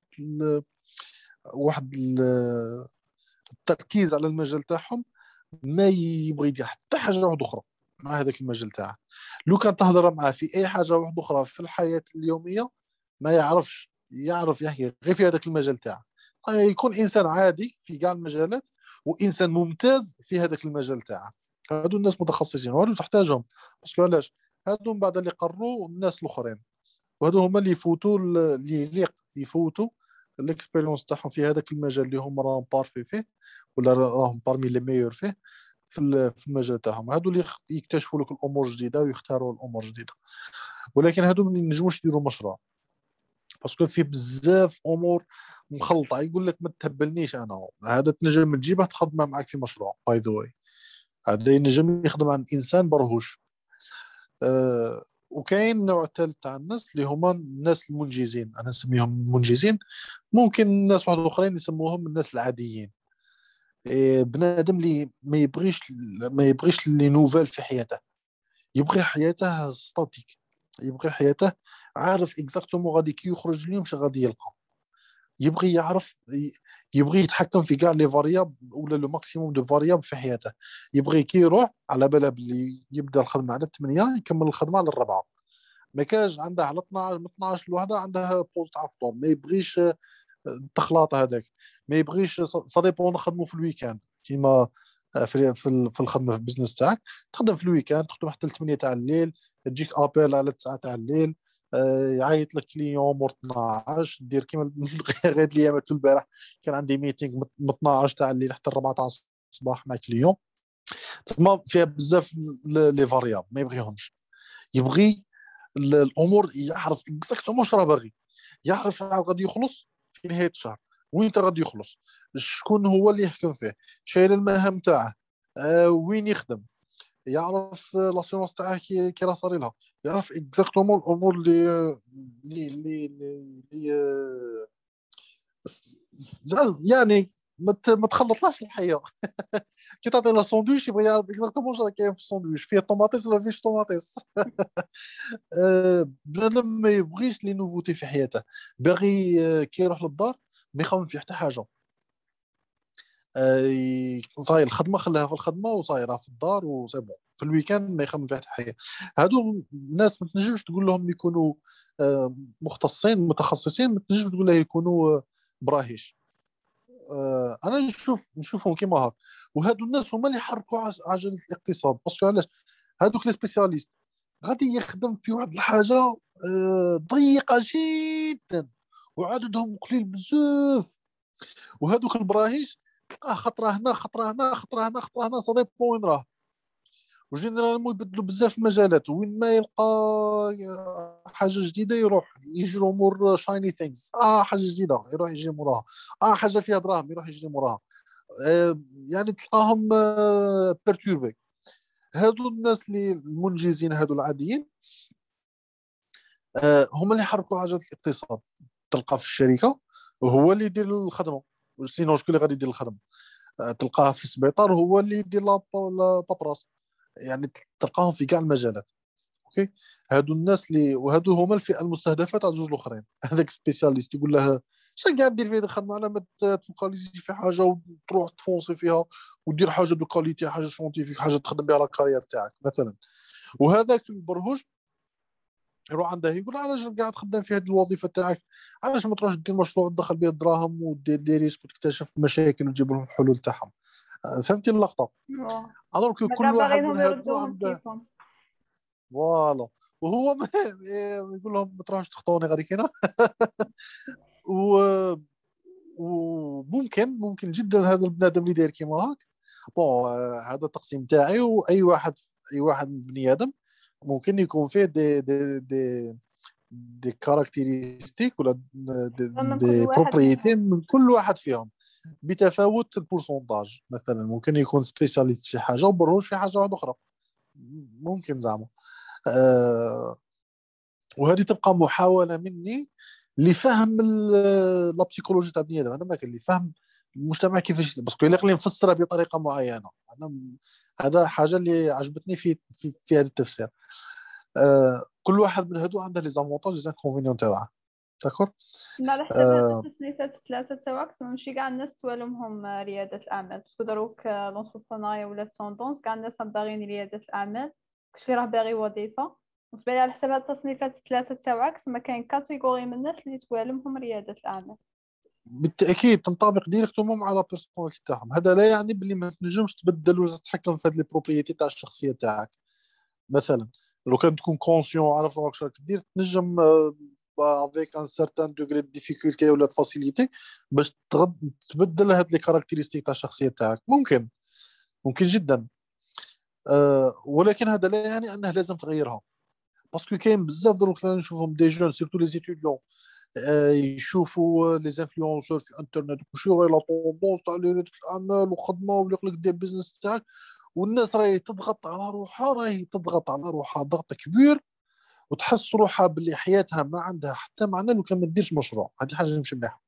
واحد التركيز على المجال تاعهم، ما يبغي يدير حتى حاجه واحده اخرى مع هذاك المجال تاعه. لو كان تهضر معاه في اي حاجه واحده اخرى في الحياه اليوميه، ما يعرفش، يعرف يحكي غير في هذاك المجال تاعه. يكون انسان عادي في كاع المجالات، وانسان ممتاز في هذاك المجال تاعه. هادو الناس متخصصين وهادو تحتاجهم، باسكو علاش؟ هادو من بعد اللي قروا الناس الاخرين. وهذو هما اللي يفوتوا اللي يليق يفوتوا الاكسبيريونس تاعهم في هذاك المجال اللي هم راهم بارفي فيه، ولا راهم بارمي لي ميور فيه في المجال تاعهم. هادو اللي يكتشفوا لك الامور الجديده ويختاروا الامور الجديده. ولكن هادو ما ينجموش يديروا مشروع، باسكو فيه بزاف امور مخلطه. يقول لك ما تهبلنيش، انا هذا تنجم تجيبه تخدمه معك في مشروع باي ذا واي. هذا ينجم يخدم عن انسان برهوش. وكاين نوع ثالث تاع الناس اللي هما الناس المنجزين، انا نسميهم منجزين. ممكن ناس واحد اخرين يسموهم الناس العاديين. بنادم اللي ما يبغيش لي نوفال في حياته، يبغي حياته ستاتيك، يبغي حياته عارف اكزاكتومون غادي كي يخرج اليوم شنو غادي يلقى. يبغي يعرف، يبغي يتحكم في كاع لي فارياب ولا لو ماكسيموم دو فارياب في حياته. يبغي كي يروح على بالها بلي يبدا الخدمه على 8 يكمل الخدمه على 4. ما كاش عنده على 12 من 12 لوحده عنده بوست تاع فطور. ما يبغيش التخلاط هذاك. ما يبغيش صديبون نخدموا في الويكاند كيما في الخدمه في البزنس تاعك. تخدم في الويكاند، تخدم حتى 8 تاع الليل، تجيك ابل على 9 تاع الليل. يعيط لك كليون مور 12 دير كيما غير الايام البارح كان عندي ميتينغ من 12 تاع الليل حتى 14 تاع الصباح مع كليون. تما فيها بزاف لي فارياب ما يبغيهمش. يبغي الامور يعرف اكزاكتومون واش راه باغي، يعرف شحال غادي يخلص في نهايه الشهر، وين غادي يخلص، شكون هو اللي يحكم فيه، شايل المهام تاعه، وين يخدم، يعرف لاسيونس تاعه كي راه صار لها، يعرف اكزاكتومون الامور اللي يعني ما تخلطلاش الحياه. كي تعطي له ساندويتش يبغي يعرف اكزاكتومون واش راه كاين في الساندويتش، فيه طوماطيس ولا فيش طوماطيس. بنادم ما يبغيش لي نوفوتي في حياته. باغي كي يروح للدار ما يخمم في حتى حاجه. صاير الخدمه خلاها في الخدمه وصايره في الدار وسي بون. في الويكاند ما يخمم في حتى حاجه. هادو الناس ما تنجمش تقول لهم يكونوا مختصين متخصصين، ما تنجمش تقول له يكونوا براهيش. انا نشوفهم كيما هاك. وهادو الناس هما اللي يحركوا عجله الاقتصاد. باسكو علاش؟ هادوك لي سبيسياليست غادي يخدم في واحد الحاجه ضيقه جدا وعددهم قليل بزاف. وهذوك البراهيش تلقاه خطره هنا خطره هنا خطره هنا خطره هنا صديق وين راه. وجينيرالمون يبدلوا بزاف المجالات، وين ما يلقى حاجه جديده يروح يجري مور شايني ثينكس. حاجه جديده يروح يجري موراها. حاجه فيها دراهم يروح يجري موراها. يعني تلقاهم بيرتوربي. هادو الناس اللي المنجزين هادو العاديين هما اللي يحركوا عجله الاقتصاد. تلقى في الشركه وهو اللي يدير الخدمه، سينو شكون اللي غادي يدير الخدمه؟ تلقاه في السبيطار هو اللي يدير لاباراس. يعني تلقاهم في كاع المجالات. اوكي. هادو الناس اللي وهادو هما الفئه المستهدفه تاع زوج الاخرين. هذاك سبيسياليست يقول له شنو قاعد دير في هذه الخدمه؟ انا ما تفوكاليزي في حاجه وتروح تفونسي فيها ودير حاجه دو كاليتي، حاجه سونتيفيك، حاجه تخدم بها على الكارير تاعك مثلا. وهذاك البرهوج يروح عنده يقول علاش قاعد خدام في هذه الوظيفه تاعك؟ علاش ما تروحش دير مشروع تدخل به الدراهم ودير لي ريسك وتكتشف مشاكل وتجيب لهم الحلول تاعهم؟ فهمتي اللقطه؟ الوغ
ما كاع
كل واحد من
باغينهم
هادو
يردوهم
عنده
كيفهم.
فوالا. وهو يقول لهم ما تروحوش تخطوني غادي كاينه. و وممكن جدا هذا البنادم اللي داير كيما هاك. بون هذا التقسيم تاعي. واي واحد، اي واحد من بني ادم ممكن يكون فيه دي كاركتيرستيك ولا
من كل
دي
واحد
بروبريتي
منهم.
من كل واحد فيهم بتفاوت البورسونتاج. مثلا ممكن يكون سبيشاليست في حاجه وبروج في حاجه واحده اخرى. ممكن زعما. وهذه تبقى محاوله مني لفهم لا بسيكولوجي تاع بني ادم. هذا ما كان اللي فهم المجتمع كيفاش، باسكو الا اللي نفسرها بطريقه معينه. انا هذا حاجه اللي عجبتني في هذا التفسير. كل واحد من هادو عنده لي زافونتاج لي زانكونفينيون تاعها. داكور.
ما على حسب هاد التصنيفات الثلاثة تاعك ماشي كاع الناس توالمهم ريادة الأعمال، باسكو دروك لونتربرونيا ولا توندونس كاع الناس باغيين ريادة الأعمال، كلشي راه باغي وظيفة. وتبالي على حسب هاد التصنيفات الثلاثة تاعك تما كاين كاتيجوري من الناس اللي توالمهم ريادة الأعمال.
بالتاكيد تنطبق ديريكتومون على بيرسوناليتي تاعهم. هذا لا يعني باللي ما تنجمش تبدل ولا تتحكم في هذه البروبريتي تاع الشخصيه تاعك. مثلا لو كان تكون كونسيون عارف روحك شراك دير تنجم افيك ان سارتان دوغري دو ديفيكولتي ولا فاسيليتي باش تبدل هاد لي كاركتيرستيك تاع الشخصيه تاعك. ممكن جدا. ولكن هذا لا يعني انه لازم تغيرها، باسكو كاين بزاف دروك ثاني نشوفهم دي جون سيرتو لي زيتيديون يشوفوا لي انفلونسور في الانترنت وشي راهي لا طوندونس تاع رياده الاعمال وخدمه ولا يقول لك دير بيزنس تاعك، والناس راهي تضغط على روحها ضغط كبير، وتحس روحها باللي حياتها ما عندها حتى معنى لو كان ما ديرش مشروع. هذه حاجه مش مليحه،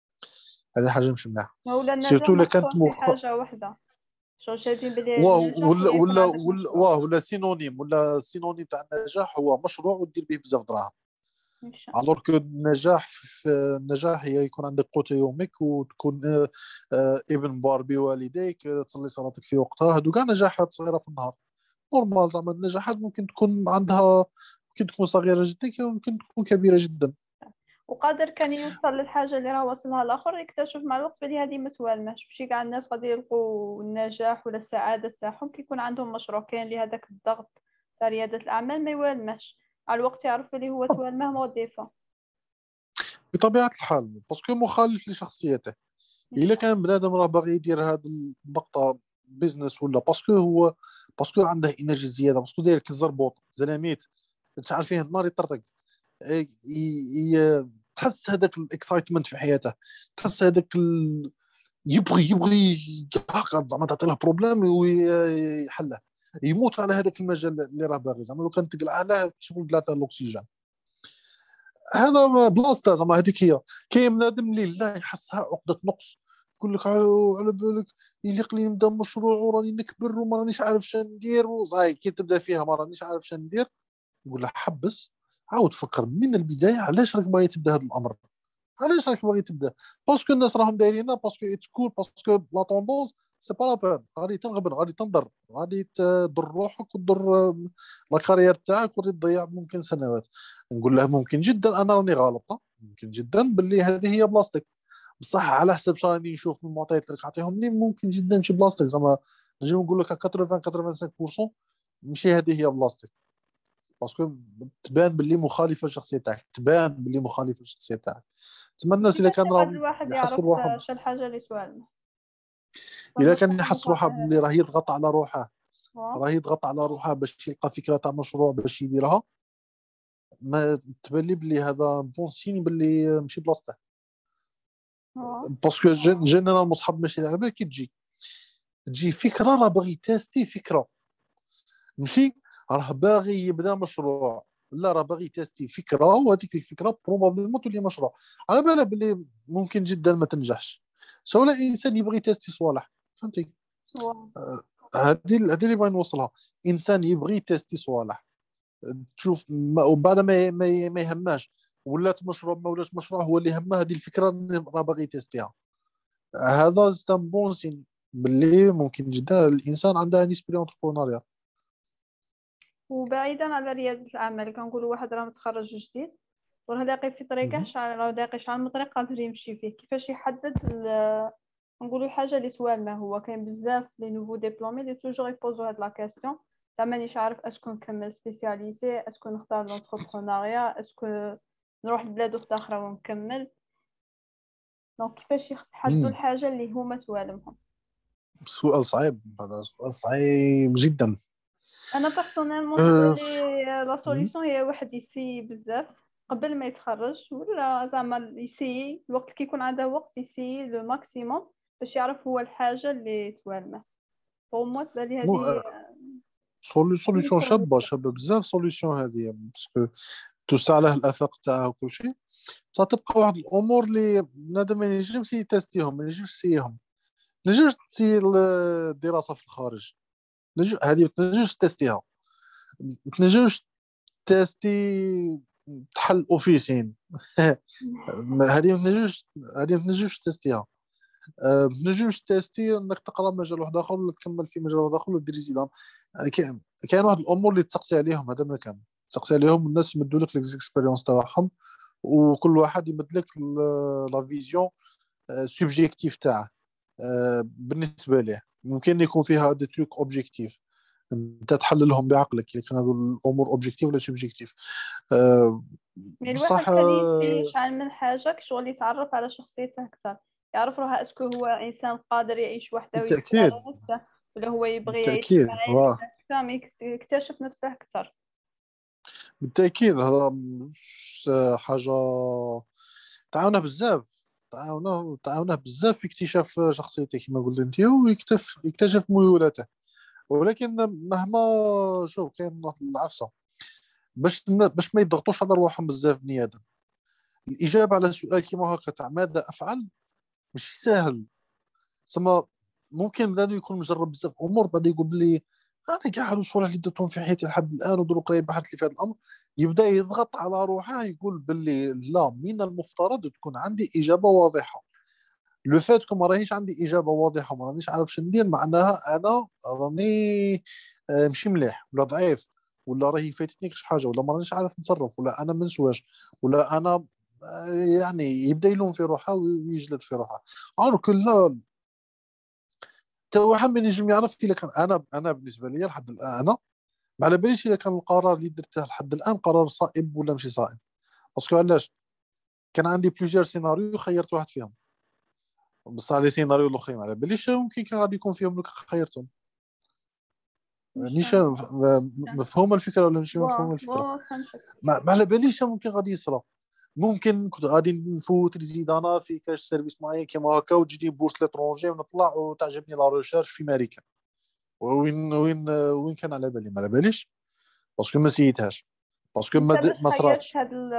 ولا النجاح
سيرتو الا كانت
محصور في حاجة واحدة، شو شايفين بلي النجاح
ولا
هي يكون
ولا
عندك
ولا
مشروع.
ولا سينونيم، تاع النجاح هو مشروع ودير به بزاف دراهم.
مش
الوغ كو النجاح هي يكون عندك قوت يومك، وتكون ابن بار بوالديك، تصلي صلاتك في وقتها. هادو كاع نجاحات صغيره في النهار نورمال. زعما النجاحات ممكن تكون ممكن تكون صغيره جدا، ممكن تكون كبيره جدا.
وقادر كان يوصل للحاجة اللي راه وصلها الآخر، يكتشف مع الوقت بلي هذه ما توالماش. ماشي كاع الناس غادي يلقوا النجاح ولا السعادة تاعهم كي يكون عندهم مشروع. كاين اللي هذاك الضغط تاع ريادة الأعمال ما يوالماش، على الوقت يعرف بلي هو توالمه وظيفة.
بطبيعه الحال باسكو مخالف لشخصيته. الا كان بنادم راه باغي يدير هذه النقطه بيزنس، ولا باسكو عنده انرجي زياده، باسكو داير كالزربوط زلاميت تعرف فيه النار يطرطق. تحس هذاك الاكسايتمنت في حياته، تحس هذاك يبغي هكا زعما تعطي له بروبليم ويحله، يموت على هذاك المجال اللي راه باغي. زعما لو كان تقلع عليه شغل ثلاثه الاكسجين. هذا بلاصته زعما هذيك هي. كاين بنادم اللي لا يحسها عقده نقص، يقول لك على بالك يليق لي نبدا مشروع وراني نكبر وما رانيش عارف شنو ندير، وصاي كي تبدا فيها ما رانيش عارف شنو ندير، نقول له حبس، عاود فكر من البدايه علاش راك باغي تبدا هذا الامر. علاش راك باغي تبدا؟ باسكو الناس راهم دايرينها، باسكو اتس كول، باسكو لا طوندونس سي با لا بان. غادي تنغبن، غادي تنضر، غادي تضر روحك وتضر لا كارير تاعك، وغادي تضيع ممكن سنوات. نقول له ممكن جدا انا راني غلط، ممكن جدا باللي هذه هي بلاصتك، بصح على حسب شنو راني نشوف من المعطيات اللي تعطيهم لي ممكن جدا ماشي بلاصتك. زعما نجي نقول لك 80 85% ماشي هذه هي بلاصتك، باسكو تبان باللي مخالفه للشخصيه تاعك، تما الناس اذا
كيفاش
كان
يقدر
راهم
الواحد
يحسوا
يعرف
روحهم،
شو الحاجة اللي توالمه؟
اذا
فما
كان
شكون
يحس روحه
يقرر
باللي
هذا؟
راه يضغط على روحه باش يلقى فكره تاع مشروع باش يديرها، ما تبان لي باللي هذا بون سين باللي ماشي بلاصته. باسكو جينا المصحاب ماشي على بالك كي تجي فكره، راه باغي تيستي فكره، ماشي راه باغي يبدا مشروع، لا راه باغي تيستي فكره، وهذيك الفكره بروبابلمون تولي مشروع. على بالك باللي ممكن جدا ما تنجحش، سواء انسان يبغي تيستي صوالح، فهمتي؟ هذه اللي بغي نوصلها. انسان يبغي تيستي صوالح، تشوف وبعد ما يهماش ولات مشروع ما ولاش مشروع، هو اللي همه هذه الفكره اللي راه باغي تيستيها. هذا ستان بون سين باللي ممكن جدا الانسان عنده ان اسبري انتربرونيا.
وبعيدا على ريادة الأعمال، كنقولوا واحد راه متخرج جديد وراه لاقي في طريقه، راه لاقي شحال من طريق قادر يمشي فيه. كيفاش يحدد نقولوا الحاجه اللي توالمه؟ هو كاين بزاف لي نوفو ديبلومي اللي توجور يبوزو هاد لا كاستيون تاع مانيش عارف اسكو نكمل سبيسياليتي، اسكو نختار لونتربرونيا، اسكو نروح لبلاد اخرى ونكمل. دونك كيفاش يحددوا الحاجه اللي هما توالمهم؟
سؤال صعيب، هذا سؤال صعيب جدا.
انا بيرسونيلمون نقول لي لا سوليوشن هي واحد يسي بزاف قبل ما يتخرج، ولا زعما يسي الوقت كي يكون عنده وقت يسي لو ماكسيموم باش يعرف هو الحاجه اللي توالمه. بور موا تبان لي هذه
سوليسيون شابه بزاف. سوليسيون هذه باسكو توسع له الافاق تاعه وكل شيء، بصح تبقى واحد الامور اللي بنادم ما ينجمش يتيستيهم، ما ينجمش يسيهم. ما تنجمش تسير الدراسه في الخارج، هذه ما تنجمش تيستيها، ما تنجمش تيستي تحل اوفيسين هذه ما تنجمش تيستيها. ما تنجمش تيستي انك تقرا مجال واحد اخر ولا تكمل في مجال واحد اخر ولا دير ريزيدون. كاين واحد الامور اللي تسقسي عليهم، هذا ما كان تسقسي عليهم الناس يمدوا لك ليكسبيريونس تاعهم، وكل واحد يمد لك لا فيزيون سوبجيكتيف تاعه. بالنسبه ليه ممكن يكون فيها دي تروك اوبجيكتيف، انت تحللهم بعقلك، لكن هذول الامور اوبجيكتيف ولا سوبجيكتيف.
يعني الواحد
بصح
خليه يسي شحال من حاجة شغل يتعرف على شخصيته أكثر، يعرف روحه اسكو هو إنسان قادر يعيش وحده ويدير
بالتاكيد
على نفسه، ولا هو يبغي يعيش
بالتاكيد
مع عائلته أكثر، يكتشف نفسه أكثر.
بالتاكيد هذا حاجه تعاونه بزاف، تعاونه بزاف في اكتشاف شخصيته كما قلت انت، ويكتشف ميولاته. ولكن مهما شوف كاين واحد العفسه، باش ما يضغطوش على رواحهم بزاف بني ادم. الاجابه على سؤال كيما هكا تاع ماذا افعل مش سهل. ثم ممكن بنادم يكون مجرب بزاف امور بعد يقول بلي انا كاع هاد الصوالح اللي درتهم في حياتي لحد الان ودروك راهي بحثت لي في هذا الامر، يبدا يضغط على روحه يقول بلي لا، من المفترض تكون عندي اجابه واضحه. لو فات كو ما راهيش عندي اجابه واضحه وما رانيش عارف شنو ندير، معناها انا راني ماشي مليح ولا ضعيف، ولا راهي فاتتني كاش حاجه، ولا ما رانيش عارف نتصرف، ولا انا ما نسواش، ولا انا يعني يبدا يلوم في روحه ويجلد في روحه. عارف لا، حتى واحد ما ينجم يعرف الا كان انا بالنسبه لي لحد الان انا ما على باليش الا كان القرار اللي درته لحد الان قرار صائب ولا ماشي صائب. باسكو علاش؟ كان عندي بليزيور سيناريو خيرت واحد فيهم، بصح لي سيناريو الاخرين على باليش ممكن كان غادي يكون فيهم لو خيرتهم.
مش
نيشان مفهوم الفكره ولا مش مفهوم الفكره؟
فهمتك.
ما على باليش ممكن غادي يصرى. ممكن كنت غادي نفوت ريزيدانا في كاش سيرفيس معين كيما هكا وتجيني بورس لترونجي ونطلع وتعجبني لا ريشيرش في امريكا. وين كان على بالي؟ ما على باليش، باسكو ما سيتهاش، باسكو
انت
ما صراتش.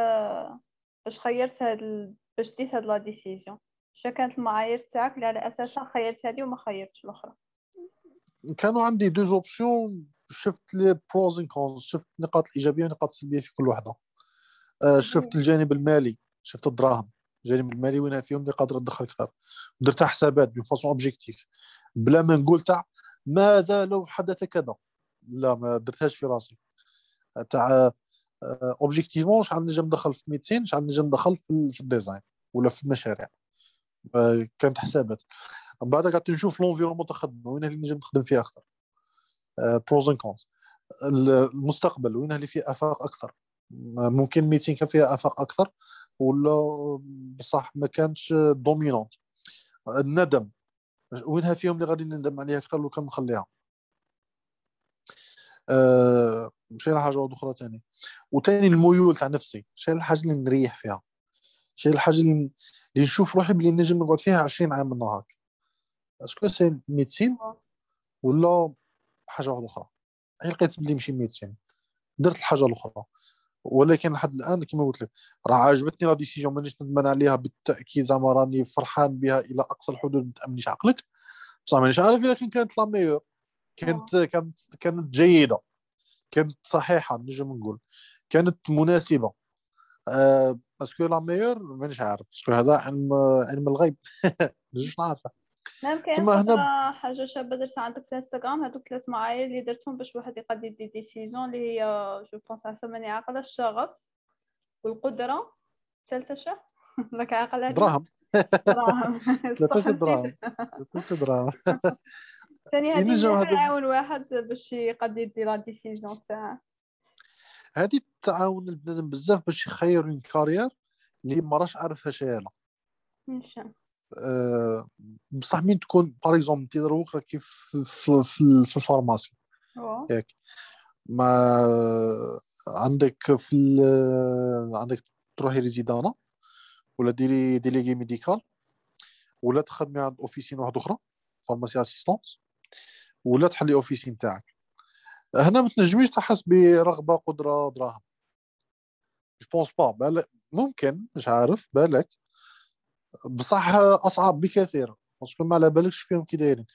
باش ديت هاد لا ديسيجن، شا كانت المعايير تاعك اللي على اساسها خيرت هذه وما خيرتش الاخرى؟
كانوا عندي دوز اوبسيون، شفت لي بروز اند كونز، شفت النقاط الايجابيه والنقاط السلبيه في كل واحده. شفت الجانب المالي، شفت الدراهم، الجانب المالي وين فيهم اللي قادر ندخل اكثر. درت حسابات بون فاسون اوبجيكتيف، بلا ما نقول تاع ماذا لو حدث كذا، لا ما درتهاش في راسي. تاع اوبجيكتيفمون شحال نجم ندخل في ميديسين، شحال نجم ندخل في الديزاين ولا في المشاريع. كانت حسابات. من بعد قعدت نشوف لونفيرومون تاع الخدمه وين اللي نجم نخدم فيه اكثر، بروز اند كونز. المستقبل وين اللي فيه افاق اكثر، ممكن ميتين كان فيها افاق اكثر ولا بصح ما كانتش دومينونت. الندم وينها فيهم اللي غادي نندم عليها اكثر لو كان نخليها. مشينا حاجه واحده اخرى ثاني، وثاني الميول تاع نفسي، شنو الحاجه اللي نريح فيها، شنو الحاجه اللي نشوف روحي بلي نجم نقعد فيها 20 عام من نهار. اسكو سي ميديسين ولا حاجه واحده اخرى؟ لقيت بلي ماشي ميديسين، درت الحاجه الاخرى. ولكن لحد الان كما قلت لك راه عجبتني لا ديسيجن، مانيش ندمان عليها بالتاكيد، زعما راني فرحان بها الى اقصى الحدود، ما تامنيش عقلك. بصح مانيش عارف اذا كانت لا ميور، كانت جيده، كانت صحيحه، نجم نقول كانت مناسبه. اسكو لا ميور مانيش عارف، اسكو هذا علم الغيب نجمش نعرفه.
نعم. كاين
ثم هنا
خطرة حاجة شابة درتها عندك في الانستغرام، هادوك 3 معايير اللي درتهم باش واحد يقدر يدي ديسيزون، اللي هي جو بونس على ماني عاقلة: الشغف والقدرة، ثالثة شا راك عاقل هادي؟
دراهم.
دراهم.
ثلاثة
صح نسيت.
دراهم، ثلاثة دراهم.
ثاني هادي
ينجم
مليحة
هذا،
يعاون واحد باش يقدر يدي لا ديسيزون تاعه.
هذه تعاون البنادم بزاف باش يخير من كارير اللي ما راش عارفها شيء.
نشان
بصح من تكون باغ اكزومبل انت دروك راكي في الفارماسي
هو
ياك، ما عندك عندك تروحي ريزيدانا ولا ديري ديليغي ميديكال ولا تخدمي عند اوفيسين واحد اخرى فارماسي اسيستونس ولا تحلي اوفيسين تاعك. هنا ما تنجميش تحس برغبه قدره دراهم. جو بونس با بالك ممكن، مش عارف بالك، بصح اصعب بكثير باسكو ما على بالكش فيهم كي دايرين.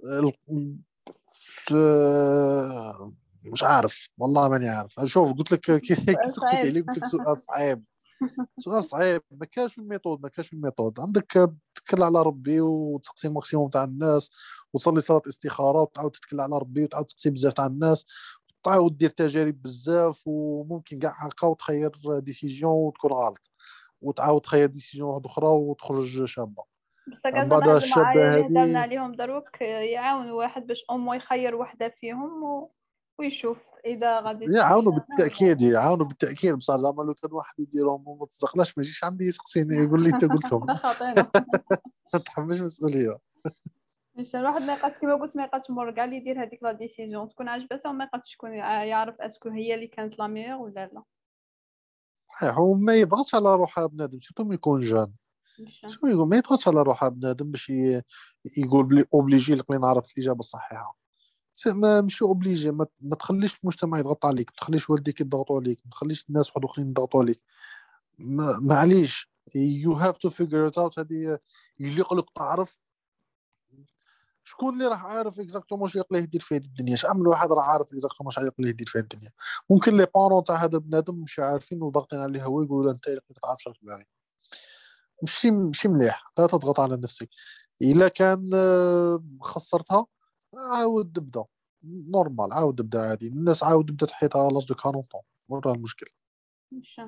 مش عارف والله ماني عارف. شوف قلت لك كي
سؤال
سقسيتي
صعيب.
عليه قلت لك سؤال صعيب، سؤال صعيب. ما كاش الميثود، ما كاش الميثود. عندك تتكل على ربي وتسقسي الماكسيموم تاع الناس وتصلي صلاه استخاره وتعاود تتكل على ربي وتعاود تسقسي بزاف تاع الناس وتعاود دير تجارب بزاف وممكن كاع هكا وتخير ديسيجن وتكون غلط وتعاود تخير ديسيجن واحده اخرى وتخرج شابه.
بس
من
كاع
بعد
زعما هاد المعايير
الشابه
اللي هضرنا
هذه
عليهم دروك يعاون واحد باش امو يخير وحده فيهم ويشوف اذا غادي
يعاونوا
يستمر
بالتاكيد، يعاونوا بالتاكيد، بصح زعما لو كان واحد يديرهم وما تزقلاش ما يجيش عندي يسقسيني يقول لي انت
ولا
قلتهم.
خاطينا.
ما تحملش مسؤوليه.
مش الواحد ما يبقاش كيما قلت، ما يبقاش مور كاع اللي يدير هذيك لا ديسيجن تكون عجبته، وما يبقاش شكون يعرف اسكو هي اللي كانت لا ميور ولا لا.
صحيح، هو ما يضغطش على روحه بنادم سيرتو ملي يكون جان.
مش
شنو يقول، ما يضغطش على روحه بنادم باش يقول بلي اوبليجي لقني نعرف الاجابه الصحيحه. ما مش اوبليجي، ما تخليش المجتمع يضغط عليك، ما تخليش والديك يضغطوا عليك، ما تخليش الناس واحد اخرين يضغطوا عليك. معليش يو هاف تو فيجر ات اوت. هذه يليق لك تعرف شكون اللي راح عارف اكزاكتومون واش يقليه يدير في هذه الدنيا. شحال واحد راه عارف اكزاكتومون واش يقليه يدير في هذه الدنيا. ممكن لي بارون تاع هذا البنادم مش عارفين وضاغطين عليه، هو يقولوا له انت ما تعرفش راك باغي. ماشي مليح، لا تضغط على نفسك. الا كان خسرتها عاود ابدا نورمال، عاود ابدا عادي. الناس عاود بدات حياتها لاج دو 40 طون، ورا المشكل.
مش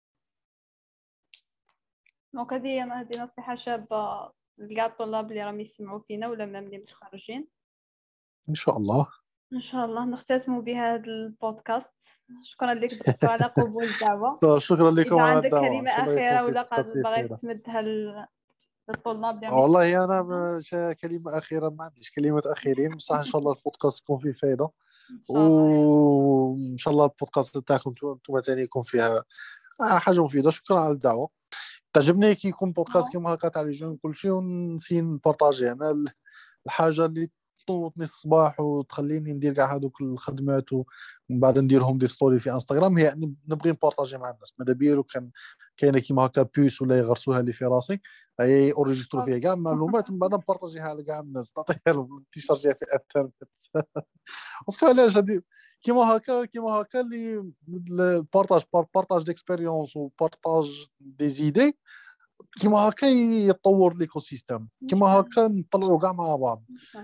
دونك هذه نصيحة شابة لكاع الطلاب اللي راهم يسمعوا فينا ولا مام اللي متخرجين.
ان شاء الله.
ان شاء الله نختتم بهذا البودكاست. شكرا لك دكتور على قبول الدعوة.
شكرا لكم
اذا
على
عندك
الدعوه، ان
كلمة
شاء الله يكون
أخيرة
في
ولا
بودكاست فيه
باغي
فائده.
تمدها للطلاب اللي راهم
والله انا
يسمعونا.
كلمه اخيره ما عنديش كلمه اخيرين، بصح ان شاء الله البودكاست يكون فيه فائده.
ان شاء الله يا رب.
وان شاء الله البودكاست تاعكم انتم ثاني يكون فيها حاجه مفيده. شكرا على الدعوه. تعجبني كي يكون بودكاست كيما هكا تاع لي جون كل شيء ونسي نبارطاجي. انا الحاجه اللي تنوضني الصباح وتخليني ندير كاع هذوك الخدمات ومن بعد نديرهم دي ستوري في انستغرام، هي يعني نبغي نبارطاجي مع الناس. ماذا بيا لو كان كاينه كيما هكا بيس ولا يغرسوها لي في راسي، اي اوريجسترو فيها كاع المعلومات، من بعد نبارطاجيها لكاع الناس، نعطيها لهم تيشارجيها في الانترنت. باسكو علاش هادي كيما هكا اللي بارطاج ديكسبيريونس وبارطاج دي زيدي، كيما هكا يتطور ليكو سيستيم، كيما هكا نطلعوا كاع مع بعض.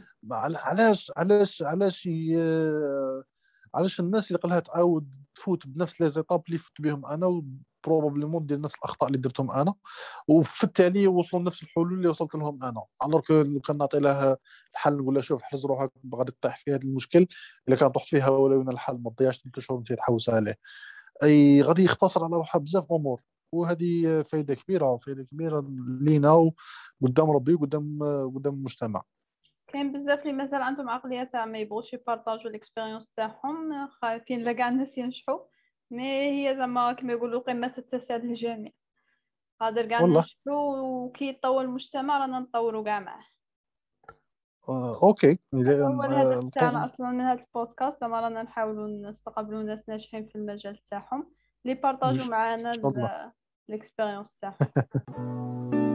علاش الناس اللي قالها تعاود تفوت بنفس لي زيتاب اللي فت بهم انا، وبروبابليمون دير نفس الاخطاء اللي درتهم انا، وفي التالي يوصلوا لنفس الحلول اللي وصلت لهم انا. الوغ كو لو كان نعطي لها الحل نقول لها شوف حرز روحك غادي تطيح في هذا المشكل، الا كان طحت فيها ولو الحل ما تضيعش 3 شهور انت تحوس عليه، اي غادي يختصر على روحها بزاف امور. وهذه فائده كبيره لينا وقدام ربي وقدام المجتمع.
كاين بزاف اللي مازال عندهم عقلية تاع ما يبغوش يبارطاجوا الاكسبيريونس تاعهم، خايفين لا كاع الناس ينجحوا. مي هي زعما كما يقولوا قمة التسع للجميع. قادر كاع
والله
ننجحوا، وكي يتطور المجتمع رانا نطوروا كاع معاه.
اوكي.
هذا هو الهدف تاعنا
القائم.
اصلا من هذا البودكاست، زعما رانا نحاولوا نستقبلوا ناس ناجحين في المجال تاعهم اللي
ان
يبارطاجوا معنا
شاء الله.
الاكسبيريونس تاعهم.